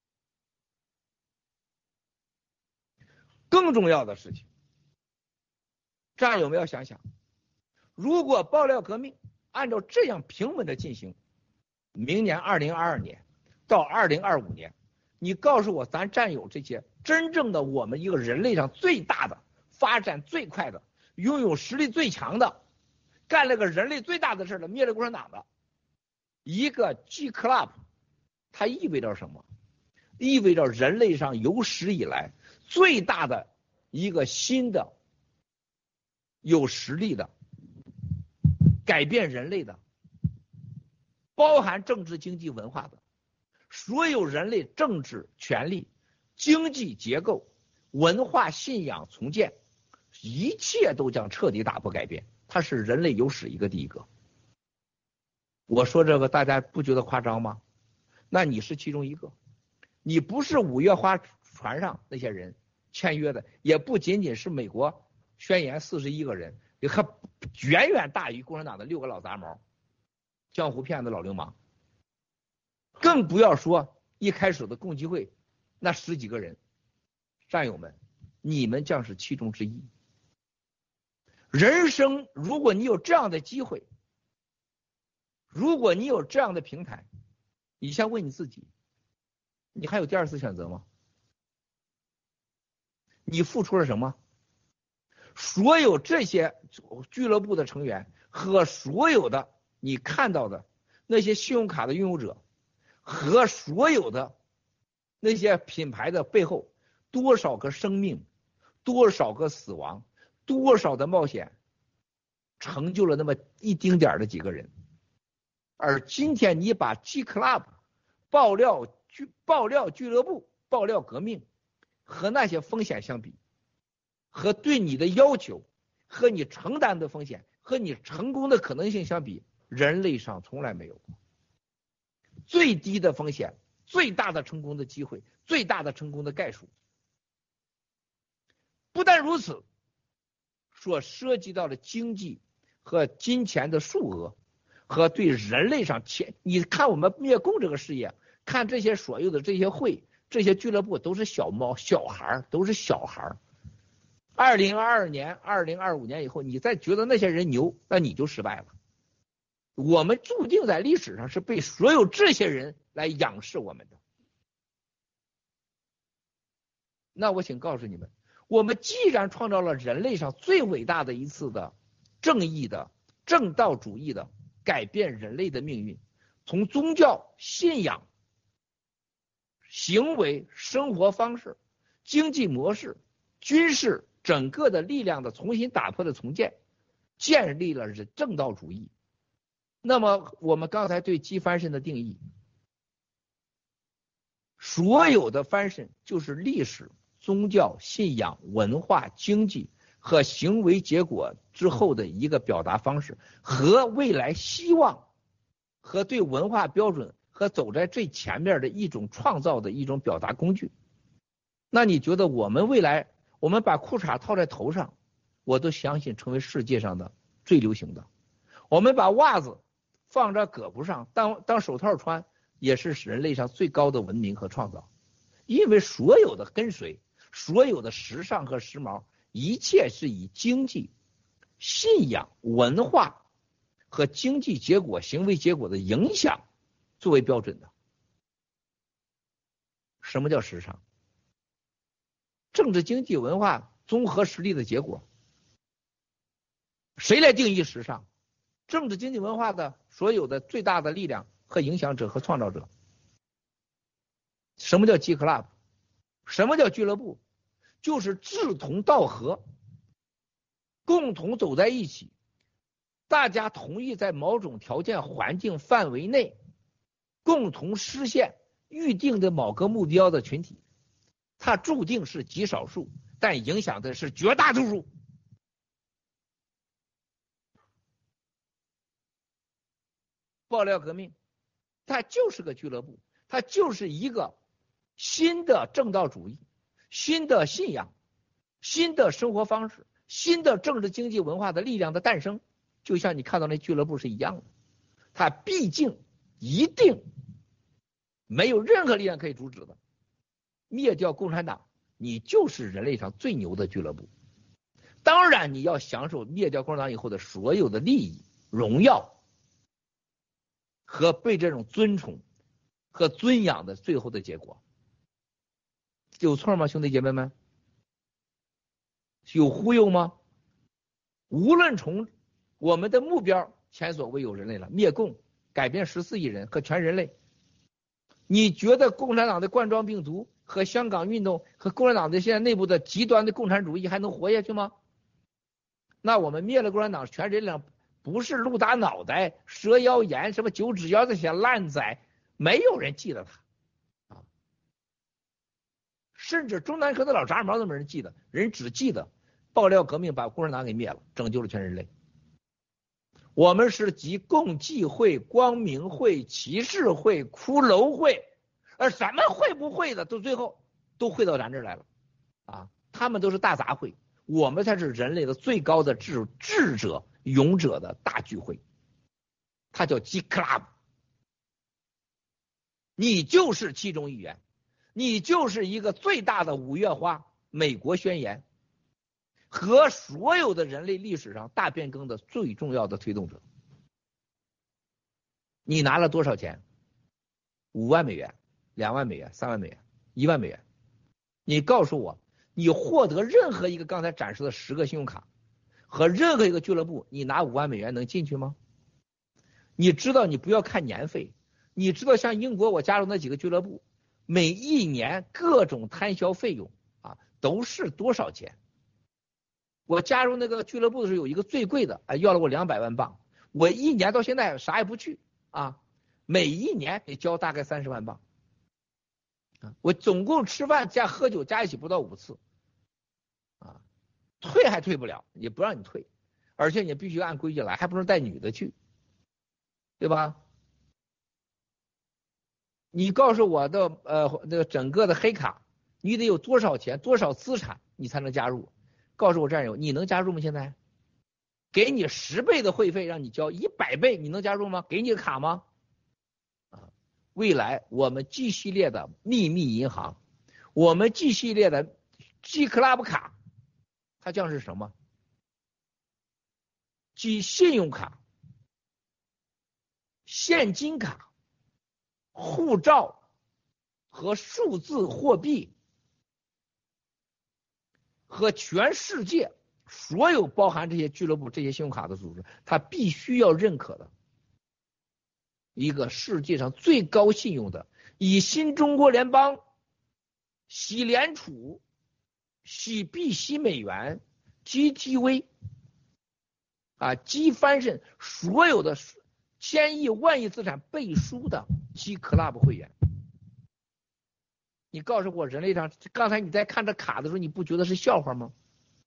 更重要的事情，战友们要想想，如果爆料革命按照这样平稳的进行，明年二零二二年到二零二五年，你告诉我咱战友这些真正的我们一个人类上最大的、发展最快的、拥有实力最强的、干了个人类最大的事的、灭了共产党的一个 G Club， 它意味着什么？意味着人类上有史以来最大的一个新的有实力的改变人类的，包含政治、经济、文化的所有人类政治权利、经济结构、文化信仰重建，一切都将彻底打破改变。它是人类有史一个第一个。我说这个大家不觉得夸张吗？那你是其中一个，你不是五月花船上那些人签约的，也不仅仅是美国宣言四十一个人，也还远远大于共产党的六个老杂毛、江湖骗子、老流氓，更不要说一开始的共济会那十几个人。战友们，你们将是其中之一。人生，如果你有这样的机会，如果你有这样的平台，你先问你自己，你还有第二次选择吗？你付出了什么？所有这些俱乐部的成员和所有的你看到的那些信用卡的拥有者和所有的那些品牌的背后，多少个生命，多少个死亡，多少的冒险，成就了那么一丁点的几个人。而今天你把 G Club 爆料俱爆料俱乐部、爆料革命和那些风险相比，和对你的要求和你承担的风险和你成功的可能性相比，人类上从来没有过。最低的风险，最大的成功的机会，最大的成功的概数。不但如此，所涉及到的经济和金钱的数额和对人类上钱，你看我们灭共这个事业，看这些所有的这些会、这些俱乐部都是小猫、小孩，都是小孩。二零二二年、二零二五年以后，你再觉得那些人牛，那你就失败了。我们注定在历史上是被所有这些人来仰视我们的。那我请告诉你们，我们既然创造了人类上最伟大的一次的正义的正道主义的改变人类的命运，从宗教信仰、行为、生活方式、经济模式、军事整个的力量的重新打破的重建，建立了正道主义。那么我们刚才对基翻身的定义，所有的翻身就是历史、宗教、信仰、文化、经济和行为结果之后的一个表达方式，和未来希望，和对文化标准和走在最前面的一种创造的一种表达工具。那你觉得我们未来，我们把裤衩套在头上，我都相信成为世界上的最流行的。我们把袜子放在胳膊上当当手套穿，也是人类上最高的文明和创造。因为所有的跟随，所有的时尚和时髦， 一切是以经济、信仰、文化和经济结果、行为结果的影响作为标准的。什么叫时尚？政治、经济、文化综合实力的结果。谁来定义时尚？政治、经济、文化的所有的最大的力量和影响者和创造者。什么叫 G Club？ 什么叫俱乐部？就是志同道合，共同走在一起，大家同意在某种条件环境范围内共同实现预定的某个目标的群体。它注定是极少数，但影响的是绝大多数。爆料革命它就是个俱乐部，它就是一个新的正道主义，新的信仰，新的生活方式，新的政治经济文化的力量的诞生，就像你看到那俱乐部是一样的。它毕竟一定没有任何力量可以阻止的。灭掉共产党，你就是人类上最牛的俱乐部。当然你要享受灭掉共产党以后的所有的利益、荣耀和被这种尊崇和尊仰的最后的结果。有错吗，兄弟姐妹们？有忽悠吗？无论从我们的目标前所未有人类了，灭共，改变十四亿人和全人类，你觉得共产党的冠状病毒和香港运动和共产党的现在内部的极端的共产主义还能活下去吗？那我们灭了共产党，全人类不是鹿打脑袋、蛇腰炎、什么九指妖这些烂仔，没有人记得他啊。甚至中南科的老杂毛都没人记得，人只记得爆料革命把共产党给灭了，拯救了全人类。我们是集共济会、光明会、骑士会、骷髅会，而什么会不会的，都最后都会到咱这儿来了啊！他们都是大杂烩，我们才是人类的最高的智智者、勇者的大聚会，它叫 G Club。你就是其中一员，你就是一个最大的五月花美国宣言和所有的人类历史上大变更的最重要的推动者。你拿了多少钱？五万美元、两万美元、三万美元、一万美元。你告诉我，你获得任何一个刚才展示的十个信用卡和任何一个俱乐部，你拿五万美元能进去吗？你知道你不要看年费，你知道像英国我加入那几个俱乐部，每一年各种摊销费用啊都是多少钱？我加入那个俱乐部的时候，有一个最贵的，啊，要了我两百万镑。我一年到现在啥也不去啊，每一年得交大概三十万镑。啊，我总共吃饭加喝酒加一起不到五次，啊，退还退不了，也不让你退，而且你必须按规矩来，还不能带女的去，对吧？你告诉我的呃那个整个的黑卡，你得有多少钱、多少资产，你才能加入？告诉我战友，你能加入吗？现在给你十倍的会费让你交一百倍，你能加入吗？给你个卡吗？啊，未来我们 G 系列的秘密银行，我们 G 系列的 G Club 卡，它将是什么？即信用卡、现金卡、护照和数字货币。和全世界所有包含这些俱乐部、这些信用卡的组织，它必须要认可的一个世界上最高信用的，以新中国联邦、喜联储、喜币、喜美元、G T V 啊、G 翻身所有的千亿、万亿资产背书的 G Club 会员。你告诉我，人类上刚才你在看这卡的时候，你不觉得是笑话吗？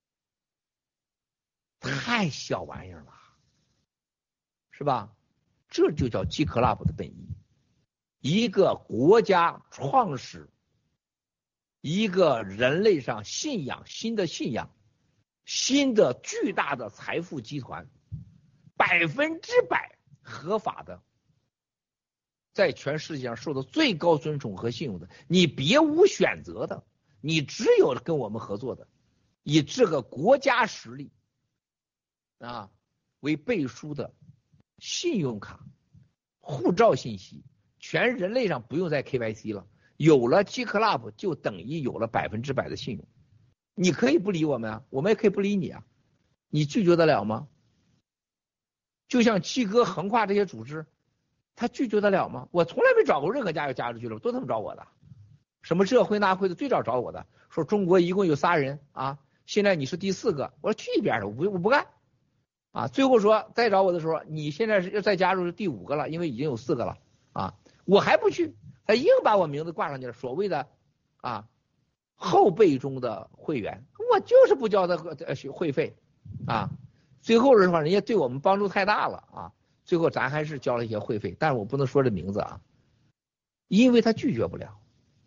太小玩意儿了，是吧？这就叫 G Club 的本意，一个国家创始，一个人类上信仰新的信仰，新的巨大的财富集团，百分之百合法的。在全世界上受到最高尊崇和信用的，你别无选择的，你只有跟我们合作的， 以这个国家实力啊为背书的信用卡、护照信息，全人类上不用再 K Y C 了。有了 G Club 就等于有了百分之百的信用。你可以不理我们啊，我们也可以不理你啊，你拒绝得了吗？就像七哥横跨这些组织，他拒绝得了吗？我从来没找过任何家有加入俱乐部，都他们找我的，什么这会那会的，最早找我的，说中国一共有仨人啊，现在你是第四个，我说去一边的，我不我不干啊。最后说再找我的时候，你现在是要再加入是第五个了，因为已经有四个了啊，我还不去，他硬把我名字挂上去了，所谓的啊后辈中的会员，我就是不交他会费啊。最后的话，人家对我们帮助太大了啊，最后咱还是交了一些会费，但是我不能说这名字啊，因为他拒绝不了。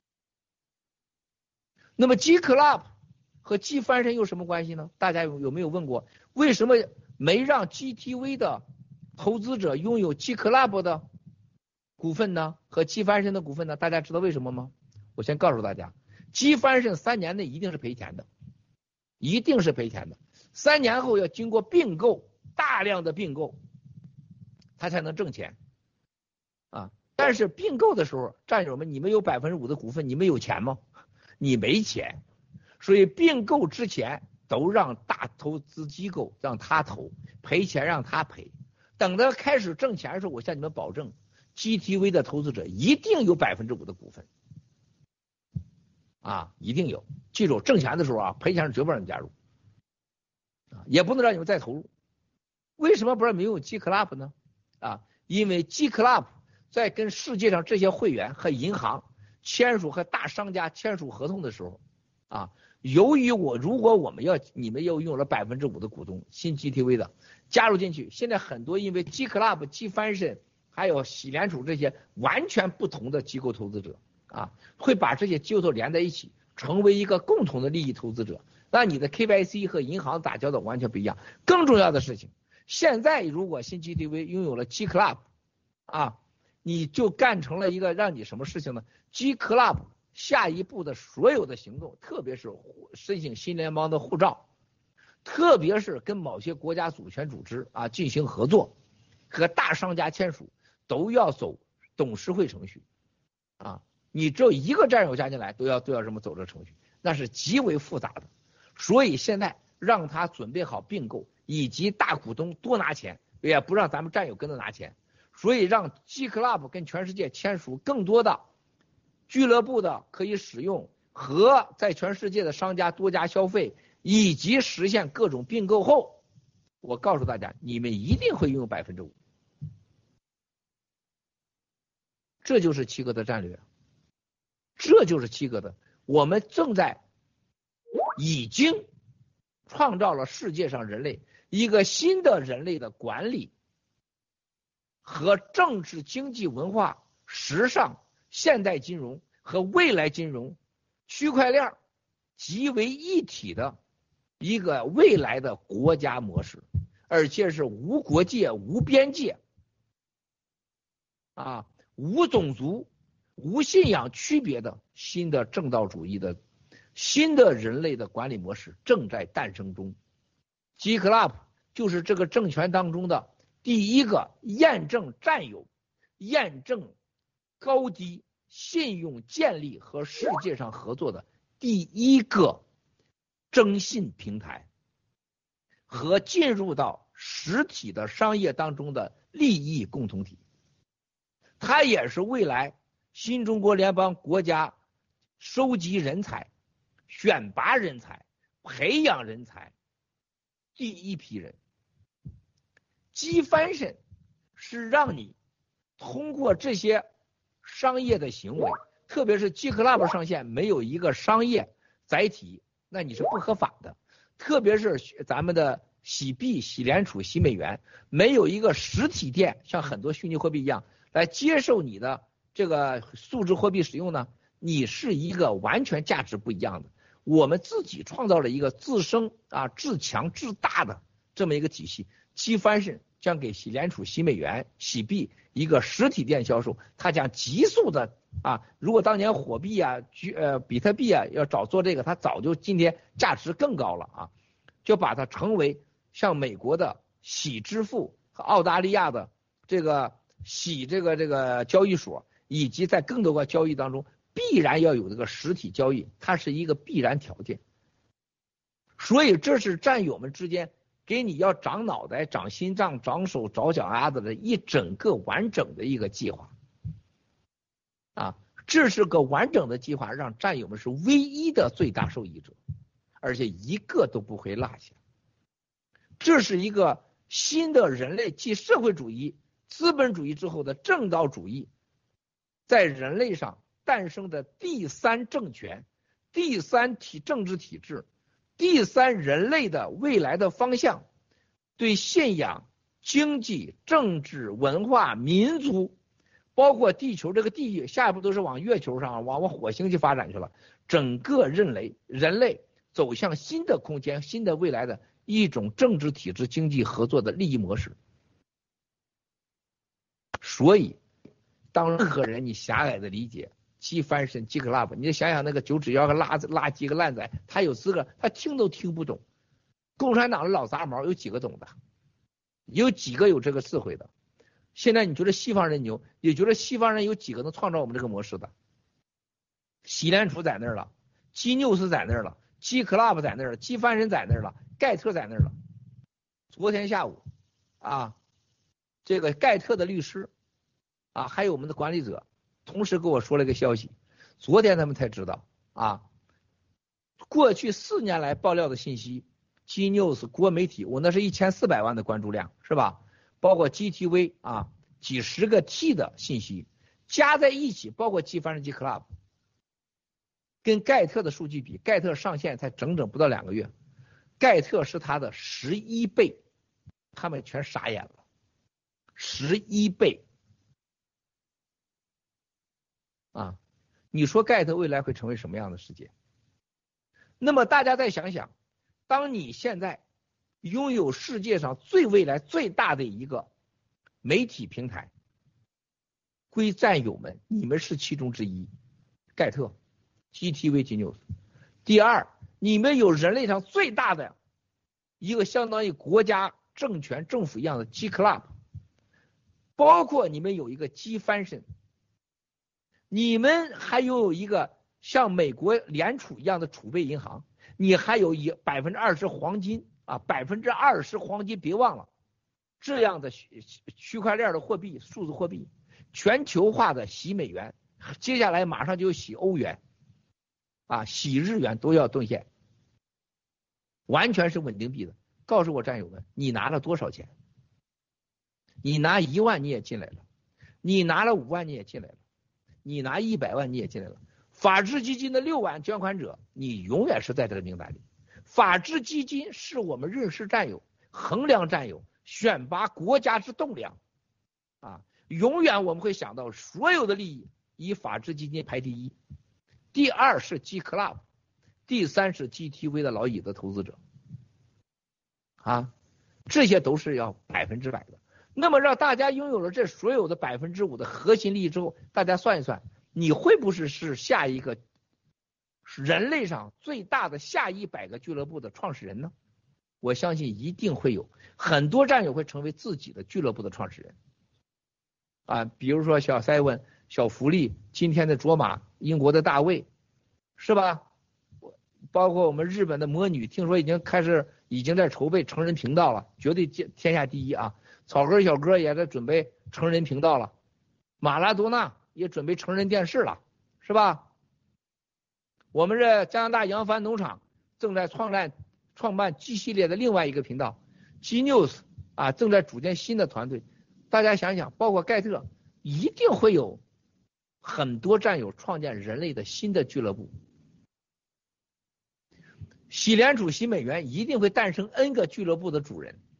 那么 G Club 和 G 翻身有什么关系呢？大家有有没有问过，为什么没让 G T V 的投资者拥有 G Club 的股份呢？和 G 翻身的股份呢？大家知道为什么吗？我先告诉大家 ，G 翻身三年内一定是赔钱的，一定是赔钱的。三年后要经过并购，大量的并购，他才能挣钱啊。但是并购的时候，战友们，你们有百分之五的股份，你们有钱吗？你没钱，所以并购之前都让大投资机构让他投，赔钱让他赔。等到开始挣钱的时候，我向你们保证 ，G T V 的投资者一定有百分之五的股份啊，一定有。记住，挣钱的时候啊，赔钱是绝不让你加入。啊，也不能让你们再投入。为什么不让你们用 G Club 呢？啊，因为 G Club 在跟世界上这些会员和银行签署和大商家签署合同的时候，啊，由于我如果我们要你们又用了百分之五的股东新 G T V 的加入进去，现在很多因为 G Club、G 翻身还有喜联储这些完全不同的机构投资者啊，会把这些机构连在一起，成为一个共同的利益投资者。那你的 K Y C 和银行打交道完全不一样。更重要的事情，现在如果新 G T V 拥有了 G Club 啊，你就干成了一个让你什么事情呢？ G Club 下一步的所有的行动，特别是申请新联邦的护照，特别是跟某些国家主权组织啊进行合作，和大商家签署，都要走董事会程序啊。你只有一个战友加进来，都要都要这么走这程序，那是极为复杂的。所以现在让他准备好并购，以及大股东多拿钱，也不让咱们战友跟着拿钱，所以让 G Club 跟全世界签署更多的俱乐部的可以使用和在全世界的商家多加消费，以及实现各种并购后，我告诉大家，你们一定会拥有百分之五。这就是七哥的战略，这就是七哥的，我们正在已经创造了世界上人类一个新的人类的管理和政治、经济、文化、时尚、现代金融和未来金融、区块链集为一体的一个未来的国家模式，而且是无国界、无边界啊，无种族、无信仰区别的新的正道主义的新的人类的管理模式正在诞生中。 G Club 就是这个政权当中的第一个验证占有、验证高低、信用建立和世界上合作的第一个征信平台，和进入到实体的商业当中的利益共同体。它也是未来新中国联邦国家收集人才、选拔人才、培养人才第一批人。G翻身是让你通过这些商业的行为，特别是 G Club 上线没有一个商业载体，那你是不合法的。特别是咱们的洗币、洗联储、洗美元，没有一个实体店，像很多虚拟货币一样来接受你的这个数字货币使用呢，你是一个完全价值不一样的。我们自己创造了一个自生啊、自强、自大的这么一个体系。G翻身将给洗联储、洗美元、洗币一个实体店销售，它将急速的啊，如果当年火币啊、呃比特币啊要早做这个，它早就今天价值更高了啊，就把它成为像美国的洗支付和澳大利亚的这个洗这个这个交易所，以及在更多个交易当中必然要有这个实体交易，它是一个必然条件。所以这是战友们之间给你要长脑袋、长心脏、长手、长脚丫子的一整个完整的一个计划啊，这是个完整的计划，让战友们是唯一的最大受益者，而且一个都不会落下。这是一个新的人类继社会主义、资本主义之后的正道主义在人类上诞生的第三政权、第三体政治体制、第三人类的未来的方向，对信仰、经济、政治、文化、民族，包括地球这个地域，下一步都是往月球上、往往火星去发展去了。整个人类人类走向新的空间、新的未来的一种政治体制、经济合作的利益模式。所以，当任何人你狭隘的理解鸡翻身鸡 club， 你就想想那个九指妖个拉拉鸡个烂仔，他有资格，他听都听不懂。共产党的老杂毛有几个懂的？有几个有这个智慧的？现在你觉得西方人牛，也觉得西方人有几个能创造我们这个模式的？洗联储在那儿了，鸡 news 在那儿了，鸡 club 在那儿了，鸡翻身在那儿了，盖特在那儿了。昨天下午啊，这个盖特的律师啊，还有我们的管理者同时跟我说了一个消息，昨天他们才知道啊，过去四年来爆料的信息 ，G News 国媒体，我那是一千四百万的关注量，是吧？包括 G T V 啊，几十个 T 的信息加在一起，包括 G 翻身 G Club， 跟盖特的数据比，盖特上线才整整不到两个月，盖特是他的十一倍，他们全傻眼了，十一倍。啊，你说盖特未来会成为什么样的世界？那么大家再想想，当你现在拥有世界上最未来最大的一个媒体平台，归战友们，你们是其中之一，盖特 G T V G News。第二，你们有人类上最大的一个相当于国家政权政府一样的 G Club， 包括你们有一个 G 翻身。你们还拥有一个像美国联储一样的储备银行，你还有一百分之二十黄金啊，百分之二十黄金，别忘了，这样的区区块链的货币、数字货币，全球化的洗美元，接下来马上就洗欧元，啊，洗日元都要兑现，完全是稳定币的。告诉我战友们，你拿了多少钱？你拿一万你也进来了，你拿了五万你也进来了。你拿一百万你也进来了，法治基金的六万捐款者，你永远是在这个名单里。法治基金是我们认识战友、衡量战友、选拔国家之栋梁啊！永远我们会想到所有的利益以法治基金排第一，第二是 G Club， 第三是 G T V 的老椅子投资者啊，这些都是要百分之百的。那么让大家拥有了这所有的百分之五的核心利益之后，大家算一算，你会不会是下一个人类上最大的下一百个俱乐部的创始人呢？我相信一定会有很多战友会成为自己的俱乐部的创始人啊，比如说小塞文、小福利，今天的卓玛，英国的大卫，是吧？包括我们日本的魔女，听说已经开始已经在筹备成人频道了，绝对天下第一啊！草根小哥也在准备成人频道了，马拉多纳也准备成人电视了，是吧？我们这加拿大扬帆农场正在创办创办 G 系列的另外一个频道 G News 啊，正在组建新的团队。大家想想，包括盖特，一定会有很多战友创建人类的新的俱乐部。洗联储、洗美元一定会诞生 N 个俱乐部的主人。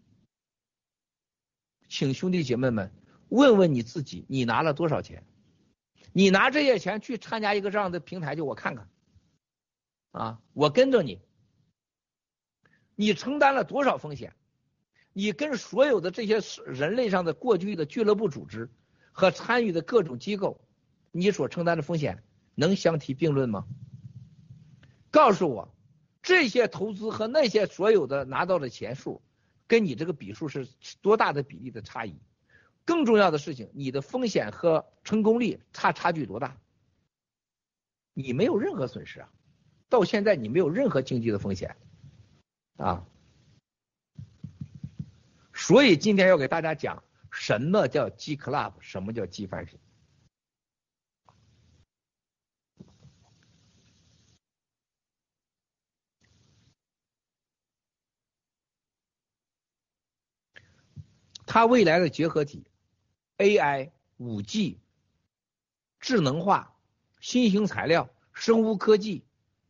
请兄弟姐妹们问问你自己，你拿了多少钱？你拿这些钱去参加一个这样的平台，就我看看啊，我跟着你，你承担了多少风险？ 你跟所有的这些人类上的过去的俱乐部组织和参与的各种机构，你所承担的风险能相提并论吗？告诉我，这些投资和那些所有的拿到的钱数，跟你这个比数是多大的比例的差异？更重要的事情，你的风险和成功率差差距多大？你没有任何损失啊，到现在你没有任何经济的风险啊。所以今天要给大家讲什么叫 G Club， 什么叫 G 翻身。它未来的结合体 A I、五 G、智能化、新型材料、生物科技、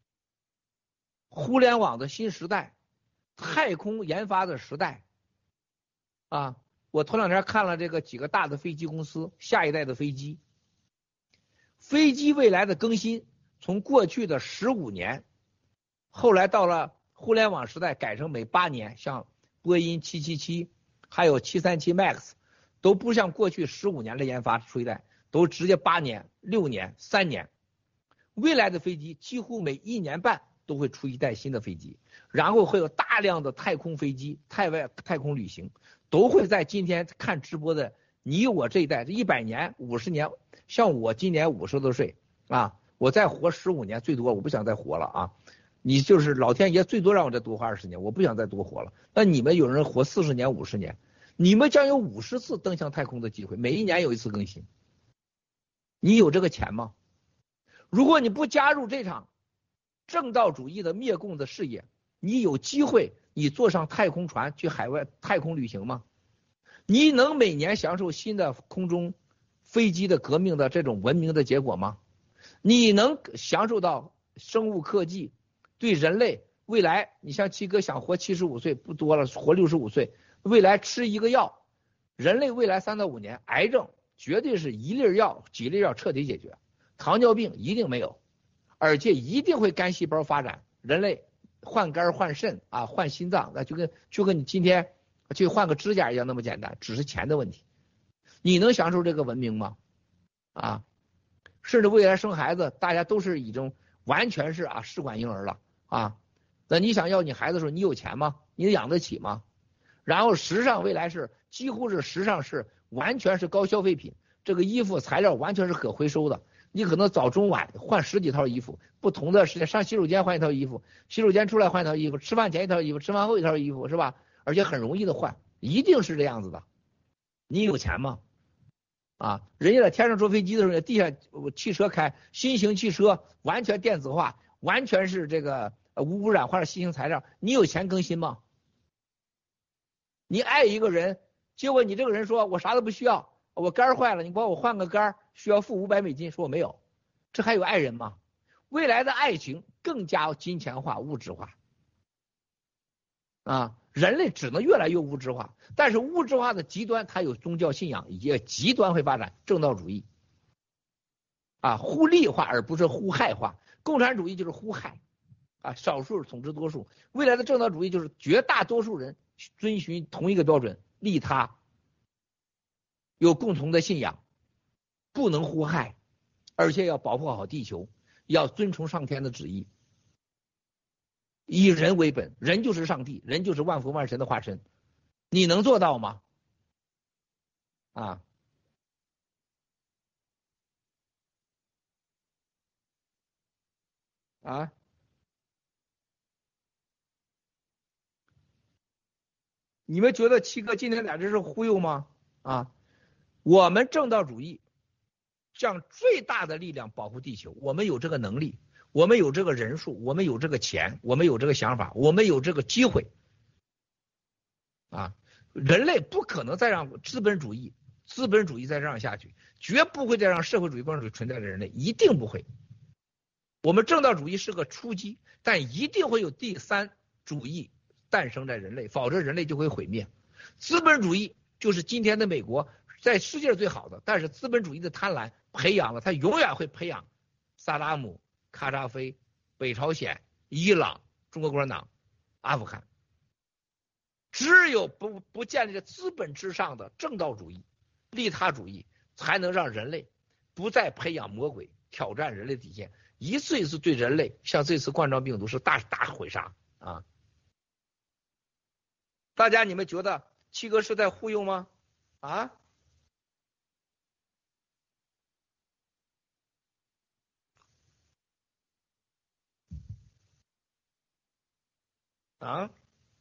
互联网的新时代、太空研发的时代啊！我头两天看了这个几个大的飞机公司下一代的飞机，飞机未来的更新，从过去的十五年，后来到了互联网时代改成每八年，像波音七七七还有七三七 MAX 都不像过去十五年的研发出一代，都直接八年、六年、三年。未来的飞机几乎每一年半都会出一代新的飞机，然后会有大量的太空飞机、太外太空旅行，都会在今天看直播的你我这一代，这一百年、五十年，像我今年五十多岁啊，我再活十五年最多，我不想再活了啊。你就是老天爷最多让我再多活二十年，我不想再多活了。那你们有人活四十年、五十年，你们将有五十次登上太空的机会，每一年有一次更新。你有这个钱吗？如果你不加入这场正道主义的灭共的事业，你有机会你坐上太空船去海外太空旅行吗？你能每年享受新的空中飞机的革命的这种文明的结果吗？你能享受到生物科技对人类未来，你像七哥想活七十五岁不多了，活六十五岁，未来吃一个药，人类未来三到五年癌症绝对是一粒药几粒药彻底解决，糖尿病一定没有，而且一定会肝细胞发展，人类换肝换肾啊，换心脏，那就跟就跟你今天去换个指甲一样那么简单，只是钱的问题。你能享受这个文明吗？啊，甚至未来生孩子，大家都是已经完全是啊试管婴儿了啊。那你想要你孩子的时候，你有钱吗？你养得起吗？然后时尚未来是几乎是时尚是完全是高消费品，这个衣服材料完全是可回收的。你可能早中晚换十几套衣服，不同的时间上洗手间换一套衣服，洗手间出来换一套衣服，吃饭前一套衣服，吃饭后一套衣服，是吧？而且很容易的换，一定是这样子的。你有钱吗？啊，人家在天上坐飞机的时候，地下汽车开，新型汽车完全电子化，完全是这个无污染化的新型材料，你有钱更新吗？你爱一个人，结果你这个人说我啥都不需要，我肝坏了，你帮我换个肝，需要付五百美金，说我没有，这还有爱人吗？未来的爱情更加金钱化、物质化，啊，人类只能越来越物质化，但是物质化的极端，它有宗教信仰，也极端会发展正道主义，啊，互利化而不是互害化，共产主义就是互害，啊，少数统治多数，未来的正道主义就是绝大多数人遵循同一个标准，利他，有共同的信仰，不能互害，而且要保护好地球，要遵从上天的旨意，以人为本，人就是上帝，人就是万福万神的化身，你能做到吗？啊，啊，你们觉得七哥今天俩这是忽悠吗？啊，我们正道主义将最大的力量保护地球，我们有这个能力，我们有这个人数，我们有这个钱，我们有这个想法，我们有这个机会，啊，人类不可能再让资本主义资本主义再这样下去，绝不会再让社会主义共产主义存在的人类，一定不会。我们正道主义是个初级，但一定会有第三主义诞生在人类，否则人类就会毁灭。资本主义就是今天的美国，在世界最好的，但是资本主义的贪婪培养了，它永远会培养萨达姆、卡扎菲、北朝鲜、伊朗、中国共产党、阿富汗。 只有不不建立在资本之上的正道主义、利他主义，才能让人类不再培养魔鬼，挑战人类底线，一次一次对人类，像这次冠状病毒是大大毁杀啊！大家你们觉得七哥是在忽悠吗？啊？啊？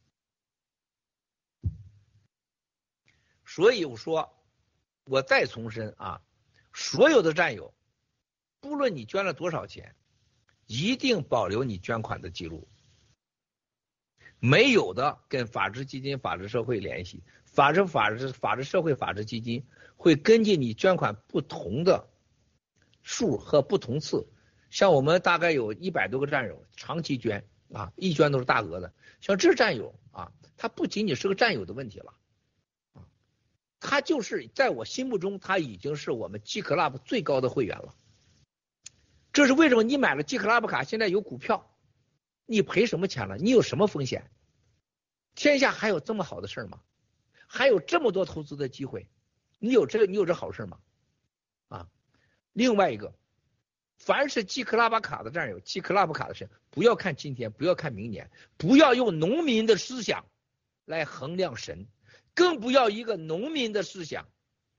所以我说，我再重申啊，所有的战友，不论你捐了多少钱，一定保留你捐款的记录。没有的，跟法治基金、法治社会联系，法治、法治、法治社会、法治基金会根据你捐款不同的数和不同次，像我们大概有一百多个战友长期捐啊，一捐都是大额的。像这战友啊，他不仅仅是个战友的问题了。他就是在我心目中，他已经是我们 G Club 最高的会员了。这是为什么？你买了 G Club 卡，现在有股票，你赔什么钱了？你有什么风险？天下还有这么好的事吗？还有这么多投资的机会，你有这个，你有这好事吗？啊，另外一个，凡是 G Club 卡的战友 ，G Club 卡的事，不要看今天，不要看明年，不要用农民的思想来衡量神。更不要一个农民的思想，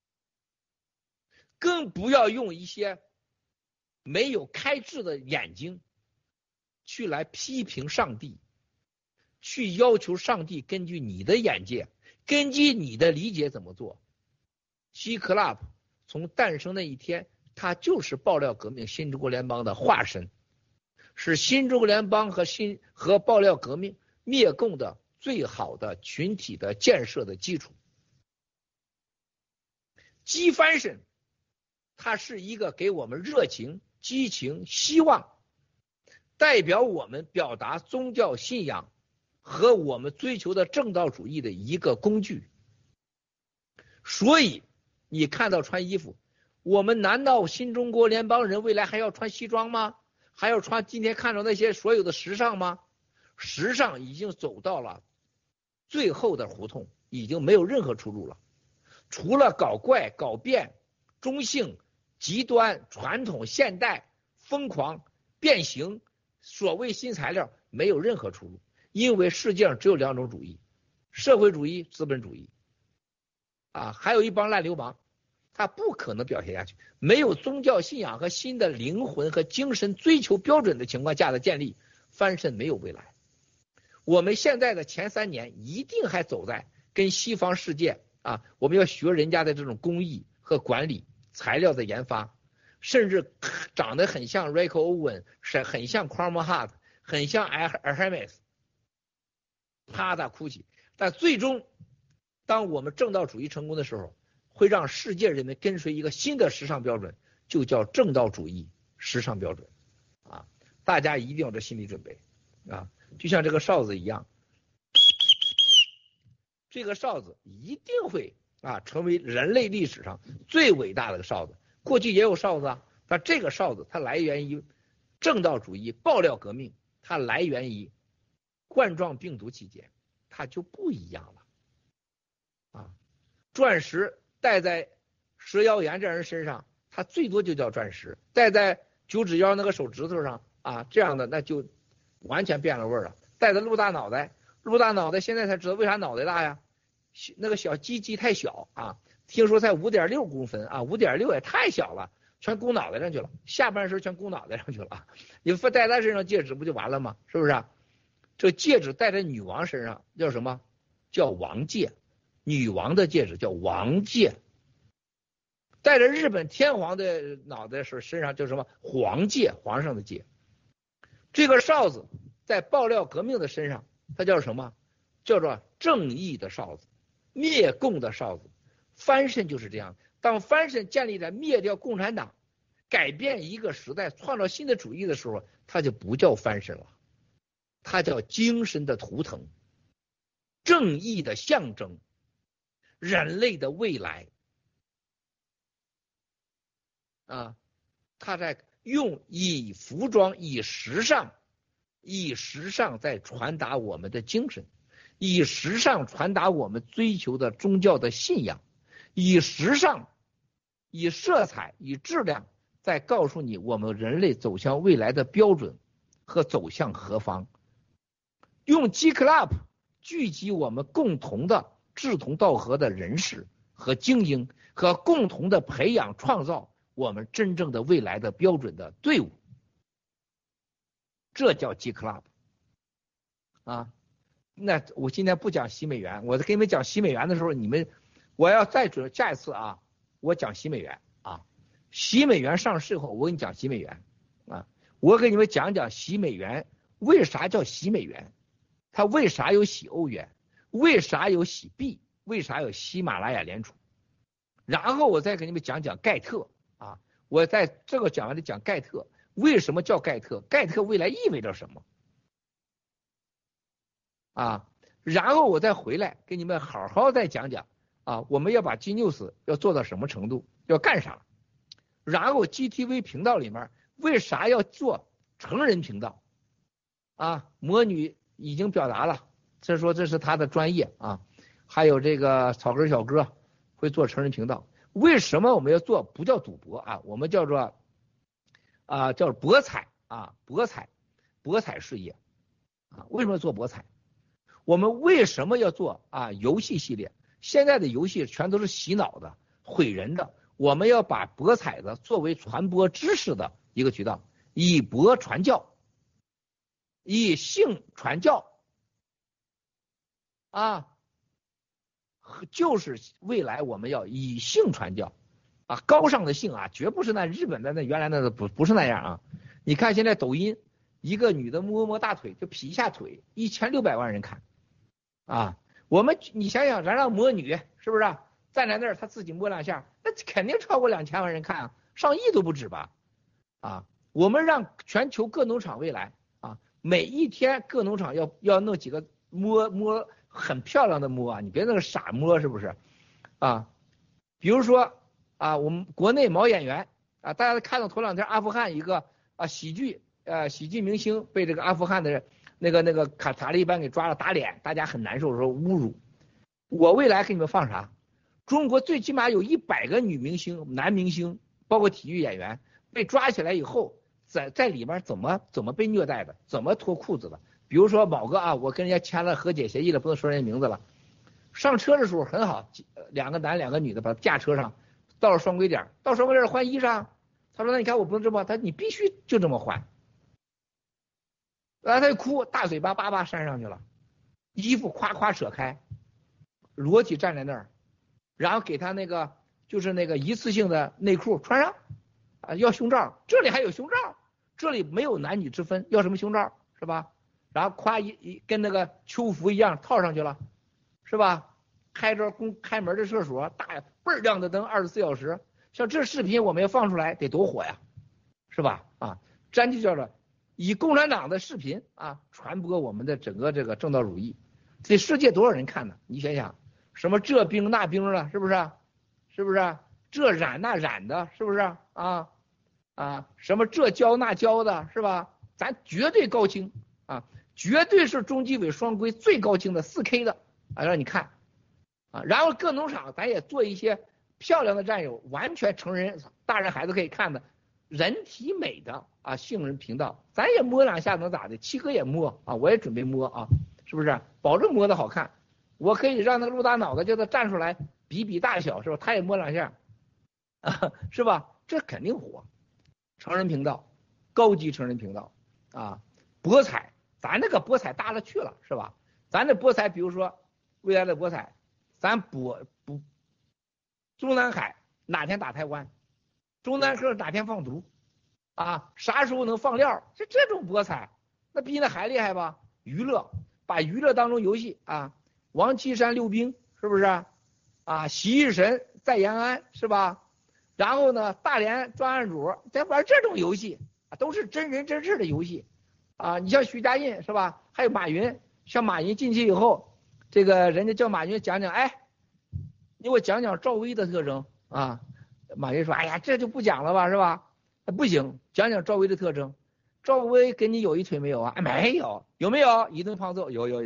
更不要用一些没有开智的眼睛去来批评上帝，去要求上帝根据你的眼界，根据你的理解怎么做。G Club 从诞生那一天，它就是爆料革命新中国联邦的化身，是新中国联邦和新和爆料革命灭共的最好的群体的建设的基础。G Fashion 它是一个给我们热情、激情、希望，代表我们表达宗教信仰和我们追求的正道主义的一个工具。所以你看到穿衣服，我们难道新中国联邦人未来还要穿西装吗？还要穿今天看到那些所有的时尚吗？时尚已经走到了最后的胡同，已经没有任何出路了，除了搞怪、搞变、中性、极端、传统、现代、疯狂、变形，所谓新材料，没有任何出路。因为世界上只有两种主义，社会主义、资本主义啊，还有一帮烂流氓，他不可能表现下去。没有宗教信仰和新的灵魂和精神追求标准的情况下的建立，翻身没有未来。我们现在的前三年一定还走在跟西方世界啊，我们要学人家的这种工艺和管理、材料的研发，甚至长得很像 Rick Owen， 是很像 Chrome Hart， 很像 Hermes， 啪嗒哭泣。但最终，当我们正道主义成功的时候，会让世界人民跟随一个新的时尚标准，就叫正道主义时尚标准啊！大家一定要有这心理准备啊！就像这个哨子一样，这个哨子一定会啊成为人类历史上最伟大的哨子。过去也有哨子啊，但这个哨子它来源于正道主义爆料革命，它来源于冠状病毒期间，它就不一样了啊！钻石戴在蛇妖岩这人身上，它最多就叫钻石；戴在九指妖那个手指头上啊，这样的那就完全变了味儿了。戴着鹿大脑袋，鹿大脑袋现在才知道为啥脑袋大呀？那个小鸡鸡太小啊，听说才五点六公分啊，五点六也太小了，全箍脑袋上去了，下半身全箍脑袋上去了。你戴在身上戒指不就完了吗？是不是啊？这戒指戴在女王身上叫什么？叫王戒。女王的戒指叫王戒。戴着日本天皇的脑袋时身上叫什么？皇戒，皇上的戒。这个哨子在爆料革命的身上，它叫什么？叫做正义的哨子，灭共的哨子。翻身就是这样，当翻身建立在灭掉共产党、改变一个时代、创造新的主义的时候，它就不叫翻身了，它叫精神的图腾，正义的象征，人类的未来啊！他在用以服装、以时尚、以时尚在传达我们的精神。 以时尚传达我们追求的宗教的信仰，以时尚、以色彩、以质量，再告诉你我们人类走向未来的标准和走向何方。用 G Club 聚集我们共同的志同道合的人士和精英，和共同的培养创造我们真正的未来的标准的队伍，这叫 G Club 啊。那我今天不讲洗美元，我在给你们讲洗美元的时候，你们我要再准下一次啊，我讲洗美元啊，洗美元上市后，我给你讲洗美元啊，我给你们讲讲洗美元为啥叫洗美元，它为啥有洗欧元，为啥有洗币，为啥有喜马拉雅联储，然后我再给你们讲讲盖特啊，我在这个讲完了讲盖特为什么叫盖特，盖特未来意味着什么啊，然后我再回来给你们好好再讲讲啊，我们要把 G News 要做到什么程度，要干啥，然后 G T V 频道里面为啥要做成人频道啊，魔女已经表达了，这说这是他的专业啊，还有这个草根小哥会做成人频道，为什么我们要做不叫赌博啊，我们叫做啊叫博彩啊，博彩博彩事业啊，为什么要做博彩？我们为什么要做啊游戏系列？现在的游戏全都是洗脑的、毁人的，我们要把博彩的作为传播知识的一个渠道，以博传教，以性传教啊，就是未来我们要以性传教啊，高尚的性啊，绝不是那日本的那原来那个不不是那样啊。你看现在抖音，一个女的摸摸大腿就劈一下腿，一千六百万人看啊。我们你想想，咱让魔女是不是、啊、站在那儿，她自己摸两下，那肯定超过两千万人看啊，上亿都不止吧啊。我们让全球各农场未来啊，每一天各农场要要弄几个摸摸很漂亮的摸啊，你别那个傻摸是不是啊？比如说啊，我们国内毛演员啊，大家看到头两天阿富汗一个啊喜剧呃喜剧明星被这个阿富汗的人那个那个卡塔利班给抓了打脸，大家很难受，说侮辱。我未来给你们放啥？中国最起码有一百个女明星、男明星，包括体育演员被抓起来以后，在在里面怎么怎么被虐待的，怎么脱裤子的。比如说某个啊，我跟人家签了和解协议了，不能说人家名字了。上车的时候很好，两个男两个女的把他架车上，到了双规点，到双规点换衣裳。他说那你看我不能这么，他说你必须就这么换。然后他就哭，大嘴巴叭叭扇上去了，衣服夸夸扯开，裸体站在那儿，然后给他那个就是那个一次性的内裤穿上，啊，要胸罩，这里还有胸罩，这里没有男女之分，要什么胸罩是吧？然后夸一一跟那个秋服一样套上去了，是吧？开着公开门的厕所，大倍儿亮的灯，二十四小时，像这视频我们要放出来得多火呀，是吧？啊，咱就叫做以共产党的视频啊传播我们的整个这个正道主义，这世界多少人看呢？你想想，什么这兵那兵了，是不是？是不是？这染那染的，是不是？啊啊，什么这教那教的，是吧？咱绝对高清啊，绝对是中纪委双规最高清的 四K 的啊，让你看啊。然后各农场咱也做一些漂亮的战友，完全成人大人孩子可以看的人体美的啊性人频道，咱也摸两下能咋的？七哥也摸啊，我也准备摸啊，是不是？保证摸的好看。我可以让那个陆大脑袋叫他站出来比比大小，是吧？他也摸两下，啊，是吧？这肯定火。成人频道，高级成人频道啊，博彩，咱那个博彩大了去了，是吧？咱这博彩，比如说未来的博彩，咱博不中南海哪天打台湾，中南河哪天放毒啊？啥时候能放料？就这种博彩，那比那还厉害吧？娱乐，把娱乐当中游戏啊，王岐山溜冰是不是啊？啊，洗浴神在延安是吧？然后呢，大连专案组在玩这种游戏啊，都是真人真事的游戏啊。你像徐家印是吧？还有马云，像马云进去以后，这个人家叫马云讲讲，哎，你给我讲讲赵薇的特征啊。马云说，哎呀，这就不讲了吧，是吧？不行，讲讲赵薇的特征。赵薇跟你有一腿没有啊？哎，没有。有没有？一顿胖揍，有有有。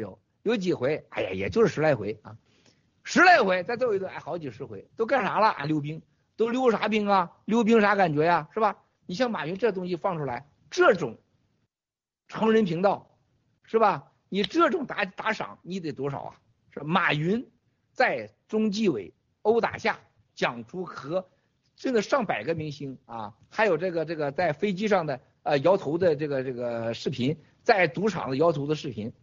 有几回，哎呀，也就是十来回啊，十来回，再揍一顿，哎，好几十回，都干啥了？啊，溜冰，都溜啥冰啊？溜冰啥感觉呀？是吧？你像马云这东西放出来，这种成人频道，是吧？你这种打打赏，你得多少啊？是吧？马云在中纪委殴打下，讲出和真的上百个明星啊，还有这个这个在飞机上的呃摇头的这个这个视频，在赌场的摇头的视频。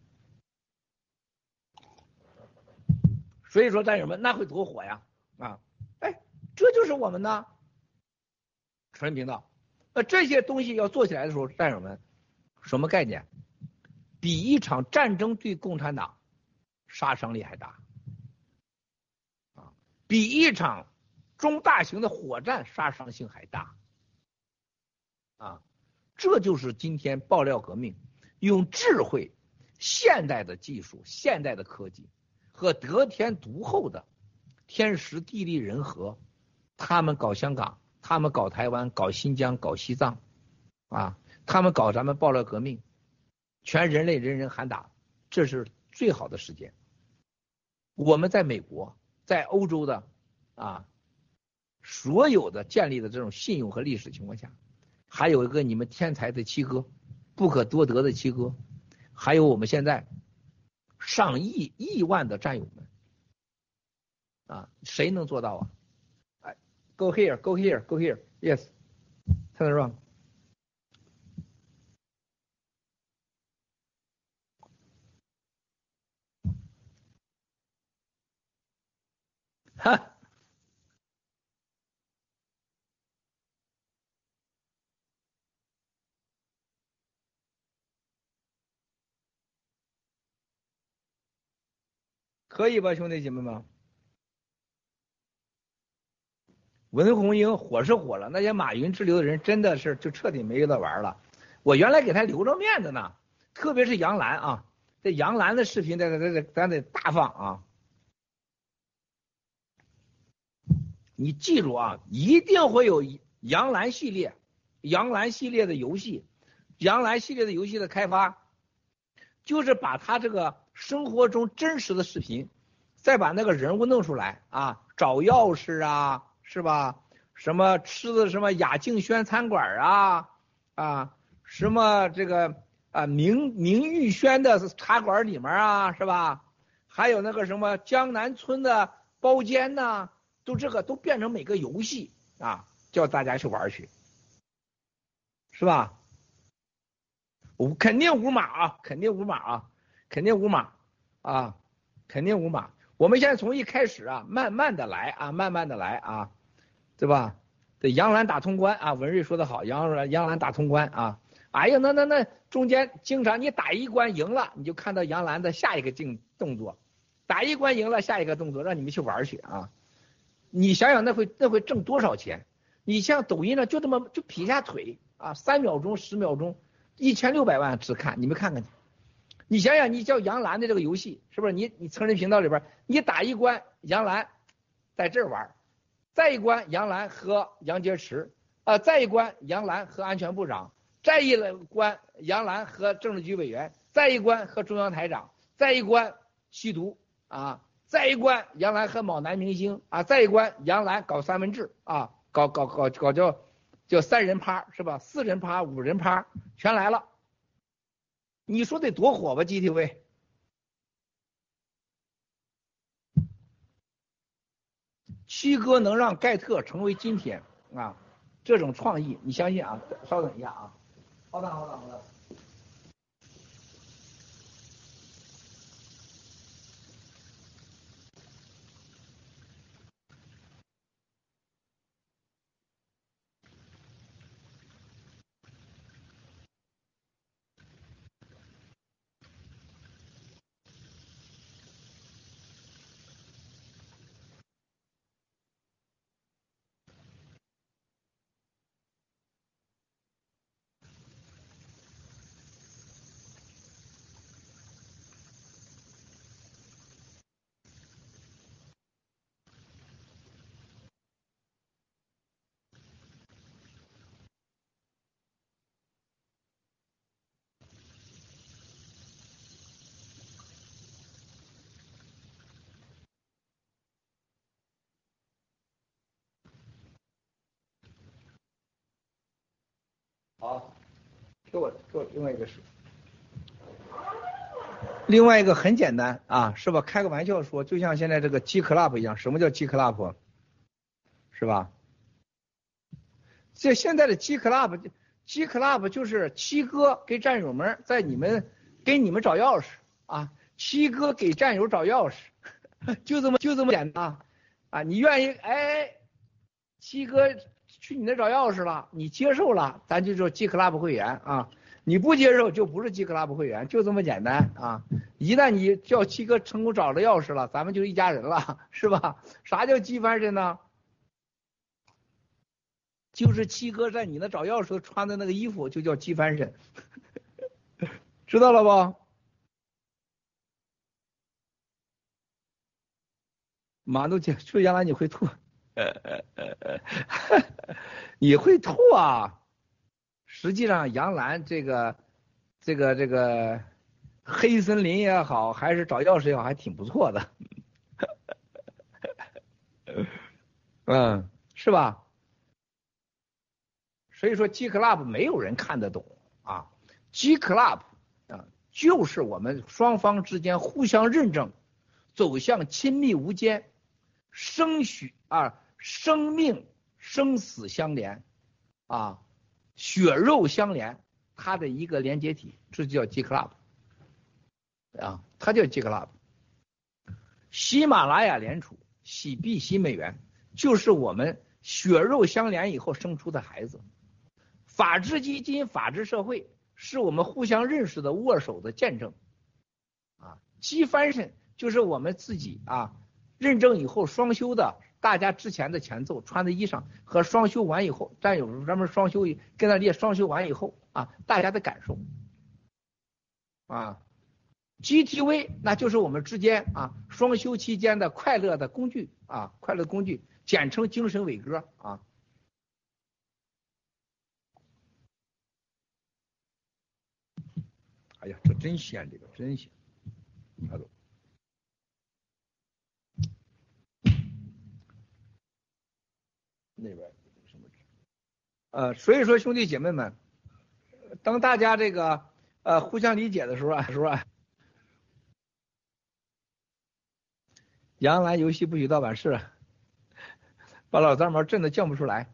所以说战友们，那会多火呀啊！哎，这就是我们的成人频道。那这些东西要做起来的时候，战友们，什么概念？比一场战争对共产党杀伤力还大啊，比一场中大型的火战杀伤性还大啊！这就是今天爆料革命用智慧、现代的技术、现代的科技和得天独厚的天时地利人和，他们搞香港，他们搞台湾，搞新疆，搞西藏啊，他们搞咱们爆料革命，全人类人人喊打，这是最好的时间。我们在美国，在欧洲的啊，所有的建立的这种信用和历史情况下，还有一个你们天才的七哥，不可多得的七哥，还有我们现在上亿亿万的战友们啊，谁能做到啊？哎 ，Go here, go here, go here, yes, turn around。哈，可以吧，兄弟姐妹们？文红英火是火了，那些马云之流的人真的是就彻底没得玩了。我原来给他留着面子呢，特别是杨澜啊，这杨澜的视频咱得咱咱得大放啊。你记住啊，一定会有杨澜系列、杨澜系列的游戏，杨澜系列的游戏的开发，就是把他这个生活中真实的视频，再把那个人物弄出来啊，找钥匙啊，是吧？什么吃的什么雅静轩餐馆啊啊，什么这个啊明明玉轩的茶馆里面啊，是吧？还有那个什么江南村的包间呐、啊。都这个都变成每个游戏啊，叫大家去玩去，是吧？我肯定无码啊，肯定无码啊，肯定无码啊，肯定无码。我们现在从一开始啊，慢慢的来啊，慢慢的来啊，对吧？对，杨澜打通关啊，文瑞说的好，杨杨澜打通关啊。哎呀，那那那中间经常你打一关赢了，你就看到杨澜的下一个进动作，打一关赢了，下一个动作让你们去玩去啊。你想想那会那会挣多少钱？你像抖音上就这么就劈下腿啊，三秒钟十秒钟，一千六百万只看，你们看看去。你想想，你叫杨澜的这个游戏是不是？你你成人频道里边，你打一关杨澜在这儿玩，再一关杨澜和杨洁篪啊、呃，再一关杨澜和安全部长，再一关杨澜和政治局委员，再一关和中央台长，再一关吸毒啊。再一关杨澜和某男明星啊，再一关杨澜搞三文治啊，搞搞搞搞叫叫三人趴是吧？四人趴、五人趴全来了，你说得多火吧 ？G T V， 七哥能让盖特成为今天啊这种创意，你相信啊？稍等一下啊，好等好等好等。 好，给我给我另外一个是，另外一个很简单啊，是吧？开个玩笑说，就像现在这个 G Club 一样，什么叫 G Club？ 是吧？这现在的 G Club，G Club 就是七哥给战友们在你们给你们找钥匙啊，七哥给战友找钥匙，就这么就这么简单啊！你愿意哎，七哥去你那找钥匙了，你接受了，咱就说 G Club 会员啊。你不接受就不是 G Club 会员，就这么简单啊！一旦你叫七哥成功找着钥匙了，咱们就一家人了，是吧？啥叫鸡翻身呢？就是七哥在你那找钥匙穿的那个衣服就叫鸡翻身，知道了不？马都姐说原来你会吐，你会吐啊！实际上，杨澜这个、这个、这个黑森林也好，还是找钥匙也好，还挺不错的，嗯，是吧？所以说 G Club 没有人看得懂啊 ，G Club 啊，就是我们双方之间互相认证，走向亲密无间，生许啊，生命生死相连啊。血肉相连，它的一个连接体，这就叫 G Club 啊，它叫 G Club。喜马拉雅联储、喜币、喜美元，就是我们血肉相连以后生出的孩子。法治基金、法治社会是我们互相认识的握手的见证啊。G 翻身就是我们自己啊认证以后双修的。大家之前的前奏穿的衣裳和双修完以后，战友专门双修跟他列双修完以后啊，大家的感受啊 ，G T V 那就是我们之间啊双修期间的快乐的工具啊，快乐工具，简称精神伟哥啊。哎呀，这真鲜，这个真鲜，看懂。那边什么？呃，所以说兄弟姐妹们，当大家这个呃互相理解的时候啊，时候啊，杨澜游戏不许盗版是，把老三毛震得叫不出来。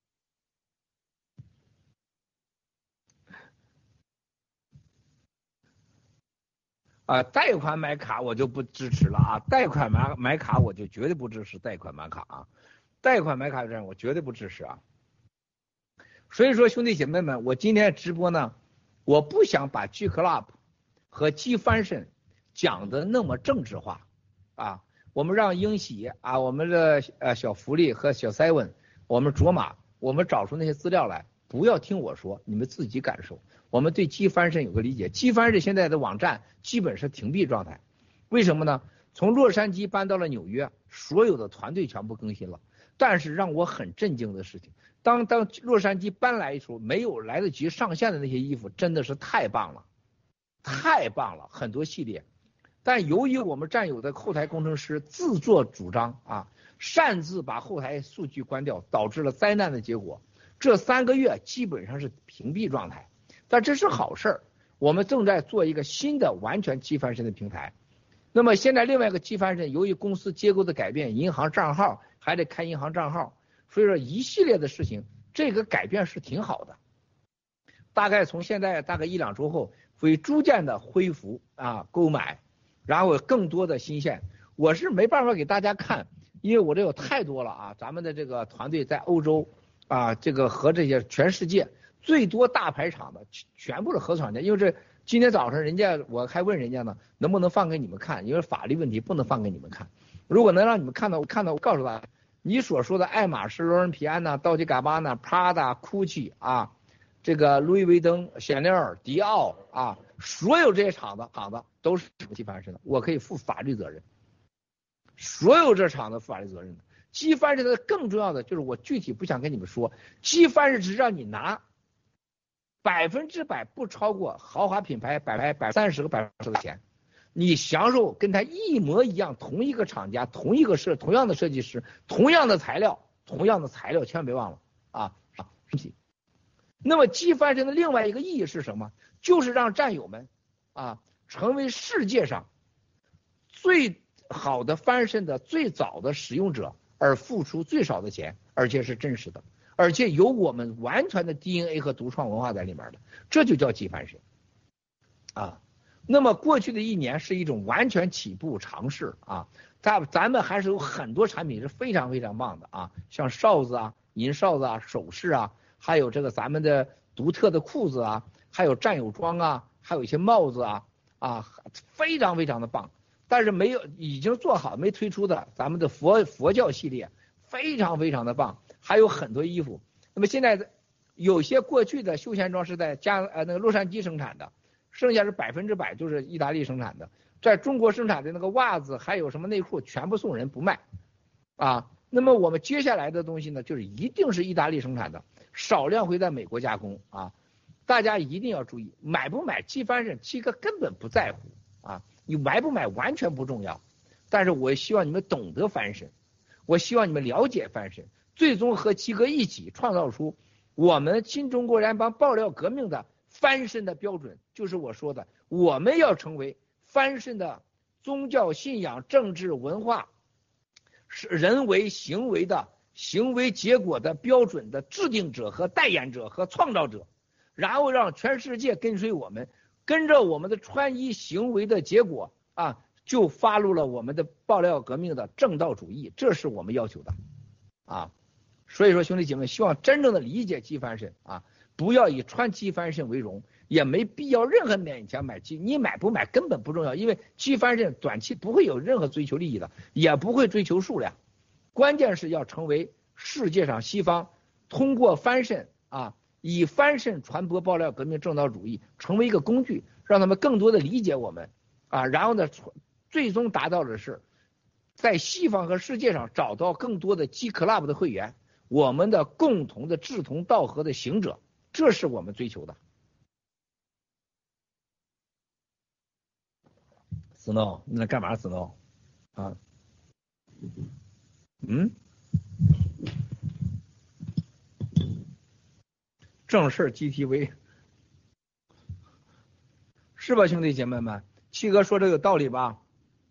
啊，贷款买卡我就不支持了啊，贷款买买卡我就绝对不支持贷款买卡啊。贷款买卡这样我绝对不支持啊！所以说兄弟姐妹们，我今天直播呢，我不想把 G Club 和 G 翻身讲的那么政治化啊，我们让英喜啊，我们的呃小福利和小 seven， 我们卓玛，我们找出那些资料来，不要听我说，你们自己感受。我们对 G 翻身有个理解 ，G 翻身现在的网站基本是停闭状态，为什么呢？从洛杉矶搬到了纽约，所有的团队全部更新了。但是让我很震惊的事情，当当洛杉矶搬来的时候，没有来得及上线的那些衣服真的是太棒了，太棒了，很多系列。但由于我们战友的后台工程师自作主张啊，擅自把后台数据关掉，导致了灾难的结果。这三个月基本上是屏蔽状态，但这是好事儿。我们正在做一个新的完全G翻身的平台。那么现在另外一个G翻身，由于公司结构的改变，银行账号还得开银行账号，所以说一系列的事情，这个改变是挺好的。大概从现在大概一两周后，会逐渐的恢复啊购买，然后更多的新鲜。我是没办法给大家看，因为我这有太多了啊。咱们的这个团队在欧洲啊，这个和这些全世界最多大牌厂的全部是合厂的，因为这。今天早上人家我还问人家呢，能不能放给你们看？因为法律问题不能放给你们看。如果能让你们看到，看到我告诉大家，你所说的爱马仕、罗恩皮安娜、道奇嘎巴纳、Prada、Gucci 啊，这个路易威登、香奈儿、迪奥啊，所有这些厂子厂子都是G翻身的，我可以负法律责任。所有这厂子负法律责任的。G翻身的更重要的就是我具体不想跟你们说，G翻身只让你拿。百分之百不超过豪华品牌百百百三十个百分之的钱，你享受跟他一模一样，同一个厂家，同一个设，同样的设计师，同样的材料，同样的材料，千万别忘了啊！ 那么鸡翻身的另外一个意义是什么？就是让战友们啊成为世界上最好的翻身的最早的使用者，而付出最少的钱，而且是真实的，而且有我们完全的 D N A 和独创文化在里面的，这就叫鸡翻身啊。那么过去的一年是一种完全起步尝试啊，咱咱们还是有很多产品是非常非常棒的啊，像哨子啊、银哨子啊、首饰啊，还有这个咱们的独特的裤子啊，还有战友装啊，还有一些帽子啊啊，非常非常的棒。但是没有已经做好没推出的咱们的佛佛教系列非常非常的棒，还有很多衣服。那么现在有些过去的休闲装是在加呃那个洛杉矶生产的，剩下是百分之百就是意大利生产的，在中国生产的那个袜子还有什么内裤全部送人不卖啊。那么我们接下来的东西呢，就是一定是意大利生产的，少量会在美国加工啊。大家一定要注意，买不买鸡翻身，七哥根本不在乎啊。你买不买完全不重要，但是我希望你们懂得翻身，我希望你们了解翻身，最终和七哥一起创造出我们新中国联邦爆料革命的翻身的标准，就是我说的，我们要成为翻身的宗教信仰、政治文化、是人为行为的行为结果的标准的制定者和代言者和创造者，然后让全世界跟随我们。跟着我们的穿衣行为的结果啊，就发入了我们的爆料革命的正道主义，这是我们要求的啊。所以说兄弟姐妹，希望真正的理解鸡翻身啊，不要以穿鸡翻身为荣，也没必要任何勉强买鸡，你买不买根本不重要，因为鸡翻身短期不会有任何追求利益的，也不会追求数量，关键是要成为世界上西方通过翻身啊。以翻身传播爆料革命正道主义，成为一个工具，让他们更多的理解我们啊，然后呢，最终达到的是在西方和世界上找到更多的G Club的会员，我们的共同的志同道合的行者，这是我们追求的。Snow， 你在干嘛 ？Snow， 啊，嗯。正事 G T V 是吧，兄弟姐妹们？七哥说这有道理吧？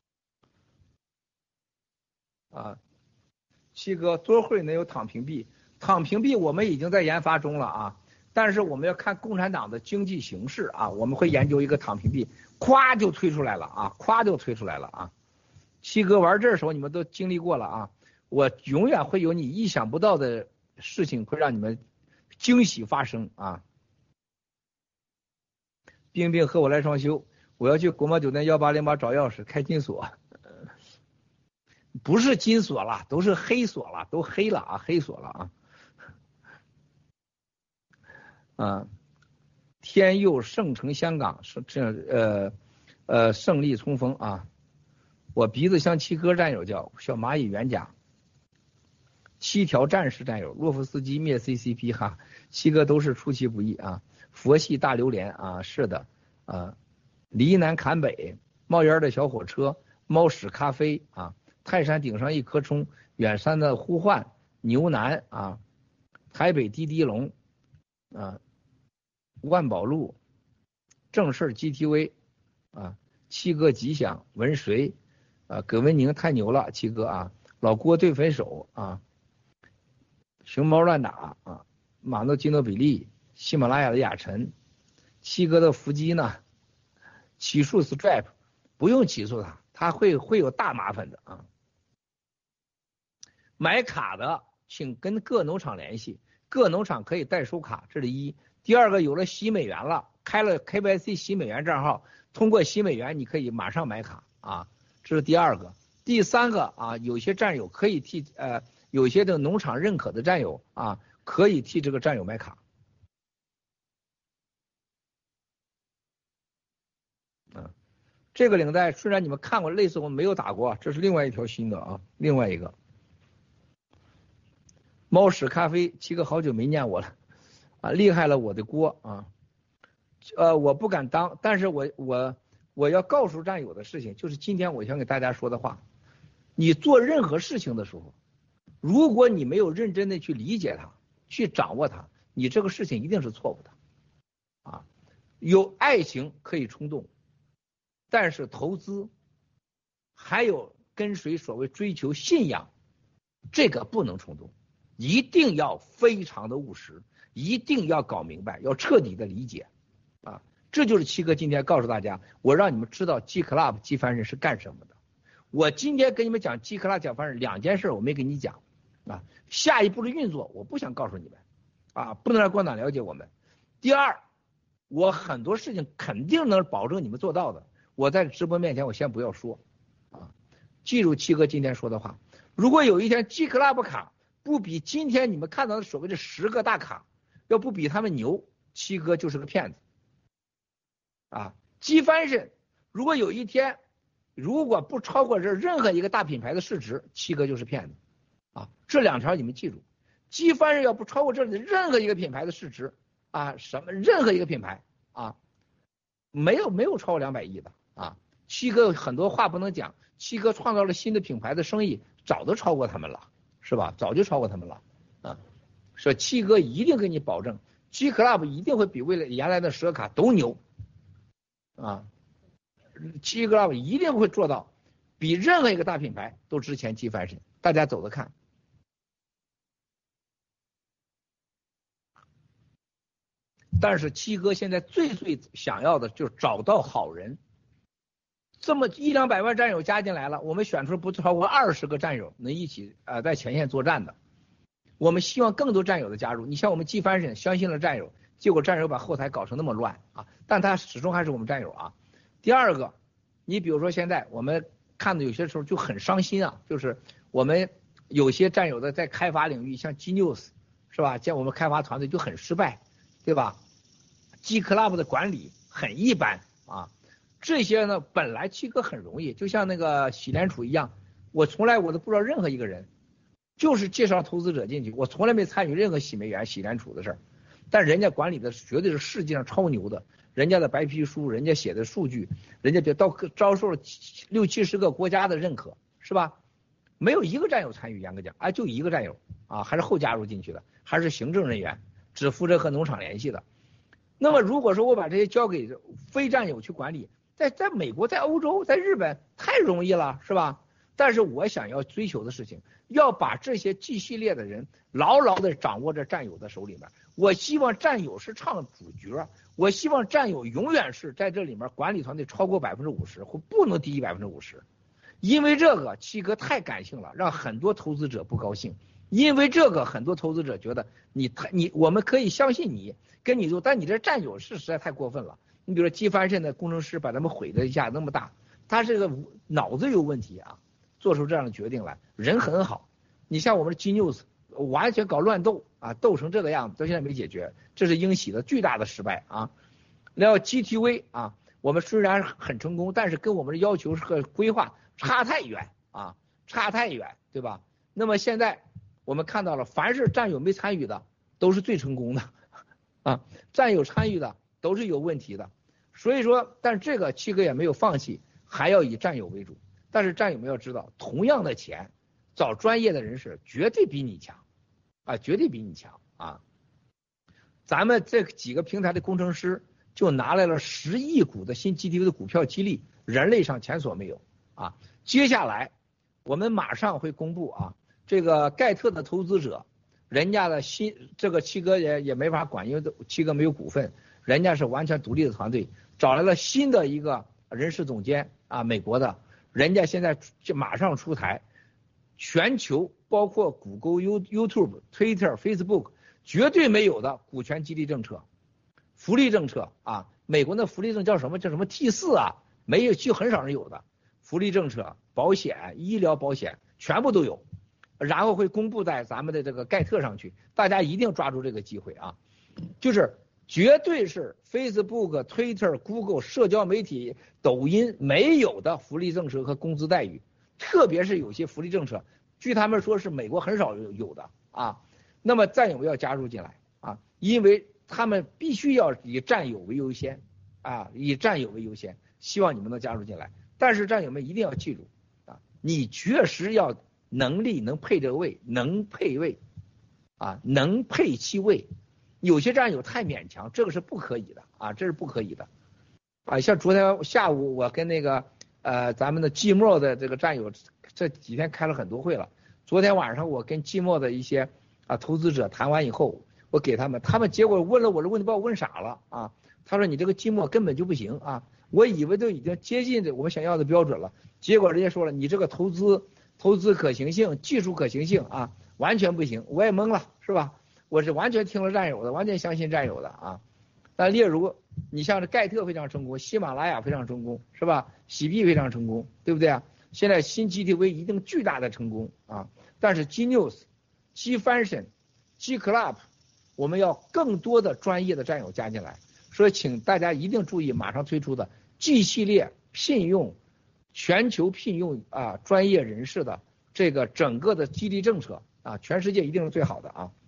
啊，七哥多会能有躺平币？躺平币我们已经在研发中了啊，但是我们要看共产党的经济形势啊，我们会研究一个躺平币，咵就推出来了啊，咵就推出来了啊。七哥玩这时候你们都经历过了啊，我永远会有你意想不到的事情会让你们惊喜发生啊！冰冰和我来双休，我要去国贸酒店幺八零八找钥匙开金锁，不是金锁了，都是黑锁了，都黑了啊，黑锁了啊！啊，天佑圣城香港是这样呃呃胜利冲锋啊！我鼻子像七哥战友叫小蚂蚁原甲。七条战士战友，洛夫斯基灭 C C P 哈，七个都是出其不意啊。佛系大榴莲啊，是的啊。离南坎北，冒烟的小火车，猫屎咖啡啊，泰山顶上一颗葱，远山的呼唤，牛腩啊，台北滴滴龙啊，万宝路，正事 G T V 啊，七哥吉祥，文谁啊，葛文宁太牛了，七哥啊，老郭对分手啊。熊猫乱打啊，马诺基诺比利，喜马拉雅的雅晨，七哥的伏击呢？起诉 Stripe 不用起诉他，他会会有大麻烦的啊。买卡的请跟各农场联系，各农场可以代收卡，这是一。第二个，有了洗美元了，开了 K Y C 洗美元账号，通过洗美元你可以马上买卡啊，这是第二个。第三个啊，有些战友可以替呃。有些的农场认可的战友啊，可以替这个战友买卡。啊，这个领带虽然你们看过类似，我没有打过，这是另外一条新的啊，另外一个。猫屎咖啡，七哥好久没念我了啊，厉害了我的锅啊，呃，我不敢当，但是我我我要告诉战友的事情，就是今天我想给大家说的话，你做任何事情的时候。如果你没有认真的去理解它，去掌握它， 你这个事情一定是错误的，啊，有爱情可以冲动，但是投资还有跟随所谓追求信仰，这个不能冲动，一定要非常的务实，一定要搞明白，要彻底的理解，啊，这就是七哥今天告诉大家，我让你们知道 G Club 机翻身是干什么的。我今天跟你们讲 G Club 讲翻身两件事，我没跟你讲啊，下一步的运作我不想告诉你们啊，不能让共产党了解我们。第二，我很多事情肯定能保证你们做到的，我在直播面前我先不要说啊，记住七哥今天说的话，如果有一天 G Club 卡不比今天你们看到的所谓的十个大卡要不比他们牛，七哥就是个骗子啊。G翻身如果有一天如果不超过这任何一个大品牌的市值，七哥就是骗子啊。这两条你们记住， G翻身要不超过这里的任何一个品牌的市值啊，什么任何一个品牌啊，没有没有超过两百亿的啊。七哥很多话不能讲，七哥创造了新的品牌的生意早都超过他们了，是吧？早就超过他们了啊。说七哥一定给你保证 G Club 一定会比未来原来的十个卡都牛啊。G Club 一定会做到比任何一个大品牌都值钱 G翻身，大家走着看。但是七哥现在最最想要的就是找到好人，这么一两百万战友加进来了，我们选出不超过二十个战友能一起啊、呃、在前线作战的，我们希望更多战友的加入。你像我们G翻身相信了战友，结果战友把后台搞成那么乱啊，但他始终还是我们战友啊。第二个，你比如说现在我们看的有些时候就很伤心啊，就是我们有些战友的在开发领域，像 G News 是吧，像我们开发团队就很失败，对吧？ G Club 的管理很一般啊，这些呢本来七哥很容易，就像那个洗联储一样，我从来我都不知道任何一个人，就是介绍投资者进去，我从来没参与任何洗美元、洗联储的事儿，但人家管理的绝对是世界上超牛的，人家的白皮书，人家写的数据，人家就到招受了六七十个国家的认可，是吧？没有一个战友参与，严格讲，哎，就一个战友啊，还是后加入进去的，还是行政人员，只负责和农场联系的。那么如果说我把这些交给非战友去管理，在在美国、在欧洲、在日本太容易了，是吧？但是我想要追求的事情，要把这些 G 系列的人牢牢的掌握在战友的手里面。我希望战友是唱主角，我希望战友永远是在这里面管理团队超过百分之五十，或不能低于百分之五十。因为这个七哥太感性了，让很多投资者不高兴。因为这个很多投资者觉得你太你我们可以相信你跟你做，但你这战友是实在太过分了。你比如说G翻身的工程师把他们毁的一下那么大，他这个脑子有问题啊，做出这样的决定来，人很好。你像我们的 G News 完全搞乱斗啊，斗成这个样子，到现在没解决，这是英喜的巨大的失败啊。然后 G T V 啊，我们虽然很成功，但是跟我们的要求和规划差太远啊，差太远，对吧？那么现在我们看到了，凡是战友没参与的都是最成功的啊，战友参与的都是有问题的。所以说，但是这个七哥也没有放弃，还要以战友为主。但是战友们要知道，同样的钱找专业的人士绝对比你强啊，绝对比你强啊。咱们这几个平台的工程师就拿来了十亿股的新 G T V 的股票激励，人类上前所没有啊。接下来我们马上会公布啊，这个盖特的投资者，人家的新这个七哥也也没法管，因为七哥没有股份，人家是完全独立的团队，找来了新的一个人事总监啊，美国的，人家现在就马上出台，全球包括谷歌、You YouTube、Twitter、Facebook 绝对没有的股权激励政策、福利政策啊，美国的福利政叫什么？叫什么 T 四啊？没有，就很少人有的福利政策、保险、医疗保险全部都有。然后会公布在咱们的这个盖特上去，大家一定抓住这个机会啊！就是绝对是 Facebook、Twitter、Google 社交媒体、抖音没有的福利政策和工资待遇，特别是有些福利政策，据他们说是美国很少有有的啊。那么战友要加入进来啊，因为他们必须要以战友为优先啊，以战友为优先，希望你们能加入进来。但是战友们一定要记住啊，你确实要能力能配这个位，能配位啊，能配其位， 有些战友太勉强，这个是不可以的啊，这是不可以的啊。像昨天下午我跟那个呃咱们的季末的这个战友这几天开了很多会了，昨天晚上我跟季末的一些啊投资者谈完以后，我给他们，他们结果问了我的问题，把我问傻了啊。他说你这个季末根本就不行啊，我以为都已经接近这我们想要的标准了，结果人家说了你这个投资投资可行性、技术可行性啊完全不行，我也懵了，是吧？我是完全听了战友的，完全相信战友的啊。那例如你像这盖特非常成功，喜马拉雅非常成功，是吧？喜币非常成功，对不对啊？现在新 G T V 一定巨大的成功啊，但是 G News、G Function、G Club 我们要更多的专业的战友加进来，所以请大家一定注意马上推出的 G 系列聘用全球聘用啊专业人士的这个整个的激励政策啊，全世界一定是最好的啊。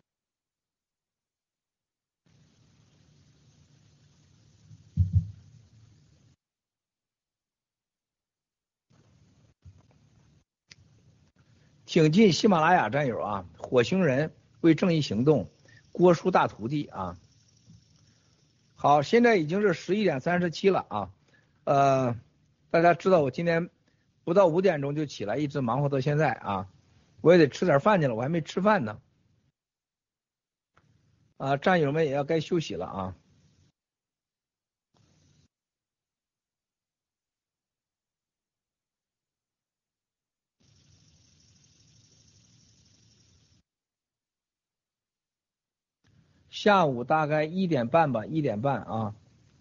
挺进喜马拉雅战友啊，火星人为正义行动，郭叔大徒弟啊。好，现在已经是十一点三十七了啊，呃，大家知道我今天不到五点钟就起来，一直忙活到现在啊，我也得吃点饭去了，我还没吃饭呢。啊，战友们也要该休息了啊。下午大概一点半吧，一点半啊。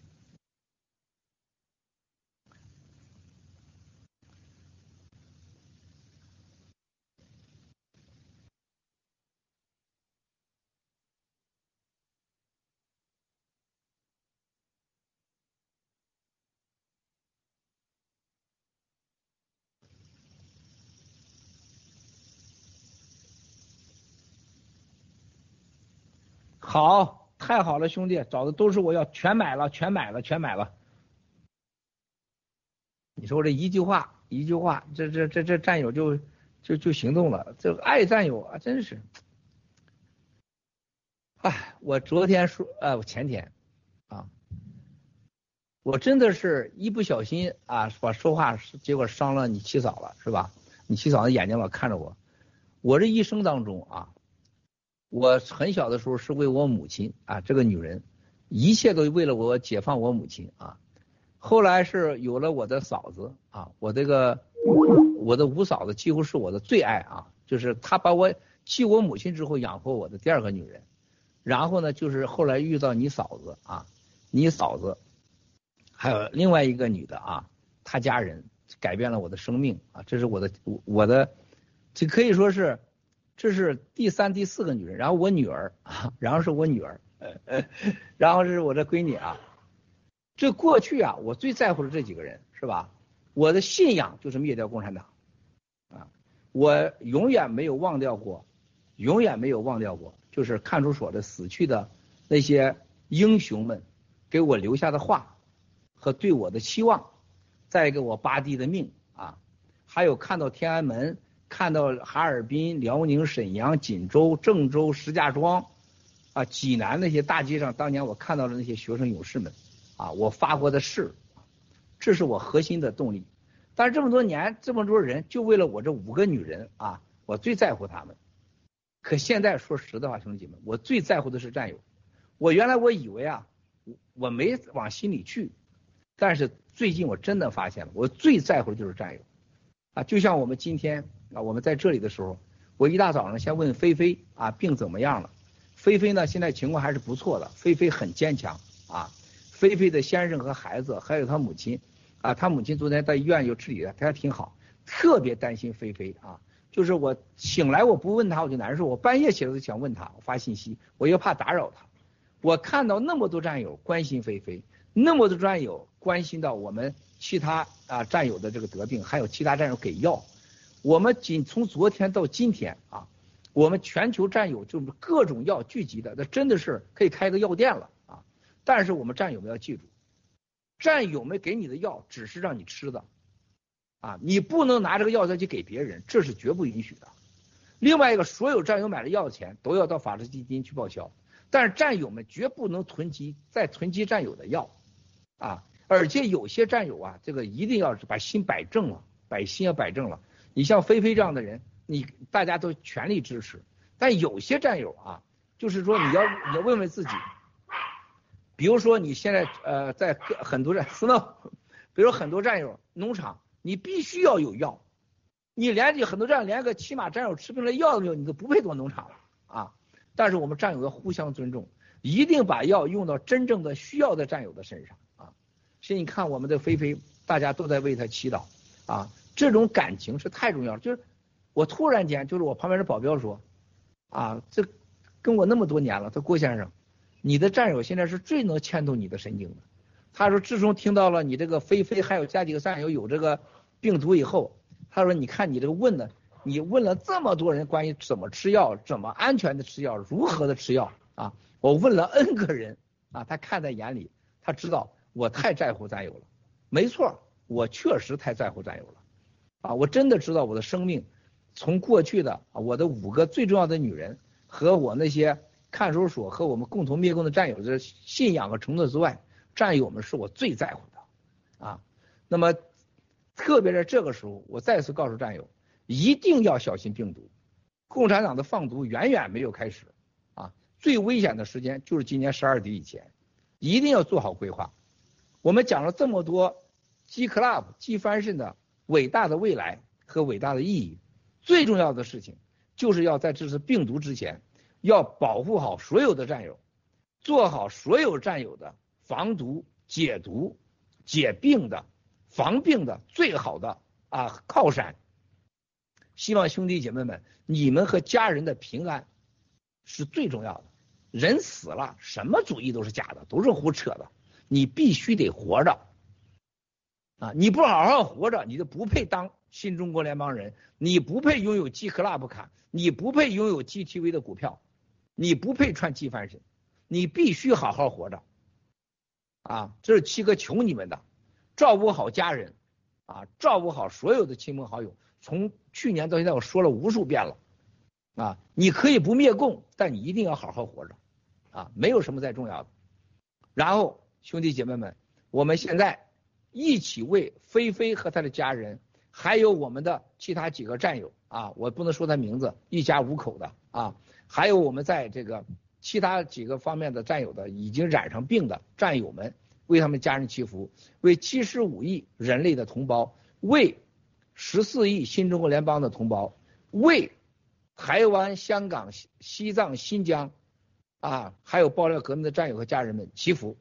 好，太好了，兄弟，找的都是我要，全买了，全买了，全买了。你说这一句话，一句话，这这这这战友就就就行动了，这个爱战友啊，真是。哎，我昨天说，呃，我前天啊，我真的是一不小心啊，把说话结果伤了你七嫂了，是吧？你七嫂的眼睛老看着我，我这一生当中啊。我很小的时候是为我母亲啊，这个女人，一切都为了我解放我母亲啊。后来是有了我的嫂子啊，我这个我的五嫂子几乎是我的最爱啊，就是她把我继我母亲之后养活我的第二个女人。然后呢，就是后来遇到你嫂子啊，你嫂子还有另外一个女的啊，她家人改变了我的生命啊，这是我的我的，这可以说是。这是第三、第四个女人，然后我女儿啊，然后是我女儿，然后是我这闺女啊。这过去啊，我最在乎的这几个人是吧？我的信仰就是灭掉共产党啊，我永远没有忘掉过，永远没有忘掉过，就是看守所的死去的那些英雄们给我留下的话和对我的期望，再一个我八弟的命啊，还有看到天安门。看到哈尔滨、辽宁、沈阳、锦州、郑州、石家庄，啊，济南那些大街上，当年我看到的那些学生勇士们，啊，我发过的誓，这是我核心的动力。但是这么多年，这么多人，就为了我这五个女人啊，我最在乎她们。可现在说实的话，兄弟们，我最在乎的是战友。我原来我以为啊，我没往心里去，但是最近我真的发现了，我最在乎的就是战友。啊，就像我们今天啊，我们在这里的时候，我一大早上先问菲菲啊，病怎么样了？菲菲呢，现在情况还是不错的，菲菲很坚强啊。菲菲的先生和孩子，还有他母亲啊，他母亲昨天在医院有治理的，他还挺好，特别担心菲菲啊。就是我醒来我不问他我就难受，我半夜起来就想问他，我发信息，我又怕打扰他。我看到那么多战友关心菲菲，那么多战友关心到我们。其他啊战友的这个得病，还有其他战友给药，我们仅从昨天到今天啊，我们全球战友就是各种药聚集的，那真的是可以开个药店了啊！但是我们战友们要记住，战友们给你的药只是让你吃的啊，你不能拿这个药再去给别人，这是绝不允许的。另外一个，所有战友买的药钱都要到法治基金去报销， 但是战友们绝不能囤积再囤积战友的药啊，而且有些战友啊，这个一定要把心摆正了，把心要摆正了。你像菲菲这样的人，你大家都全力支持，但有些战友啊，就是说你要你要问问自己，比如说你现在呃在很多战 snow， 比如说很多战友农场，你必须要有药，你连这很多战友连个起码战友吃病的药都没有，你都不配做农场了啊。但是我们战友要互相尊重，一定把药用到真正的需要的战友的身上啊。所以你看我们的菲菲，大家都在为他祈祷啊，这种感情是太重要了。就是我突然间，就是我旁边的保镖说，啊，这跟我那么多年了，他郭先生，你的战友现在是最能牵动你的神经的。他说，自从听到了你这个菲菲还有加几个战友有这个病毒以后，他说，你看你这个问的。你问了这么多人关于怎么吃药、怎么安全的吃药、如何的吃药啊？我问了 N 个人啊，他看在眼里，他知道我太在乎战友了。没错，我确实太在乎战友了啊！我真的知道我的生命从过去的啊我的五个最重要的女人和我那些看守所和我们共同灭共的战友的信仰和承诺之外，战友们是我最在乎的啊。那么特别在这个时候，我再次告诉战友。一定要小心病毒，共产党的放毒远远没有开始啊！最危险的时间就是今年十二底以前，一定要做好规划。我们讲了这么多 G Club、G Fashion 的伟大的未来和伟大的意义，最重要的事情就是要在这次病毒之前，要保护好所有的战友，做好所有战友的防毒、解毒、解病的、防病的最好的啊靠山。希望兄弟姐妹们，你们和家人的平安是最重要的。人死了，什么主义都是假的，都是胡扯的。你必须得活着啊！你不好好活着，你就不配当新中国联邦人，你不配拥有 G Club 卡，你不配拥有 G T V 的股票，你不配穿 G Fashion，你必须好好活着啊！这是七哥求你们的，照顾好家人啊，照顾好所有的亲朋好友。从去年到现在，我说了无数遍了，啊，你可以不灭共，但你一定要好好活着，啊，没有什么再重要的。然后兄弟姐妹们，我们现在一起为菲菲和他的家人，还有我们的其他几个战友啊，我不能说他名字，一家五口的啊，还有我们在这个其他几个方面的战友的已经染上病的战友们，为他们家人祈福，为七十五亿人类的同胞，为十四亿新中国联邦的同胞，为台湾、香港、西藏、新疆啊，还有爆料革命的战友和家人们祈福。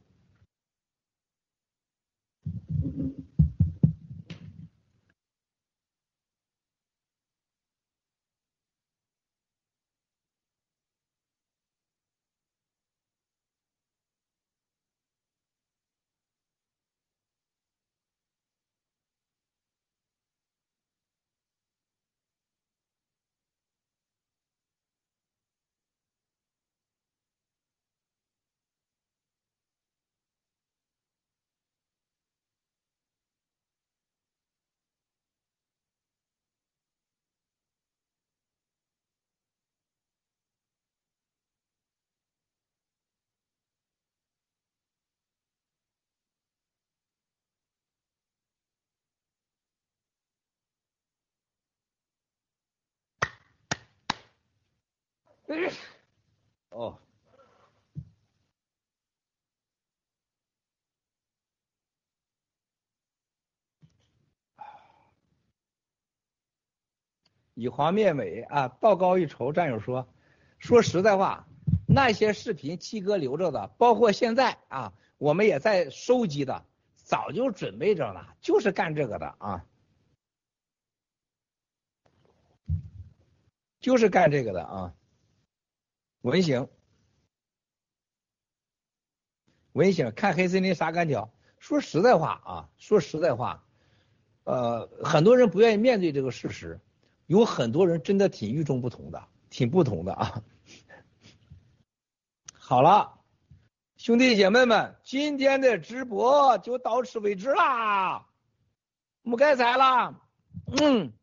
哦，以黄灭美啊，道高一筹。战友说，说实在话，那些视频七哥留着的，包括现在啊，我们也在收集的，早就准备着了，就是干这个的啊，就是干这个的啊。文醒，文醒，看黑森林啥感觉？说实在话啊，说实在话，呃，很多人不愿意面对这个事实，有很多人真的挺与众不同的，挺不同的啊。好了，兄弟姐妹们，今天的直播就到此为止啦，不该才了，嗯。